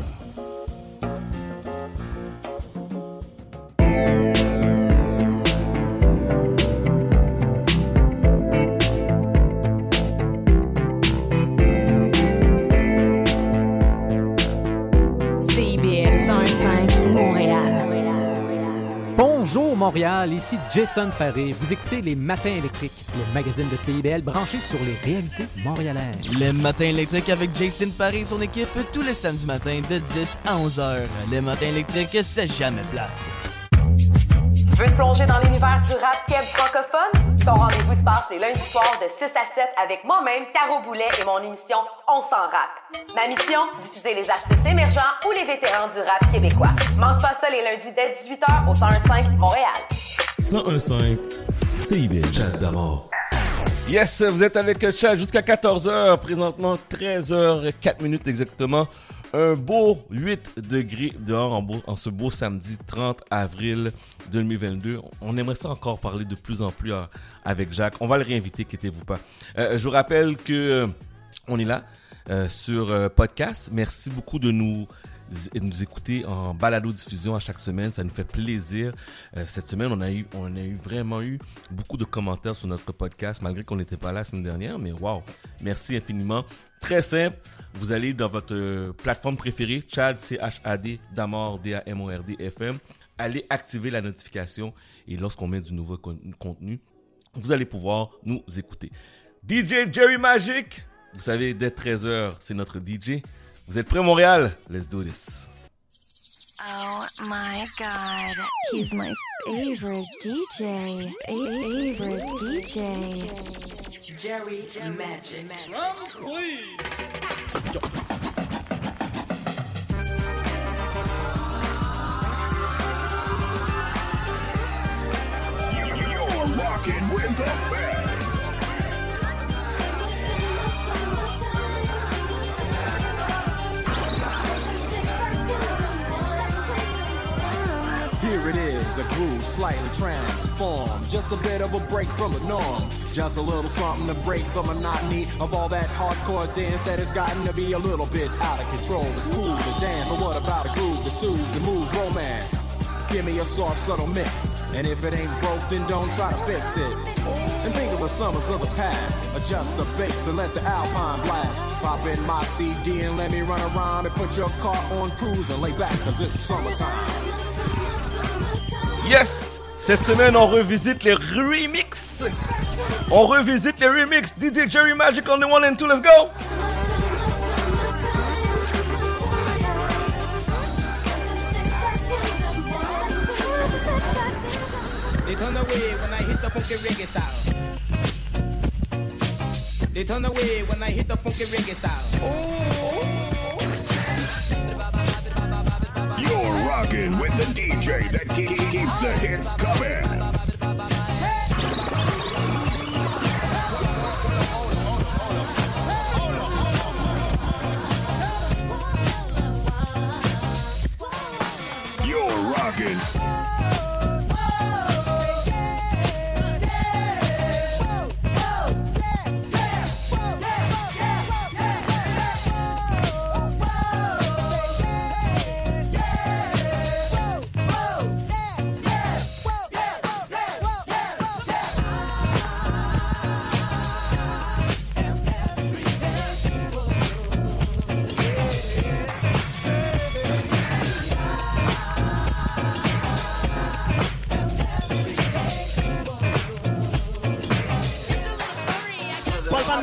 Speaker 8: Bonjour Montréal, ici Jason Paré. Vous écoutez Les Matins électriques, le magazine de CIBL branché sur les réalités montréalaises.
Speaker 9: Les Matins électriques avec Jason Paré et son équipe tous les samedis matins de 10 à 11h. Les Matins électriques, c'est jamais plate.
Speaker 12: Tu veux te plonger dans l'univers du rap keb francophone? Ton rendez-vous se passe les lundis soirs de 6 à 7 avec moi-même, Caro Boulet et mon émission On s'en rap. Ma mission, diffuser les artistes émergents ou les vétérans du rap québécois. Manque pas ça les lundis dès 18h au 101.5 Montréal.
Speaker 1: 101.5 CIBL Chat d'Amour.
Speaker 3: Yes, vous êtes avec Chat jusqu'à 14h, présentement 13h04 exactement. Un beau 8 degrés dehors en ce beau samedi 30 avril 2022. On aimerait ça encore parler de plus en plus avec Jacques. On va le réinviter, quittez-vous pas. Je vous rappelle que on est là sur podcast. Merci beaucoup de nous écouter en balado-diffusion à chaque semaine. Ça nous fait plaisir. Cette semaine, on a vraiment eu beaucoup de commentaires sur notre podcast, malgré qu'on n'était pas là la semaine dernière. Mais wow, merci infiniment. Très simple. Vous allez dans votre plateforme préférée, Chad, C-H-A-D, Damord, D-A-M-O-R-D, FM. Allez activer la notification et lorsqu'on met du nouveau contenu, vous allez pouvoir nous écouter. DJ Jerry Magic, vous savez, dès 13h, c'est notre DJ. Vous êtes prêts, Montréal? Let's do this.
Speaker 6: Oh my God, he's my favorite DJ. Favorite DJ.
Speaker 5: Jerry Magic.
Speaker 15: You're rocking with the best.
Speaker 16: Here it is, a groove slightly transformed. Just a bit of a break from the norm. Just a little something to break the monotony of all that hardcore dance that has gotten to be a little bit out of control. It's cool to dance, but what about a groove that soothes and moves romance? Give me a soft, subtle mix. And if it ain't broke, then don't try to fix it. And think of the summers of the past. Adjust the bass and let the Alpine blast. Pop in my CD and let me run around and put your car on cruise and lay back, cause it's summertime.
Speaker 3: Yes! Cette semaine, on revisite les remixes. On revisite les remixes. DJ Jerry Magic on the 1 and 2, let's go!
Speaker 17: They turn away when I hit the funky reggae style. They turn away when I hit the funky reggae style.
Speaker 15: You're rocking with the DJ that keeps the hits coming. You're rocking.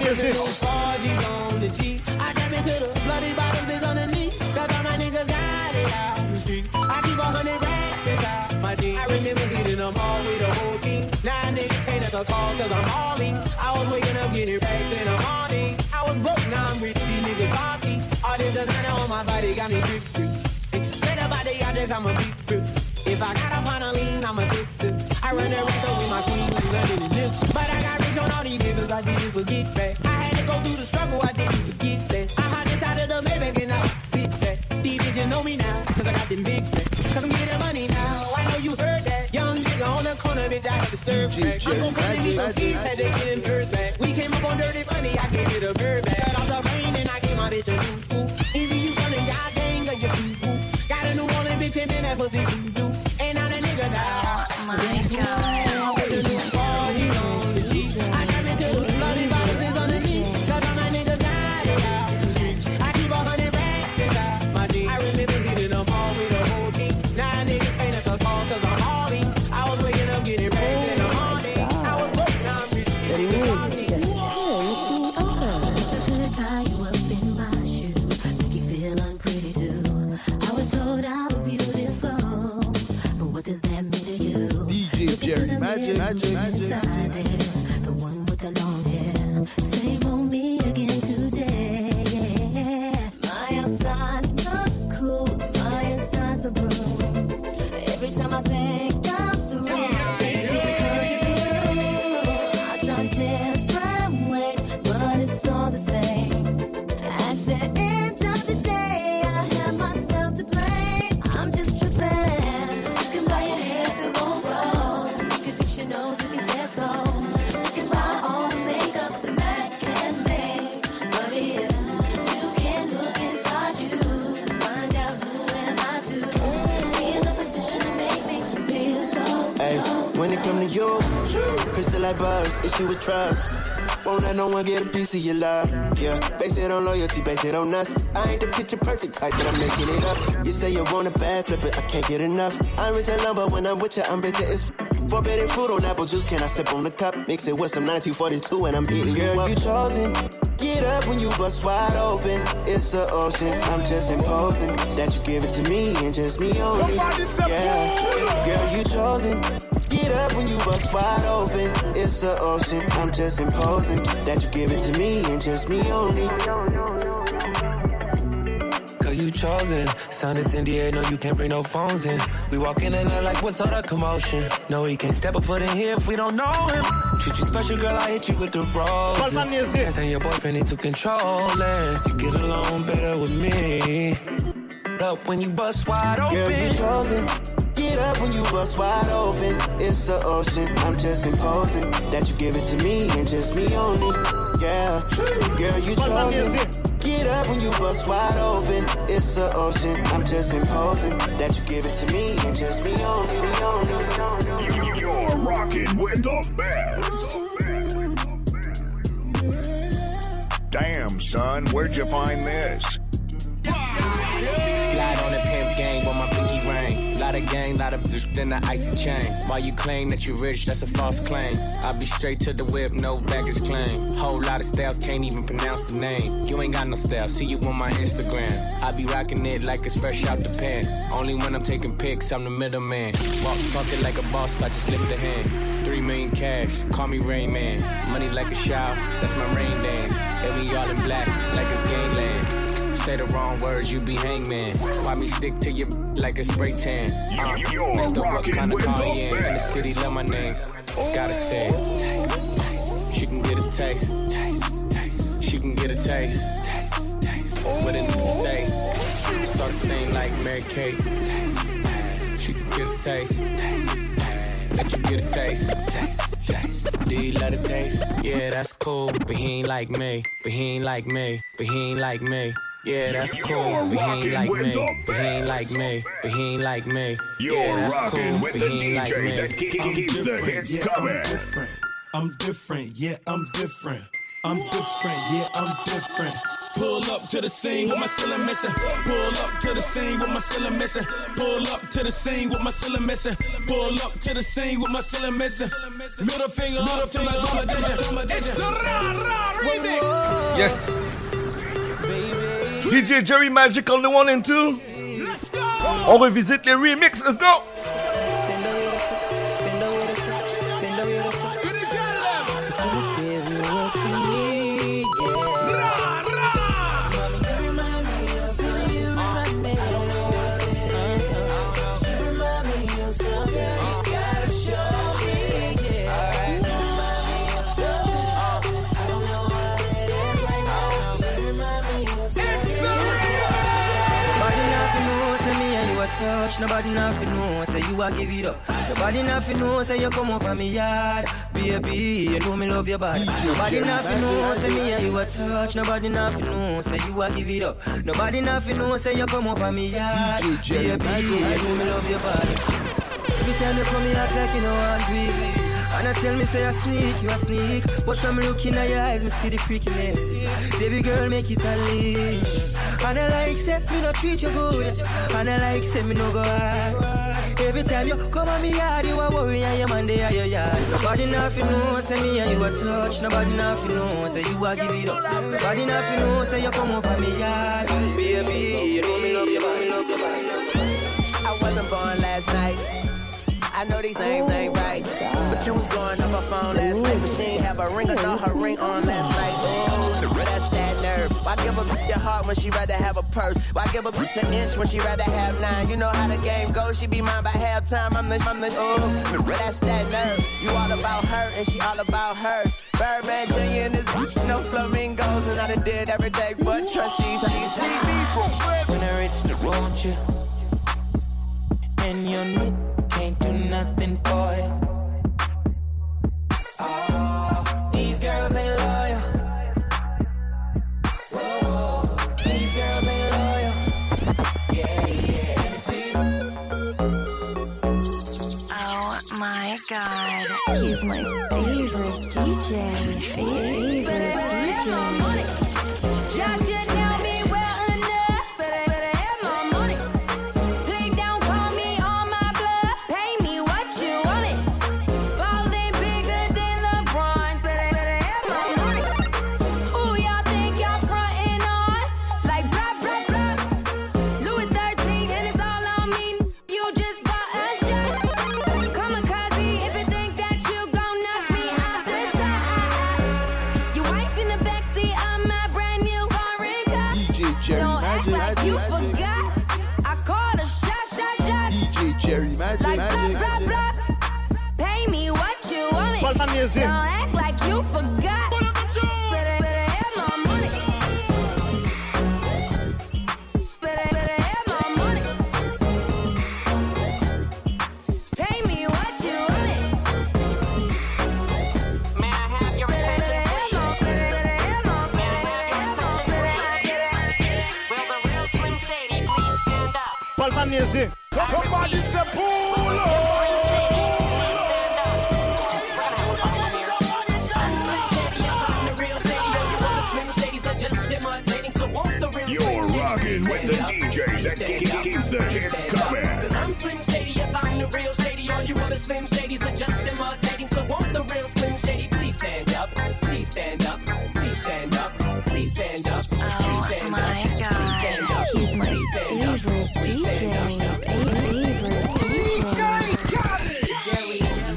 Speaker 4: music. On the G. I jam into the bloody bottoms is underneath. Cause all my niggas got it out in the street. I keep 100 racks inside my jeans. I remember hitting them all with the whole team. Now niggas can't answer calls cause I'm hauling. I was waking up getting racks in the morning. I was broke, now I'm rich, these niggas salty. All this designer on my body got me drip, drip. Straight up out the objects, I'm a beat trip. If I got up on a lean, I'm a sip. I run the race over my queen, London and Nip. But I got rich on all these niggas, I didn't forget that. I had to go through the struggle, I didn't forget that. I hide inside of the Maybach and I sit back. These bitches know me now, cause I got them big backs. Cause I'm getting money now, I know you heard that. Young nigga on the corner, bitch, I had to serve back. I'm gon' find me some keys, had to get them purse back. We came up on dirty money, I gave it a bird back. Cut off the rain and I gave my bitch a new goof. Either you running y'all gang or you food whoop. Got a new Orleans bitch and man, that pussy voodoo. Ain't all the niggas die. With the new parties on the G. I got into the bloody bottoms is underneath. Cause all my niggas got it out in the streets. I keep 100 racks inside my jeans. I remember hitting them all with the whole team. Now niggas can't answer calls cause I'm hauling. I was waking up getting racks in the morning. I was broke, now I'm rich, getting salty.
Speaker 6: Wish I could tie you up in my shoe, make you feel unpretty too. I was told I was beautiful, but what does that mean to you?
Speaker 13: DJ Jerry Magic.
Speaker 6: Inside there, the one with the long hair. Same on me again today. My outside's not cool, my inside's a broom. Every time I think I'm through, it's because of you. I try different ways, but it's all the same. At the end of the day, I have myself to blame. I'm just tripping. You can buy your hair if it won't grow. You can fix your nose if you said so. You can buy all the makeup the Mac can make. But yeah, you can look inside you, find out who am I to be in the position to make me feel so.
Speaker 11: Hey, when it come to you, crystal like bars, issue with trust. Won't let no one get a piece of your love. Yeah, base it on loyalty, base it on us. I ain't the picture perfect type, but I'm making it up. You say you want a bad, flip it, I can't get enough. I'm rich alone, but when I'm with you, I'm bitter as forbidden fruit on apple juice. Can I sip on the cup? Mix it with some 1942 and I'm hitting you up. Girl, you chosen. Get up when you bust wide open. It's the ocean. I'm just imposing that you give it to me and just me only. Yeah, girl, you chosen. Get up when you bust wide open. It's the ocean. I'm just imposing that you give it to me and just me only.
Speaker 19: Girl, you chosen. Sound is in the air, no, you can't bring no phones in. We walk in and out like, what's all the commotion? No, he can't step a foot in here if we don't know him. Treat you special, girl, I hit you with the roses. Can't say your boyfriend need to control it. You get along better with me. Up when you bust wide open.
Speaker 11: Girl, you chosen. Get up when you bust wide open. It's the ocean. I'm just imposing that you give it to me and just me only. Yeah, girl, you chosen. Get up when you bust wide open. It's the ocean. I'm just imposing that you give it to me and just me only.
Speaker 15: You're rocking with the best. Damn, son, where'd you find this?
Speaker 24: Slide on the pimp gang with my pinky ring. Lot of gang, lot of bitch, then the icy chain. While you claim that you rich, that's a false claim. I be straight to the whip, no baggage claim. Whole lot of styles, can't even pronounce the name. You ain't got no style, see you on my Instagram. I be rocking it like it's fresh out the pan. Only when I'm taking pics, I'm the middleman. Walk talking like a boss, I just lift a hand. 3 million cash, call me Rain Man. Money like a shower, that's my rain dance. And we all in black, like it's gangland. Say the wrong words, you be hangman. Why me stick to you like a spray tan? Mr. What kind of car you in? In the city, love my name. Gotta say it. She can get a taste. She can get a taste. What it need to say? It's all the same like Mary Kate. She can get a taste. Let you get a taste. Do you love the taste? Yeah, that's cool. But he ain't like me. But he ain't like me. But he ain't like me. Yeah, that's cool, but he ain't like me. But he ain't like me. But he ain't like me. Yeah, that's cool, but he ain't like me.
Speaker 15: That keeps the hits coming.
Speaker 20: I'm different, yeah, I'm different. I'm different, yeah, I'm different. Pull up to the scene with my ceiling missing. Pull up to the scene with my ceiling missing. Pull up to the scene with my ceiling missing. Pull up to the scene with my ceiling missing. Middle finger up to my domination. It's the Ra Ra remix.
Speaker 3: Yes. DJ Jerry Magic on the 1 and 2. On revisite les remix. Let's go.
Speaker 11: Touch, nobody nothing know, say you a give it up. Nobody nothing know, say you come over me yard. Baby, you know me love your body. Nobody nothing know, say me and you a touch. Nobody nothing know, say you a give it up. Nobody nothing know, say you come over me yard. Baby, you know me love your body. Every time you come, you act like you know I'm baby. And I tell me say you a sneak. But from looking at your eyes, me see the freakiness. Baby girl, make it a leak. And I like say me no treat you good. And I like say me no go hard. Every time you come on me yard, you a worry and your man dey at your yard. Nobody nothing know, say me and you a touch. Nobody nothing know, say you a give it up. Nobody nothing know, say you come over me yard. Baby, you know me love your body, love your body.
Speaker 2: I wasn't born last night. I know these names ain't right, but you was blowing up her phone last night. But she ain't have a ring or not her ring on last night. Oh, that's that nerve. Why give a bitch your heart when she rather have a purse? Why give a bitch an inch when she rather have 9? You know how the game goes. She be mine by halftime. I'm the oh, that's that nerve. You all about her and she all about hers. Birdman Jr. and this bitch, no flamingos, and I done did every day. But trust these, how you see people
Speaker 11: when I reach the road, you and your new. Can't do nothing for you. Oh, these girls ain't loyal. Whoa, these girls ain't loyal. Yeah, yeah. See?
Speaker 6: Oh my God, he's my favorite DJ. Favorite DJ.
Speaker 10: Just you know me well enough, but I better have my money. Play down, call me on my bluff. Pay me what you want it. Ballin' bigger than LeBron, but I better have my money. Who y'all think y'all frontin' on? Like blah, blah, blah. Louis 13 and it's all on me. You just bought a shot. Kamikaze if you think that you gon' knock me off the top. Your wife in the backseat of my brand new foreign car.
Speaker 13: DJ Jerry
Speaker 10: Don't act
Speaker 13: Magic.
Speaker 10: like you forgot. I called a shot.
Speaker 13: DJ Jerry Magic.
Speaker 10: Like blah, blah, blah. Pay me what you want it.
Speaker 13: Put my music.
Speaker 10: Don't act like you forgot. Better have my money. Better have my money. Pay me what you want it. May I have your attention, please? May I have your attention, please? Will the real Slim Shady please stand up?
Speaker 13: Put my music. Somebody say pull up.
Speaker 15: You're rocking with the DJ that keeps the hits coming.
Speaker 4: I'm Slim Shady, yes, I'm the real Shady. All you other Slim Shadys are just imitating. So won't the real Slim Shady please stand up? Please stand up. Please stand up. Please stand up. Please stand up.
Speaker 6: Oh my God, he's my favorite DJ. Favorite DJ.
Speaker 4: Jerry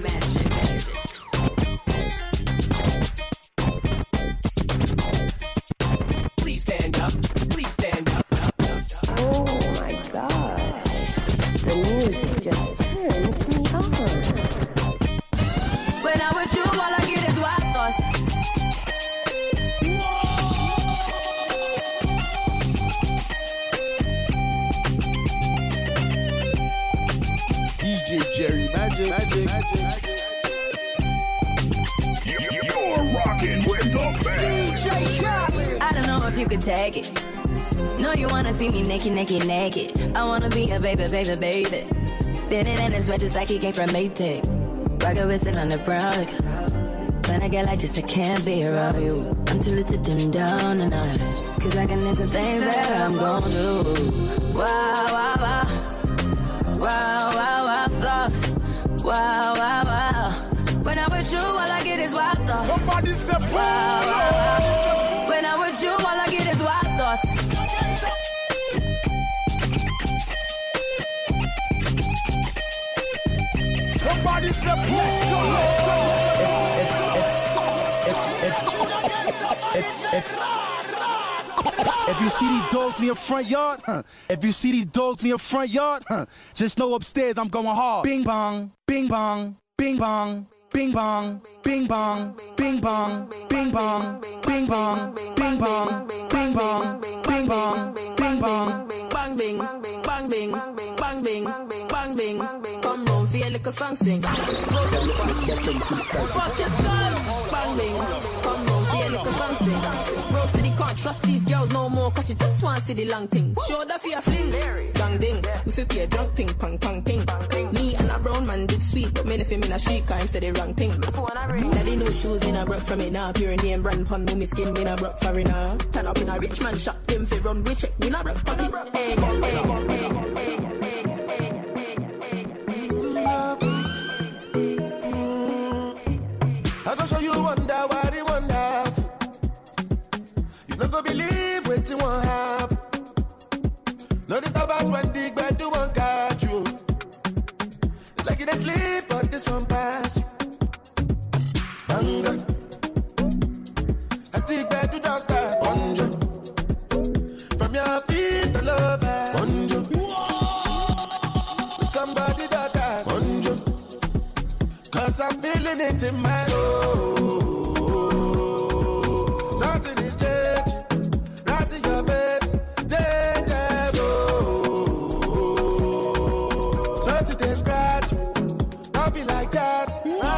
Speaker 4: Please stand up. Please stand up.
Speaker 6: Oh my God, the music just turns me on.
Speaker 10: When I'm with you, all I get is wild thoughts.
Speaker 13: DJ Jerry Magic.
Speaker 15: You're rocking with the best.
Speaker 10: I don't know if you could take it. No, you wanna see me naked. I wanna be a baby. Spinning in his red just like he came from Maytag. Rocket with it on the brown liquor. When I get like this, I can't be around you. I'm too little to dim down the night. Cause I can into things that I'm gon' do. Wow, wow, wow. Wow, wow, wow, thoughts. Wow, wow, wow. When I'm with you, all I get is wild thoughts.
Speaker 13: Somebody say
Speaker 10: wow, wow, wow. When I'm with you,
Speaker 13: Somebody say, let's go,
Speaker 14: If you see these dogs in your front yard, if you see these dogs in your front yard, just know upstairs I'm going hard. Bing bong, bing bong, bing bong. Bing bong, bing bong, bing bong, bing bong, bing bong, bing bong, bing bong, bing bong, bing bong,
Speaker 21: bang bing, bang bing, bang bing, bang bing. Come round, feel like a song sing. Fuck your skull, bang bing. Come round, feel like a song sing. Bro city can't trust these girls no more, cause she just want to see the long thing. Show that for your fling, bang ding. We feel be a drunk ping, pang pang ping. Me and a brown man did sweet, but me left him in a street car, him said the wrong thing. Daddy no shoes, me not broke from it now. Pure name brand pun, me skin, me not broke for it now. Turn up in a rich man shop, him fi run, we check, we not broke pocket. Egg,
Speaker 13: I go show you wonder why they wonderful. You not go believe what you want happen. No disturbance when the bed do one catch you. Like you dey sleep, but this one pass you. Hunger. I think bed do don't start. Bonjour. From your feet to love it. Bonjour. With somebody that bonjour. Cause I'm feeling it in my soul. Something is changing. Right in your face. Change. Something they scratch. I'll be like that.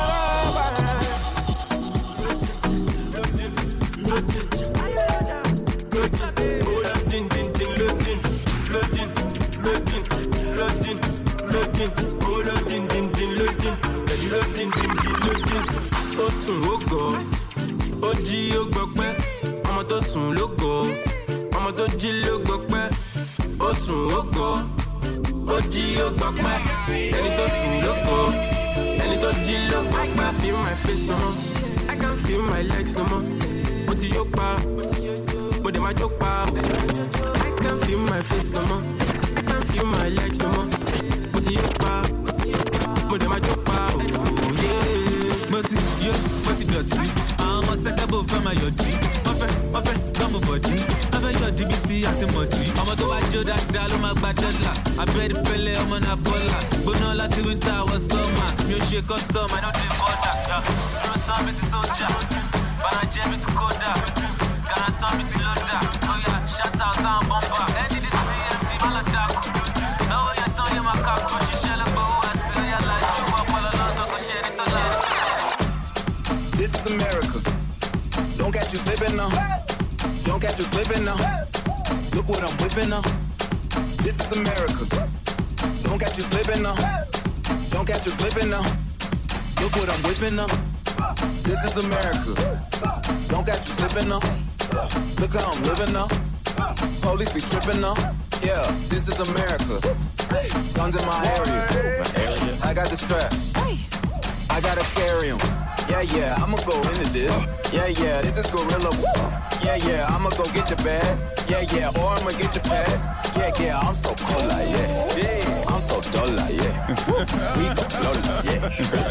Speaker 19: Ó sùn ó gọ̀, ó jí ó gbọpẹ́, ọmọ tó sùn ló gọ̀, ọmọ tó jí ló gbọpẹ́, ó sùn ó gọ̀, ó jí ó gbọpẹ́, ẹni tó sùn ló gọ̀, ẹni tó jí ló gbọpẹ́. Feel my face no more, I can't feel my legs no more. Mo ti yó pa, mo dẹ̀ máa jó pa. I can't feel my face no more, I can't feel my legs no more. Mo ti yó pa, mo dẹ̀ máa jó pa. Mo ti dọ̀tí, àwọn ọmọ sẹ́kẹ́bù fẹ́ máa yọ̀dí. Wọ́n fẹ́ gbọ́mù bọ̀dí, wọ́n fẹ́ yọ̀dí bí ti àti mọ̀dí. Ọmọ tó wá jó dáadáa ló máa gba dọ́là. Abẹ́rẹ́ pẹ́lẹ́ ọmọ náà bọ́là. Gbóná láti wíńtà wọ sọ́mà. Mi ò ṣe custom, I no dey border. Dúró tán mi ti sójà, Bàràjẹ́ mi ti kódà. Gàrà tán mi ti lọ́dà. Oya shout out sáwọn bọ́mbà. Ẹni di CMD má lọ dákú. Lọ́wọ́ yẹn tán yẹn máa kàkú. Ṣiṣẹ́ ló gbowó àti ẹ̀yà lájú. Ọpọlọ lọ́sọ̀ kò ṣe ní tó ṣe ní.
Speaker 25: This is America. Don't catch you slipping now. Don't catch you slipping now. Look what I'm whipping now. This is America. Don't catch you slipping now. Don't catch you slipping now. Look what I'm whipping now. This is America. Don't catch you slipping now. Look how I'm living now. Police be tripping now. Yeah, this is America. Guns in my area. I got the strap. I gotta carry 'em. Yeah, I'ma go into this. Yeah, this is gorilla. Yeah, I'ma go get your bag. Yeah, or I'ma get your pad. Yeah, I'm so cold like, yeah. I'm so dull like, yeah. We go blow like, yeah.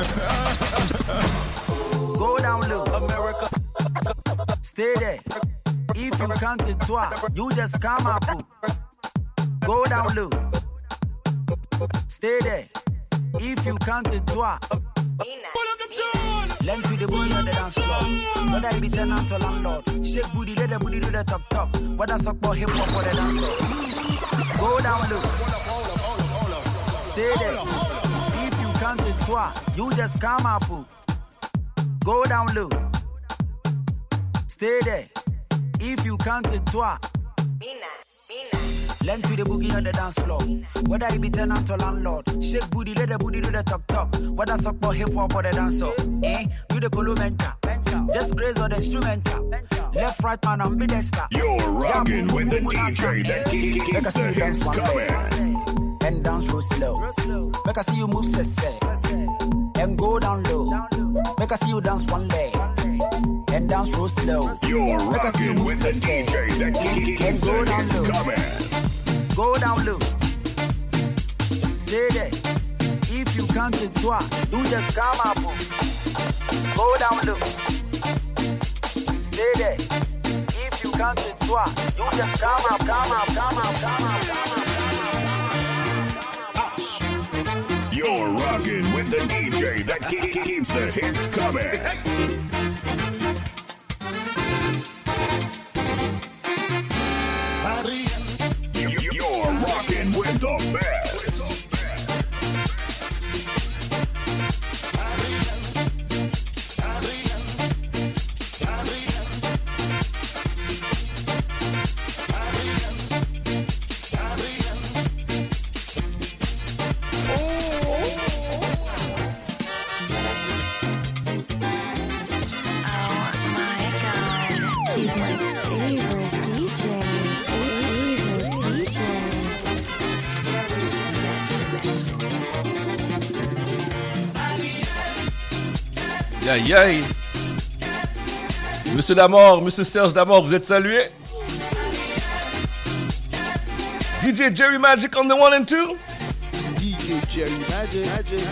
Speaker 23: Go down low, America. Stay there. If you count it twice, you just come up. Go down low. Stay there. If you count it twice. Lend to the booty on the dance floor. Know that be tenant to landlord. Shake booty, let the booty do the top. What a suck for hip hop for the dance floor. Go down low. Stay there. If you count it twice, you just come up. Go down low. Stay there. If you count it twice. Lend to the boogie on the dance floor. Whether it be tenant or landlord. Shake booty, let the booty do the top. What a suck for hip hop for the dancer. Do the columenta. Just graze on the instrumental. Left, right, man, I'm ambidexter.
Speaker 15: You're rocking with the DJ that keeps coming.
Speaker 23: And dance real slow. Make I see you move, say. And go down low. Make I see you dance one leg. And dance real slow.
Speaker 15: You're rocking with the DJ that keeps coming.
Speaker 23: Go down low. Stay there. If you come to toi, you just come up. Go down low. Stay there. If you come to toi, you just come up, come up, come up, come up, come up.
Speaker 15: You're rocking with the DJ that keeps the hits coming. You're rocking with the best.
Speaker 3: Aïe aïe. Monsieur Damor, Monsieur Serge Damor, vous êtes salué. DJ Jerry Magic on the 1 and 2.
Speaker 14: DJ Jerry Magic.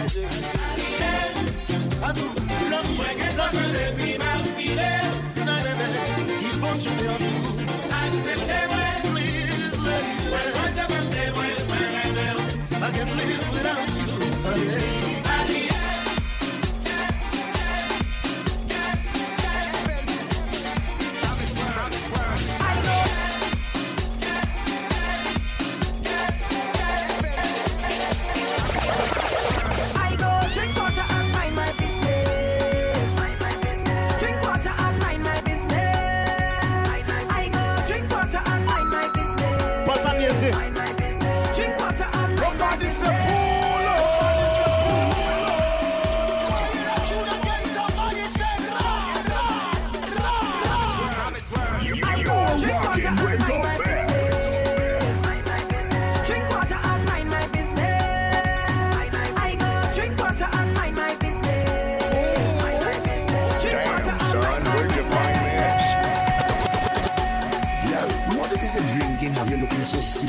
Speaker 13: I can't live without you.
Speaker 7: Have you looking so sweet?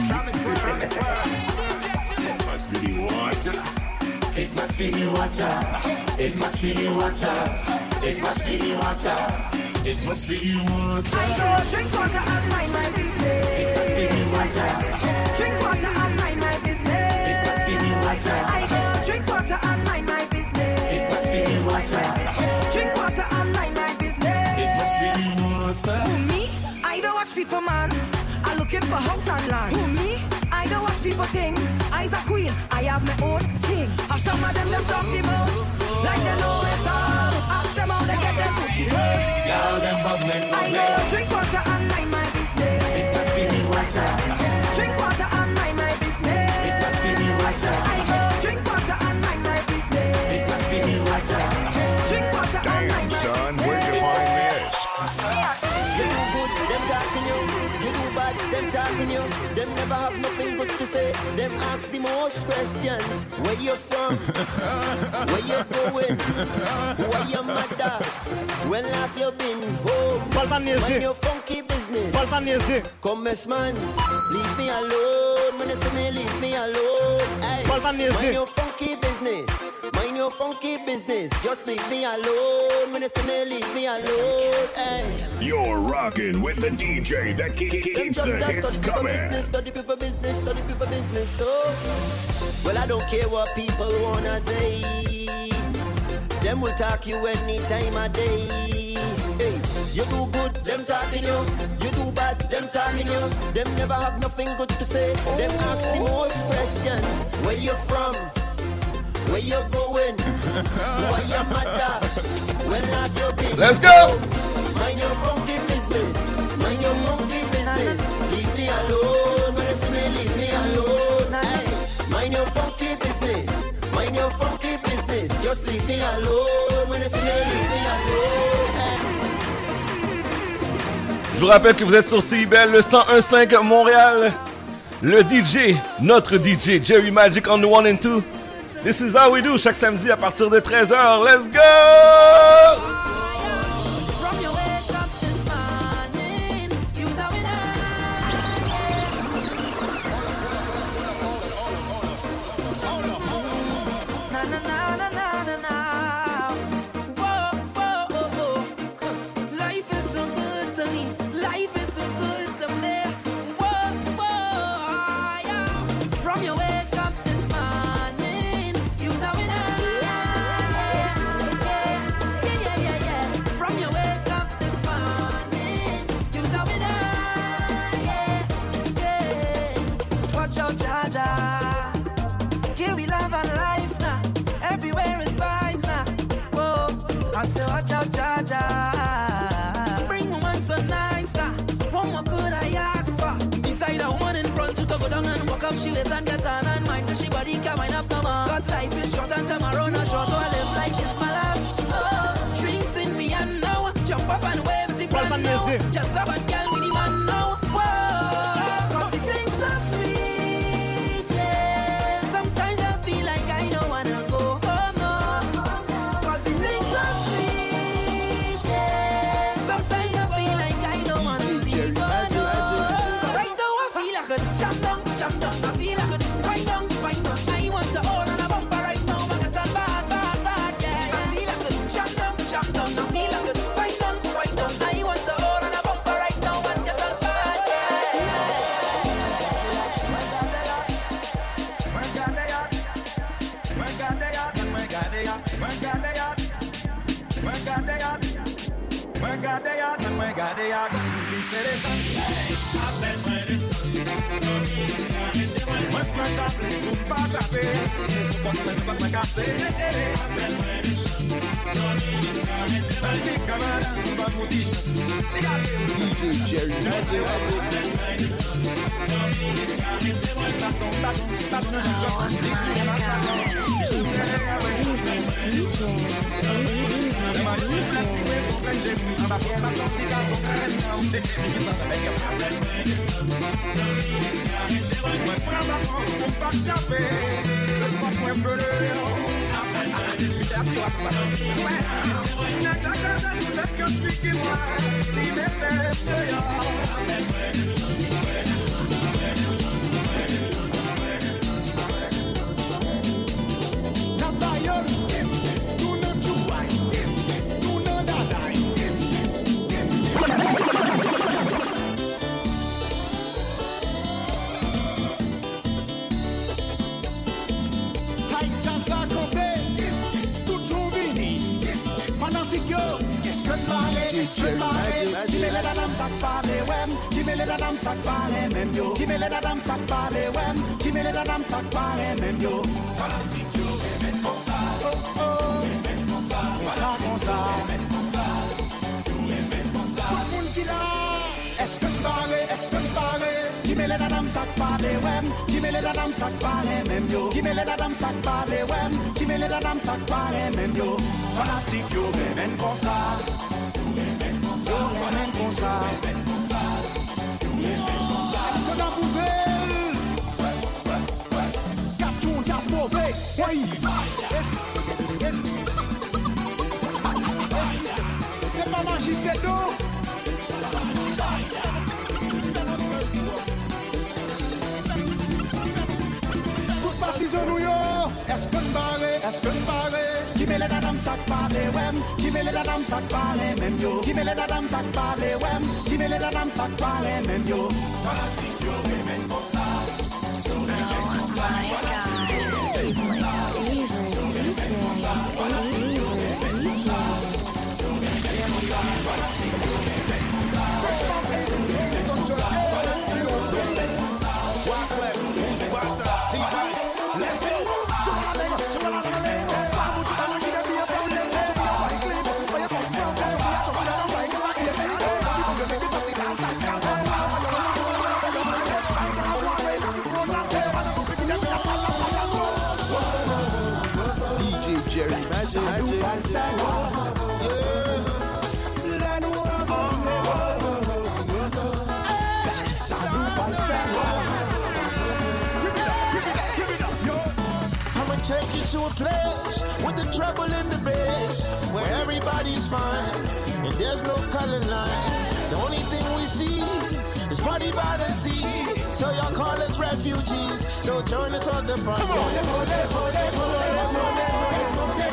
Speaker 8: It must be the water. It must be the water. It must be the water. It must be the water.
Speaker 10: I go drink water and mind my business.
Speaker 8: It must be the water.
Speaker 10: Drink water and mind my business.
Speaker 8: It must be the water.
Speaker 10: I go drink water and mind my business.
Speaker 8: It must be the water.
Speaker 10: Drink water and mind my business.
Speaker 8: It must be the water.
Speaker 10: Who me? I don't watch people, man. I'm looking for house and land. Who me? I don't watch people things. I's a queen. I have my own king. Have some of them just talk the most. Like they know it all. Ask them how they get their Gucci clothes.
Speaker 8: Y'all them bubbling,
Speaker 10: I go drink water and mind my business.
Speaker 8: It must be the water.
Speaker 10: Drink water and mind my business.
Speaker 8: It must be the water.
Speaker 10: I go drink water and mind my business.
Speaker 8: It must be the water.
Speaker 10: Drink water and mind my
Speaker 15: Son, where'd you find this?
Speaker 2: You do good, them talking you. You do bad, them talking you. Them never have nothing good to say. Them ask the most questions. Where you from? Where you going? Who are your mother? When last you been home? Mind your funky business. Come as man, leave me alone. When you see me, leave me alone. Hey, mind your funky business. Mind your funky business. Just leave me alone. When you see me, leave me alone. Hey.
Speaker 15: You're rocking with the DJ that keeps the hits coming.
Speaker 2: Study people business, study people business. So, well, I don't care what people wanna say. Them will talk you any time of day. Hey, you do good, them talking you. You do bad, them talking you. Them never have nothing good to say. Them ask the most questions. Where you from? Where you going? Who are your mother? When last you been?
Speaker 3: Let's go!
Speaker 2: Mind your funky business. Mind your funky business. Leave me alone. When you see me, leave me alone. Hey, mind your funky business. Mind your funky business. Just leave me alone. When you see me, leave me alone. Hey.
Speaker 3: Je vous rappelle que vous êtes sur CIBEL, le 101.5 Montréal. Le DJ, notre DJ, Jerry Magic on the 1 and 2. This is how we do, chaque samedi à partir de 13h. Let's go!
Speaker 10: Na
Speaker 21: me. Life is so good to me. Whoa, whoa, yeah. From your wake up this morning, you's a winner. Yeah. From your wake up this morning, you's a winner. Yeah. Watch out, Jaja. Here we love and life now. Everywhere is vibes now. Whoa, I say watch out, Jaja. Bring woman so nice now. What more could I ask for? Beside a woman in front to go down and walk up she waist and get on and mind that she body can wind up no more. Cause life is short and tomorrow not sure, so I live like it's my last. Oh, drinks in me and now jump up and wave the brand new. Just love and girl me the man now. Whoa, cause the things are sweet, yeah. Sometimes I feel like I don't wanna go home, no. Cause the things are sweet, yeah. Sometimes I feel like I don't wanna leave, oh no. Right now I feel like a jump down. I feel like a right down. I want to hold on a bumper right now. I got that bad, yeah. I feel like a jump down. I feel like a right down. I want to hold on a bumper right now and get that bad,
Speaker 1: DJ Jerry
Speaker 9: C'est pas magie, c'est d'eau. Toute partisans nous yo. Est-ce qu'on barre? Qui met les dames sac par les wem? Qui met les dames sac par les mêmes yo? Qui met les dames sac par les wem? Qui met les dames sac par les mêmes yo? Fanatique yo, mais comme ça.
Speaker 1: DJ Jerry
Speaker 12: I'ma take you to a place with the trouble in the bass, where everybody's fine and there's no color line. The only thing we see is party by the sea. So y'all call us refugees. So join us on the party.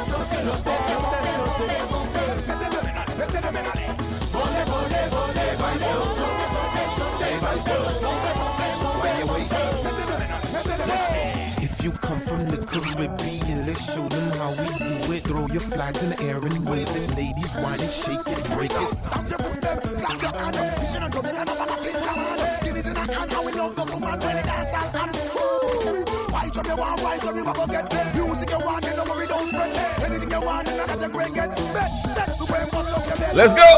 Speaker 12: Come on.
Speaker 11: If you come from the Caribbean, let's show them how we do it. Throw your flags in the air and wave it. Ladies, whine and shake it, break it.
Speaker 9: Stamp your foot them, clap your hand. This ain't a drum, it's a fucking hand. Guineas in a hand, now we love the woman when it dance all hand. Why drum you want, why drum you want to get? Music you want, you know what we don't fret. Anything you want, you know that you bring it. Bet, set, to bring what's up your bed.
Speaker 3: Let's go!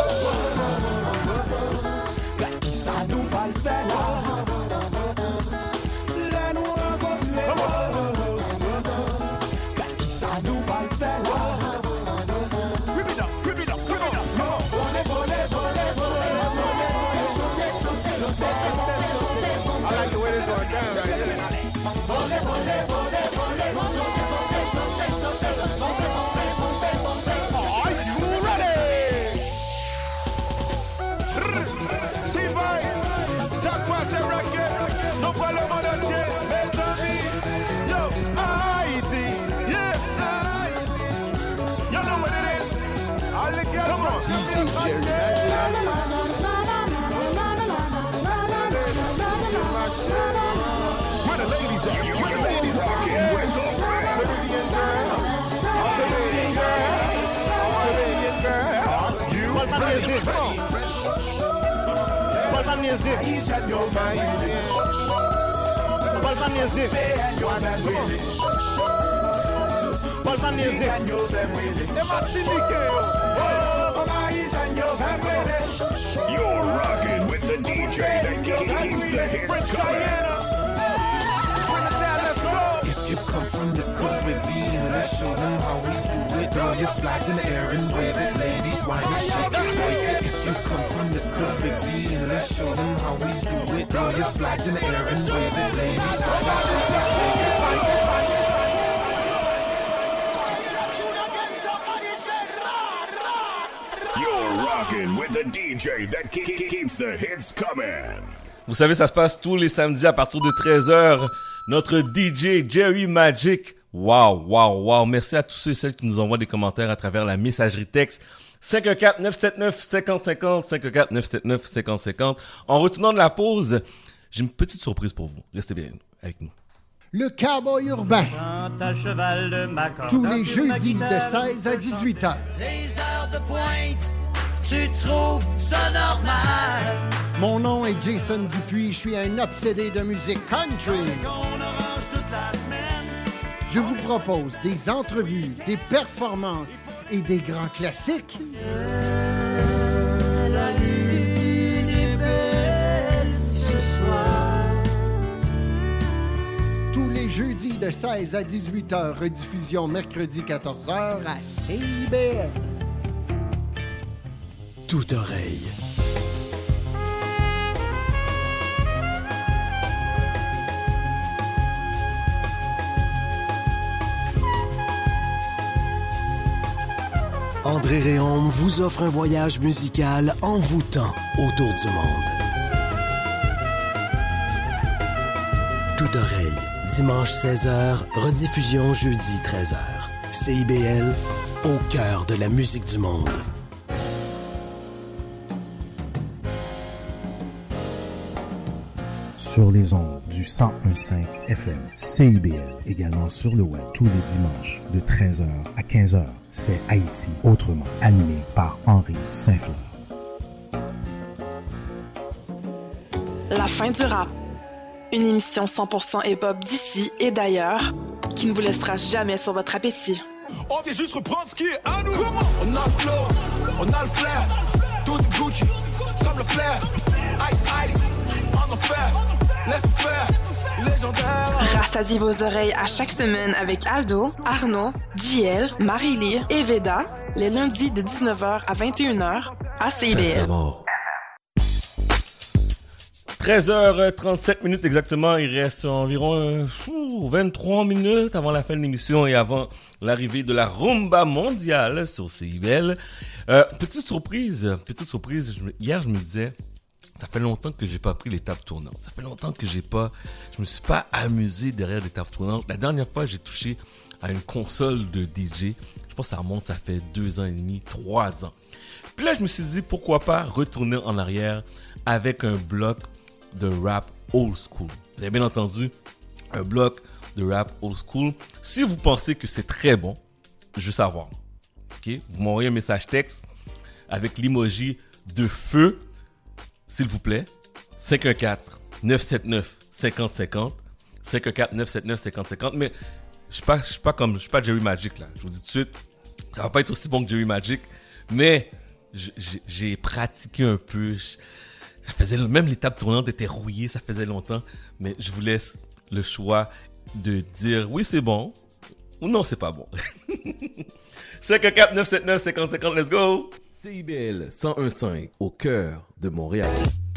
Speaker 15: You're rocking with the DJ that keeps the hits coming.
Speaker 11: If you come from the Caribbean, let's show them how we do it. Throw your flags in the air and wave it. Ladies, whine and shake it, break it. If you come from the Caribbean, let's show them how we do it. Throw your flags in the air and wave it. Ladies, whine and shake it, break it.
Speaker 15: You're rocking with the DJ that keeps the hits coming.
Speaker 3: Vous savez, ça se passe tous les samedis à partir de 13h. Notre DJ Jerry Magic. Wow. Merci à tous ceux et celles qui nous envoient des commentaires à travers la messagerie texte 514-979-5050, 514-979-5050. En retournant de la pause, j'ai une petite surprise pour vous. Restez bien avec nous.
Speaker 5: Le Cowboy urbain. Tous les jeudis de 16 à 18 h.
Speaker 16: Les heures de pointe, tu trouves ça normal?
Speaker 5: Mon nom est Jason Dupuis, je suis un obsédé de musique country. Je vous propose des entrevues, des performances et des grands classiques.
Speaker 16: La lune est belle ce soir.
Speaker 5: Tous les jeudis de 16 à 18 h, rediffusion mercredi 14 h à CIBL.
Speaker 11: Toute oreille. André Réaume vous offre un voyage musical envoûtant autour du monde. Toute oreille, dimanche 16h, rediffusion jeudi 13h. CIBL, au cœur de la musique du monde.
Speaker 17: Sur les ondes du 101.5 FM, CIBL, également sur le web tous les dimanches de 13h à 15h. C'est Haïti autrement, animé par Henri Saint-Fleur.
Speaker 18: La fin du rap. Une émission 100% hip-hop d'ici et d'ailleurs qui ne vous laissera jamais sur votre appétit.
Speaker 9: On vient juste reprendre ce qui est à nous. On a le flow, on a le flair. Tout est Gucci, comme le flair. Ice, on en fait, laisse faire. Légendaire.
Speaker 18: Rassasiez vos oreilles à chaque semaine avec Aldo, Arnaud, JL, Marie-Lee et Veda, les lundis de 19h à 21h à CIBL.
Speaker 3: 13h37 exactement, il reste environ 23 minutes avant la fin de l'émission et avant l'arrivée de la rumba mondiale sur CIBL. Petite surprise, hier je me disais, ça fait longtemps que j'ai pas pris les tables tournantes. Ça fait longtemps que je me suis pas amusé derrière les tables tournantes. La dernière fois, j'ai touché à une console de DJ. Je pense que ça remonte, ça fait 2 ans et demi, 3 ans. Puis là, je me suis dit, pourquoi pas retourner en arrière avec un bloc de rap old school. Vous avez bien entendu, un bloc de rap old school. Si vous pensez que c'est très bon, je veux savoir. Okay? Vous m'envoyez un message texte avec l'emoji de feu, s'il vous plaît. 514-979-5050. 514-979-5050. Mais je suis pas Jerry Magic là. Je vous dis tout de suite, ça va pas être aussi bon que Jerry Magic. Mais j'ai pratiqué un peu. Ça faisait même les tables tournantes étaient rouillées, ça faisait longtemps. Mais je vous laisse le choix de dire oui c'est bon ou non c'est pas bon. 514-979-5050, let's go. CIBL 101.5 au cœur de Montréal.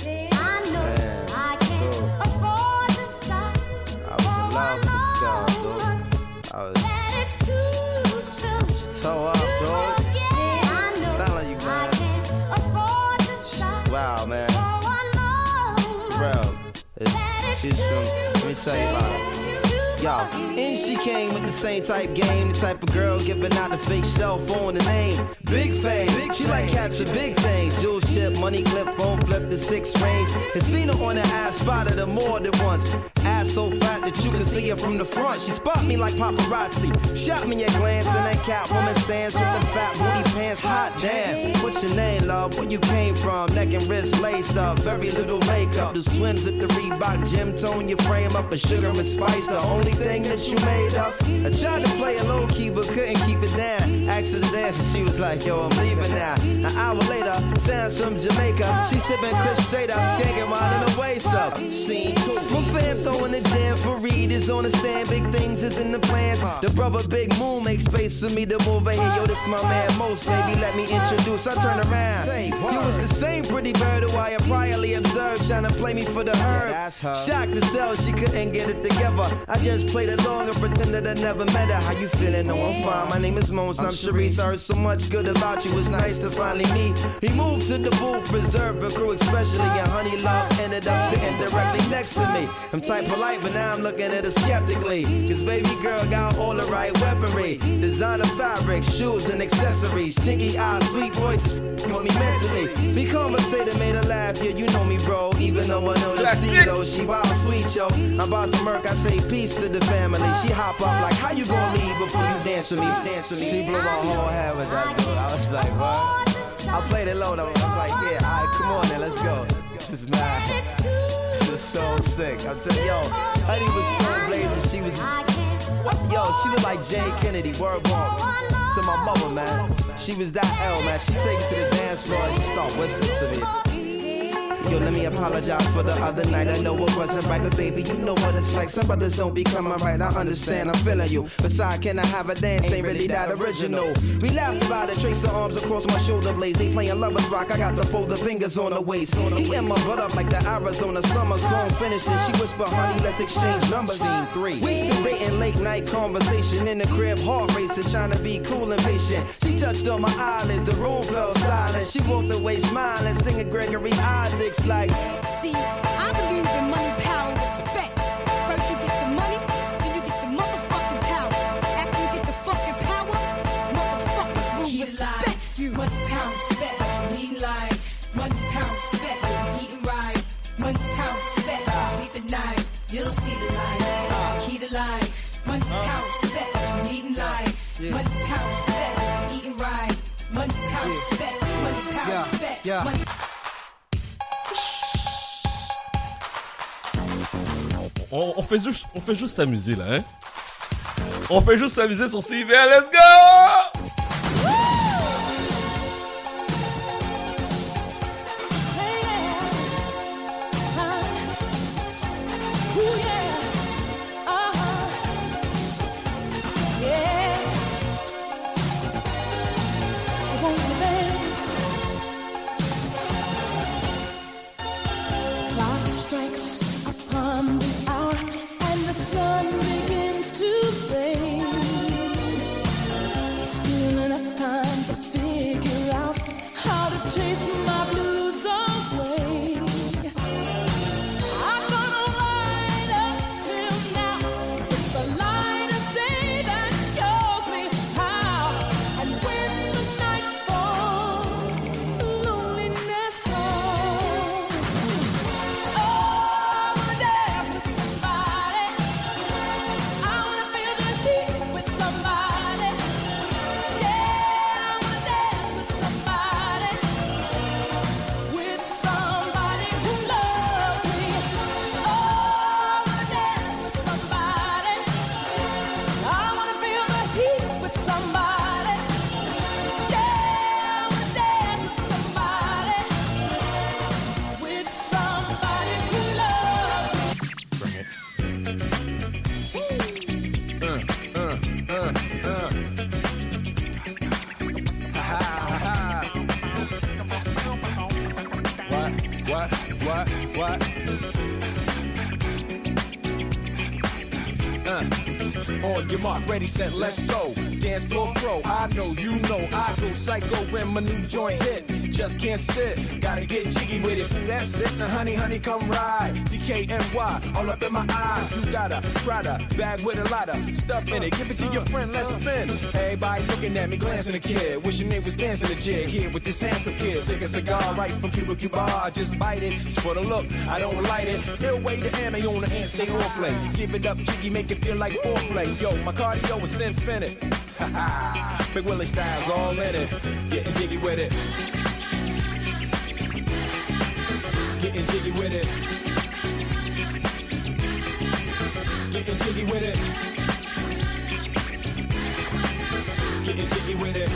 Speaker 2: Let me tell you about it. Yo, and she came with the same type game, the type of girl giving out the fake cell phone and name. Big fame, she like catching big things. Jewel ship, money clip, phone flip the 6 range. And seen her on the app, spotted her more than once. Ass so fat that you can see her from the front. She spot me like paparazzi. Shot me a glance and that Catwoman stands with the fat booty pants. Hot damn, what's your name, love? Where you came from? Neck and wrist laced up, very little makeup. The swims at the Reebok gym, tone your frame up. A sugar and spice, the only thing that you made up. I tried to play a low key but couldn't keep it down. Asked her to dance and she was like, yo, I'm leaving now. An hour later, Sam's from Jamaica. She sipping Chris straight up, skanking while in the waist up. Scene 2. My fam throwing the jam for Reed is on the stand. Big things is in the plans. The brother Big Moon makes space for me to move in here. Yo, this my man Most, baby, let me introduce. I turn around. You was the same pretty bird who I had priorly observed, trying to play me for the herb. Shocked to sell, she couldn't get it together. I just played along and pretended I never met her. How you feeling? No, I'm fine. My name is Mons. I'm Sharice. I heard so much good about you. It's nice to finally meet. He moved to the booth, reserved for crew, especially. And Honey Love ended up sitting directly next to me. I'm type polite, but now I'm looking at her skeptically. Cause baby girl got all the right weaponry. Designer fabric, shoes and accessories. Chinky eyes, sweet voices, on me mentally. We conversated, made her laugh. Yeah, you know me, bro. Even though I know the C though, she wild sweet, yo. I'm about to murk, I say peace to the family. She hop up like, how you gonna leave before you dance with me? Dance with me. She blew my whole head with that dude. I was like, what? I played it low though. I was like, yeah, alright, come on then, let's go. This is mad. This is so sick. I'm telling yo, Honey was so blazing. She was, yo, she looked like Jane Kennedy. Word bomb to my mother, man. She was that L, man. She take it to the dance floor and she start whispering to me. Yo, let me apologize for the other night. I know it wasn't right, but baby, you know what it's like. Some brothers don't be coming right. I understand, I'm feeling you. Besides, can I have a dance? Ain't really that original. We laughed about it, traced the arms across my shoulder blades. They playing lovers rock, I got to fold the fingers on the waist. He in my butt up like the Arizona summer song finished. And she whispered, honey, let's exchange numbers. Scene 3. Weeks of dating, late night conversation in the crib, heart racing, trying to be cool and patient. She touched on my eyelids, the room fell silent. She walked away smiling, singing Gregory Isaacs like,
Speaker 21: see, I believe in money, power, and respect. First you get the money, then you get the motherfucking power. After you get the fucking power, motherfuckers will respect you. Money, power, respect, what you need in life. Money, power, respect, what you eating right. Money, power, respect, sleep at night. You'll see the light, key to life. Money, power, respect, what you need in life. Money, power, respect, what you eating right. Money, power, respect, money, power, respect, money.
Speaker 3: On fait juste s'amuser là, hein? On fait juste s'amuser sur CIBL, let's go!
Speaker 25: What? On your mark, ready, set, let's go. Dance floor pro, I know, you know, I go psycho when my new joint hit. Just can't sit, gotta get jiggy with it. That's it, now honey, come ride. DKNY, all up in my eyes. You got a Prada bag with a lot of stuff in it. Give it to your friend, let's spin. Everybody looking at me, glancing a kid. Wishing they was dancing a jig here with this handsome kid. Sick a cigar right from Cuba. I just bite it, it's for the look, I don't light it. Ill way to ammo on the hand, stay on play. Give it up, jiggy, make it feel like foreplay. Yo, my cardio is infinite. Big Willie style's all in it. Getting jiggy with it. Getting jiggy with it. Getting jiggy with it. Getting jiggy with it.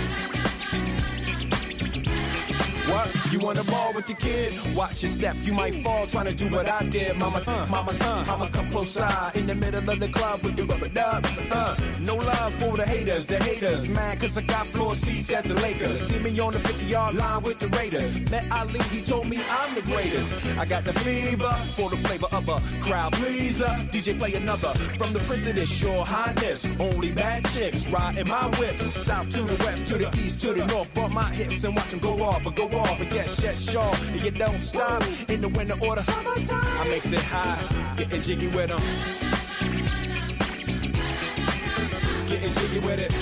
Speaker 25: What? You wanna ball with your kid? Watch your step, you might fall trying to do what I did. Mama's I'ma come close side in the middle of the club with the rubber dub. No love for the haters, mad cause I got floor seats at the Lakers. See me on the 50-yard line with the Raiders. Met Ali, he told me I'm the greatest. I got the fever for the flavor of a crowd pleaser. DJ play another from the Prince of this Your Highness. Only bad chicks riding my whip. South to the west, to the east, to the north. Bump my hips and watch them go off. But yes, sure, you don't stop in the winter order. I makes it high, getting jiggy with them. Getting jiggy with it.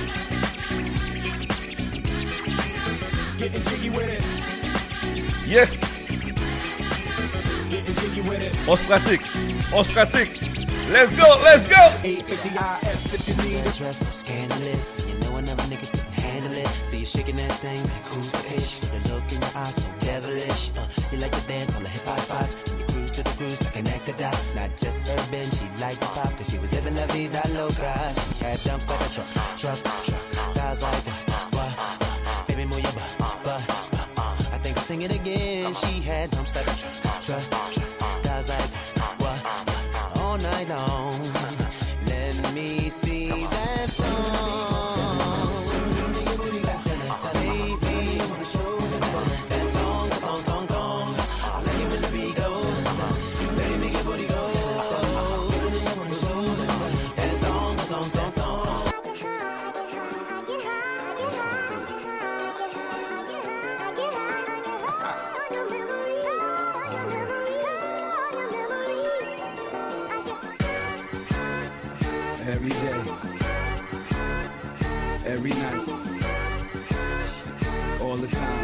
Speaker 25: Getting jiggy with it.
Speaker 3: Yes.
Speaker 25: Getting jiggy with it.
Speaker 3: On se pratique. Let's go.
Speaker 25: 850 IS if you need it.
Speaker 11: Dress so scandalous, you know another nigga couldn't handle it. So you're shaking that thing like who's the ish? The look in your eyes so devilish. You like to dance on the hip hop spots. You cruise to the cruise to connect the dots. Not just urban, she liked the pop cause she was living la vida loca. She had dumps like a truck. Guys like what? Baby move your butt. I think I'll sing it again. She had dumps like a truck. Guys like what? All night long. Let me see that song.
Speaker 23: Every day, every night, all the time.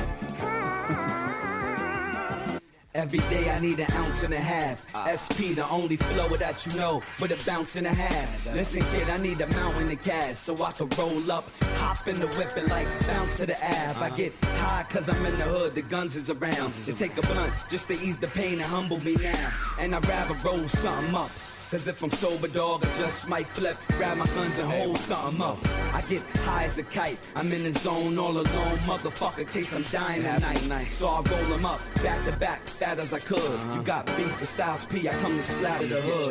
Speaker 23: Every day I need an ounce and a half. SP, the only flow that you know, with a bounce and a half. Listen, kid, I need a mountain of cash so I can roll up, hop in the whip and like bounce to the Ave. I get high cause I'm in the hood, the guns is around. To take a blunt just to ease the pain and humble me now. And I'd rather roll something up. Cause if I'm sober, dog, I just might flip, grab my guns and hold something up. I get high as a kite, I'm in the zone all alone, motherfucker, case I'm dying tonight. So I roll them up, back to back, fat as I could. You got beef with Styles P, I come to splatter the hood.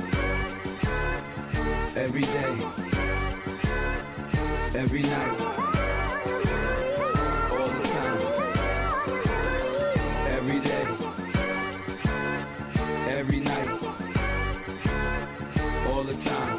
Speaker 23: Every day, every night, all the time. Every day, every night. All the time.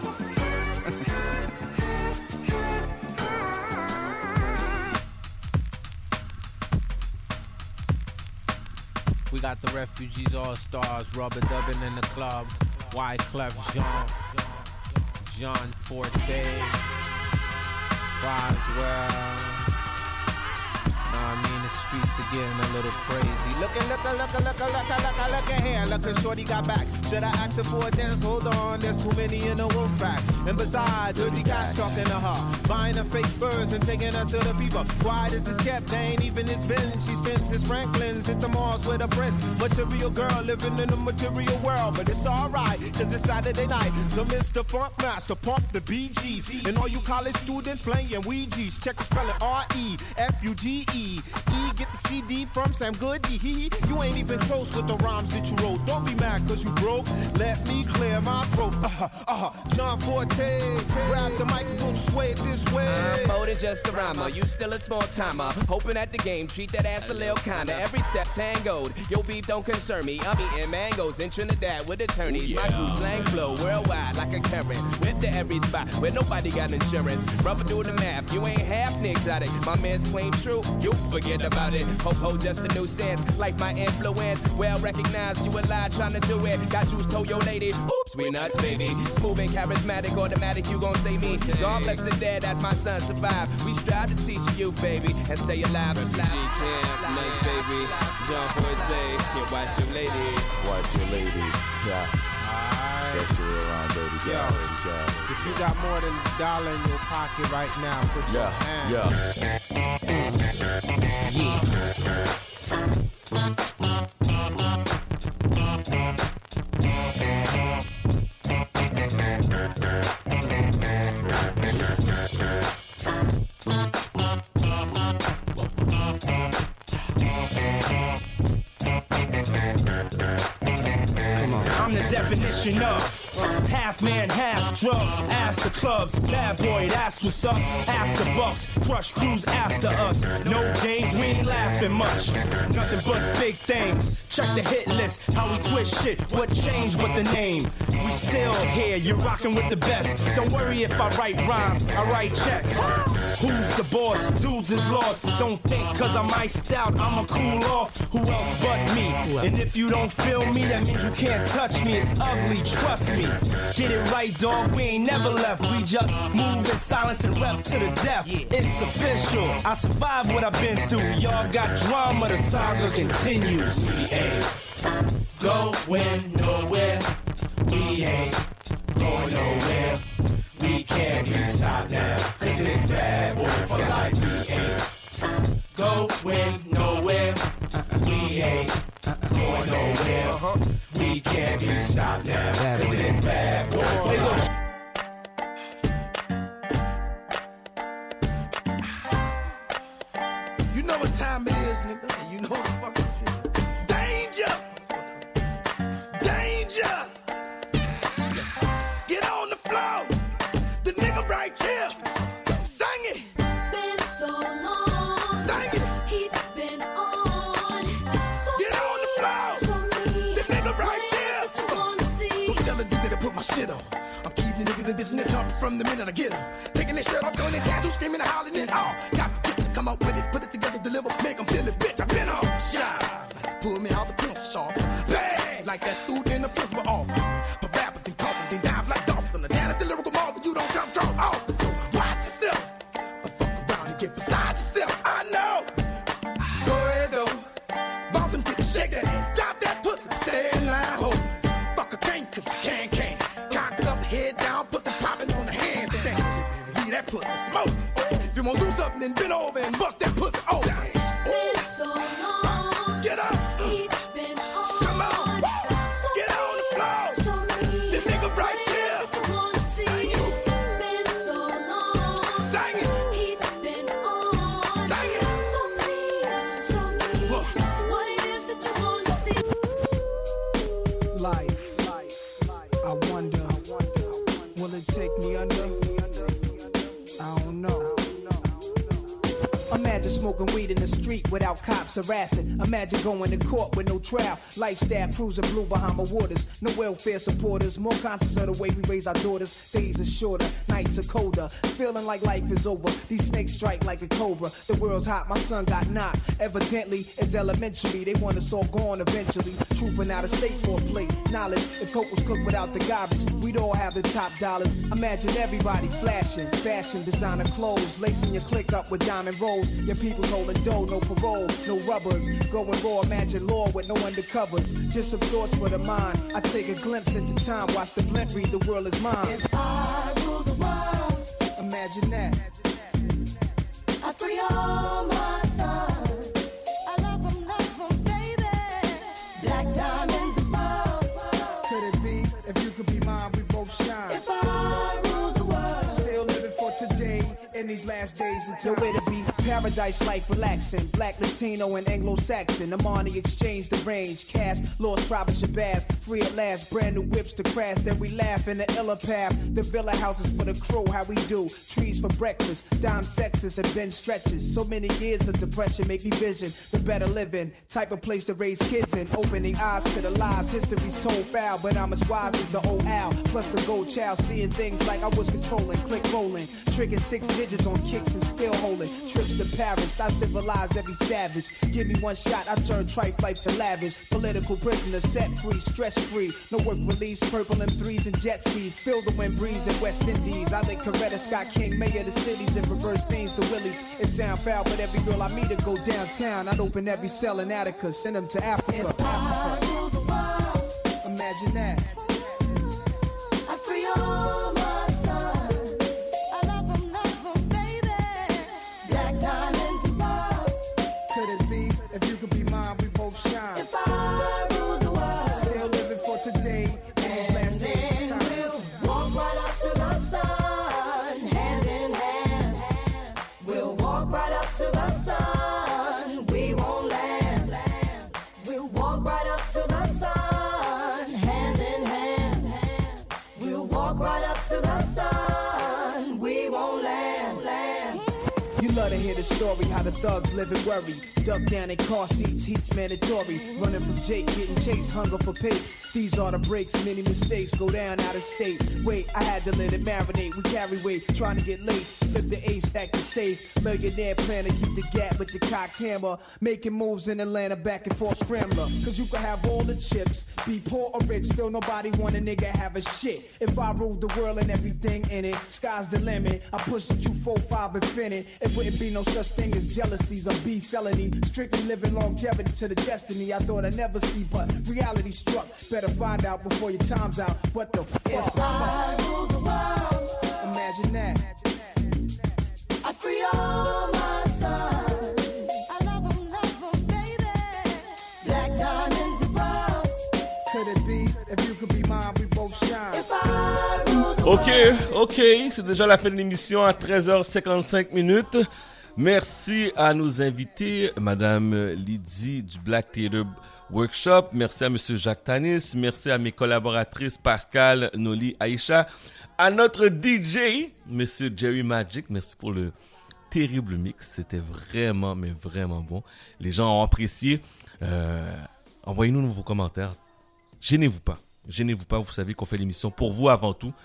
Speaker 4: We got the Refugees All Stars, Rubber Dubbin in the club, Wyclef Jean Forte, Roswell. I mean, the streets are getting a little crazy. Look here. Look, shorty got back. Should I ask her for a dance? Hold on, there's too many in the wolf pack. And besides, dirty cats talking to her, buying her fake furs and taking her to the fever. Quiet as it's kept, they ain't even it's been. She spends his Franklin's at the malls with her friends. Material girl living in the material world, but it's alright, cause it's Saturday night. So Mr. Funk Master, pump the BGs. And all you college students playing Ouija's, check the spelling R-E-F-U-G-E. E. Get the CD from Sam Goody. You ain't even close with the rhymes that you wrote. Don't be mad cause you broke. Let me clear my throat. John Forte, grab the mic and don't sway it this way.
Speaker 6: I'm more than just a rhymer. You still a small timer. Hoping at the game, treat that ass a little kinda. Every step tangoed. Your beef don't concern me. I'm eating mangoes in Trinidad with attorneys. My crew slang flow worldwide like a Karen. With the every spot where nobody got insurance. Rubber do the math. You ain't half exotic. My man's claim true. You forget about it. Ho, just a new sense. Like my influence. Well recognized. You a lie trying to do it. Got you told your lady. Oops, we nuts, baby. Smooth and charismatic. Automatic, you gon' say me. God bless the dead as my son survive. We strive to teach you, baby. And stay alive.
Speaker 4: Nice, baby. John Forte. Yeah, watch your lady.
Speaker 19: Watch your lady. Yeah. Especially around baby girl.
Speaker 4: If you got more than $1 in your pocket right now, put your hand.
Speaker 20: I'm the definition of half man, half drugs. Ask the clubs, bad boy, that's what's up. After bucks, crush crews after us. No games, we ain't laughing much. Nothing but big things. Check the hit list, how we twist shit. What changed with the name? We still here, you're rocking with the best. Don't worry if I write rhymes, I write checks. Who's the boss? Dudes is lost. Don't think cause I'm iced out, I'ma cool off. Who else but me? And if you don't feel me, that means you can't touch me. It's ugly, trust me. Get it right, dog, we ain't never left. We just move in silence and rep to the death. It's official, I survived what I've been through. Y'all got drama, the saga continues. We ain't going nowhere. We ain't going nowhere. We can't be stopped now, cause it's bad boy for life. We ain't going nowhere. We ain't going nowhere. We can't be stopped now, cause it's bad boy for life.
Speaker 13: You know what time it is, nigga, and you know what the fuck it is. Danger! Danger! Get on the floor! The nigga right here! Sing it!
Speaker 10: Been so long.
Speaker 13: Sing it!
Speaker 10: He's been on.
Speaker 13: Get on the floor! The nigga right here! Don't tell the DJ to put my shit on. I'm keeping niggas and bitches that jumping from the minute I get them. Taking their shirt off, showing their tattoo, screaming and hollering and all. Got the gift to come up with it, put it together, deliver, make them feel it, bitch. I've been on shine. Pull me out the pencil sharp. Bang! Like that student in the principal office. But rappers and coffins, they dive like dolphins. On the down at the lyrical marvel, you don't come strong office. So watch yourself. Or fuck around and get beside yourself. I know. Go ahead though. Bump and get shake that ass. Drop that pussy. Stay in line, ho. Fuck a can't, cause you can. Cocked up, head down, pussy popping on the handstand. Leave that pussy smoke. If you wanna do something, then bend over and bust that pussy open.
Speaker 10: Been so long.
Speaker 13: Get up.
Speaker 10: He's been on.
Speaker 13: Come on. Get on the floor. The nigga right here. Sing it.
Speaker 10: Been so long.
Speaker 13: Sing it.
Speaker 10: He's been on.
Speaker 13: Sing it.
Speaker 10: So please show me what it is that you want to see.
Speaker 23: Life, I wonder, will it take me under? I don't know.
Speaker 26: Imagine smoking weed in the street without cops harassing. Imagine going to court with no trial. Lifestyle cruising blue Bahama waters. No welfare supporters. More conscious of the way we raise our daughters. Days are shorter, nights are colder. Feeling like life is over. These snakes strike like a cobra. The world's hot, my son got knocked. Evidently, it's elementary. They want us all gone eventually. Trooping out of state for a plate. Knowledge, if coke was cooked without the garbage, we'd all have the top dollars. Imagine everybody flashing. Fashion, designer clothes. Lacing your click up with diamond rolls. Your people holding dough, no parole, no rubbers. Going raw, imagine law with no undercovers. Just some thoughts for the mind. I take a glimpse into time, watch the blimp read, the world is mine.
Speaker 10: If I rule the world,
Speaker 26: imagine that.
Speaker 10: I free all my sons. I love them, baby. Black diamonds and pearls.
Speaker 26: Could it be, if you could be mine, we both shine.
Speaker 10: If I rule the world,
Speaker 26: still living for today. It in these last days until it'll be paradise life relaxing. Black, Latino, and Anglo-Saxon. I'm on the exchange, the range. Cast, lost tribe of Shabazz. Free at last, brand new whips to crash. Then we laugh in the illa path. The villa houses for the crew, how we do. Trees for breakfast, dime sexes and bench stretches. So many years of depression make me vision the better living. Type of place to raise kids in. Opening eyes to the lies. History's told foul, but I'm as wise as the old owl. Plus the gold child, seeing things like I was controlling. Click rolling, tricking 6 digits on kicks and still holding. Trips to Paris, I civilized every savage. Give me one shot, I turn tripe life to lavish. Political prisoner, set free, stress free. No work release, purple M3s and jet skis. Feel the wind breeze in West Indies. I lick Coretta Scott King, mayor of the cities, and reverse things to Willies. It sound foul, but every girl I meet to go downtown. I'd open every cell in Attica, send them to Africa.
Speaker 10: If I rule the world,
Speaker 26: imagine that.
Speaker 10: I free all my sons. I love them, baby. Black diamonds and pearls.
Speaker 26: Could it be? If you could be mine, we both shine.
Speaker 10: If I rule the world,
Speaker 26: still living for today. In these last days of times.
Speaker 10: We'll walk right up to the sun, hand in hand. We'll walk right up to the sun. We won't land. We'll walk right up to the sun, hand in hand. We'll walk right up to the sun. We won't land.
Speaker 26: You love to hear the story, how the thugs live and worry. Duck down in car seats, heat's mandatory. Running from Jake, getting chased, hunger for papes. These are the breaks, many mistakes go down out of state. Wait, I had to let it marinate. We carry weight, trying to get laced. Flip the ace, stack the safe. Millionaire plan to keep the gap with the cocked hammer. Making moves in Atlanta, back and forth scrambler. Cause you can have all the chips, be poor or rich, still nobody want a nigga have a shit. If I ruled the world and everything in it, sky's the limit. I push the Q45 infinite. It wouldn't be no such thing as jealousies or beef felony. Strictly living longevity to the destiny I thought I'd never see, but reality struck. Better find out before your time's out. What the fuck?
Speaker 10: If I rule the world,
Speaker 26: imagine that.
Speaker 10: I free all my sons. I love them, baby. Black diamonds and pearls.
Speaker 26: Could it be? If you could be mine, we both shine.
Speaker 10: If I rule the
Speaker 3: Ok, c'est déjà la fin de l'émission à 13h55 minutes. Merci à nos invités, Madame Lydie du Black Theater Workshop. Merci à Monsieur Jacques Tanis. Merci à mes collaboratrices Pascal, Noli, Aïcha. À notre DJ, Monsieur Jerry Magic. Merci pour le terrible mix. C'était vraiment, mais vraiment bon. Les gens ont apprécié. Envoyez-nous vos commentaires. Gênez-vous pas. Vous savez qu'on fait l'émission pour vous avant tout.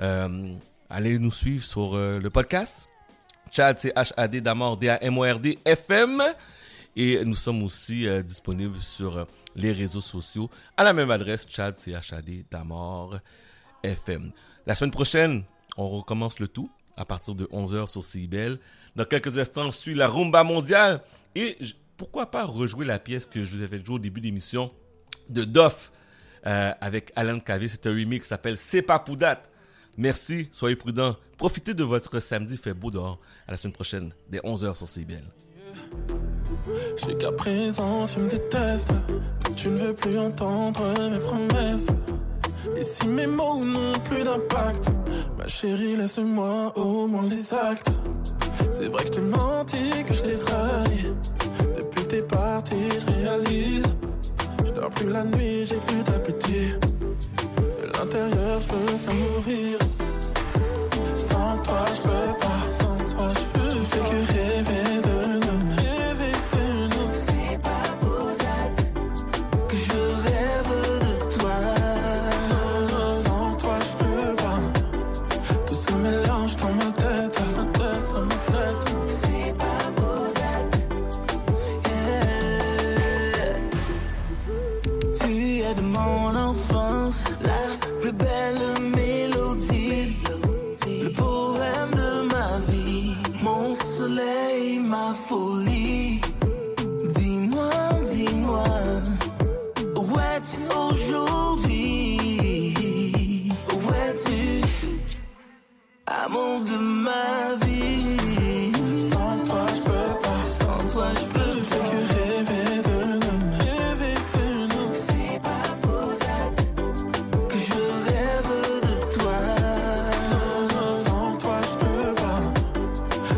Speaker 3: Allez nous suivre sur le podcast. Chad, c'est H-A-D d'Amor, D-A-M-O-R-D, FM. Et nous sommes aussi disponibles sur les réseaux sociaux à la même adresse, Chad, c'est H-A-D d'Amor, FM. La semaine prochaine, on recommence le tout à partir de 11h sur CIBEL. Dans quelques instants, on suit la rumba mondiale. Et pourquoi pas rejouer la pièce que je vous ai fait jouer au début de l'émission de Doff avec Alan Kavé. C'est un remix qui s'appelle C'est pas pour date. Merci, soyez prudents. Profitez de votre samedi, il fait beau dehors. À la semaine prochaine, dès 11h sur CIBEL.
Speaker 1: Je sais qu'à présent tu me détestes, que tu ne veux plus entendre mes promesses. Et si mes mots n'ont plus d'impact, ma chérie laisse-moi au moins les actes. C'est vrai que je t'ai menti, que je t'ai trahi. Depuis que t'es parti, je réalise. Je dors plus la nuit, j'ai plus d'appétit. De l'intérieur, je peux faire mourir. Sans toi, je peux pas. Sans toi, je peux. Je fais que rêver de nous. Rêver de nous.
Speaker 11: C'est pas pour date que je rêve de toi.
Speaker 1: Sans toi, je peux pas. Tout se mélange dans ma tête. Dans ma tête.
Speaker 11: C'est pas pour date. Yeah. Tu es de mon enfance, la plus belle mélodie, le poème de ma vie, mon soleil, ma folie. Dis-moi, dis-moi, où es-tu aujourd'hui? Où es-tu, amour de ma vie?
Speaker 1: Sans toi, je peux pas.
Speaker 11: Sans toi, je peux
Speaker 1: Je fais que rêver de nous. Rêver de nous.
Speaker 11: C'est pas pour date que je rêve de toi.
Speaker 1: Sans toi, je peux pas.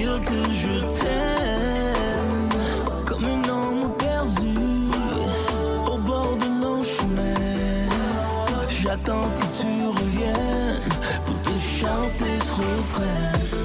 Speaker 11: dire que je t'aime comme un homme perdu au bord de nos chemins. J'attends que tu reviennes pour te chanter ce refrain.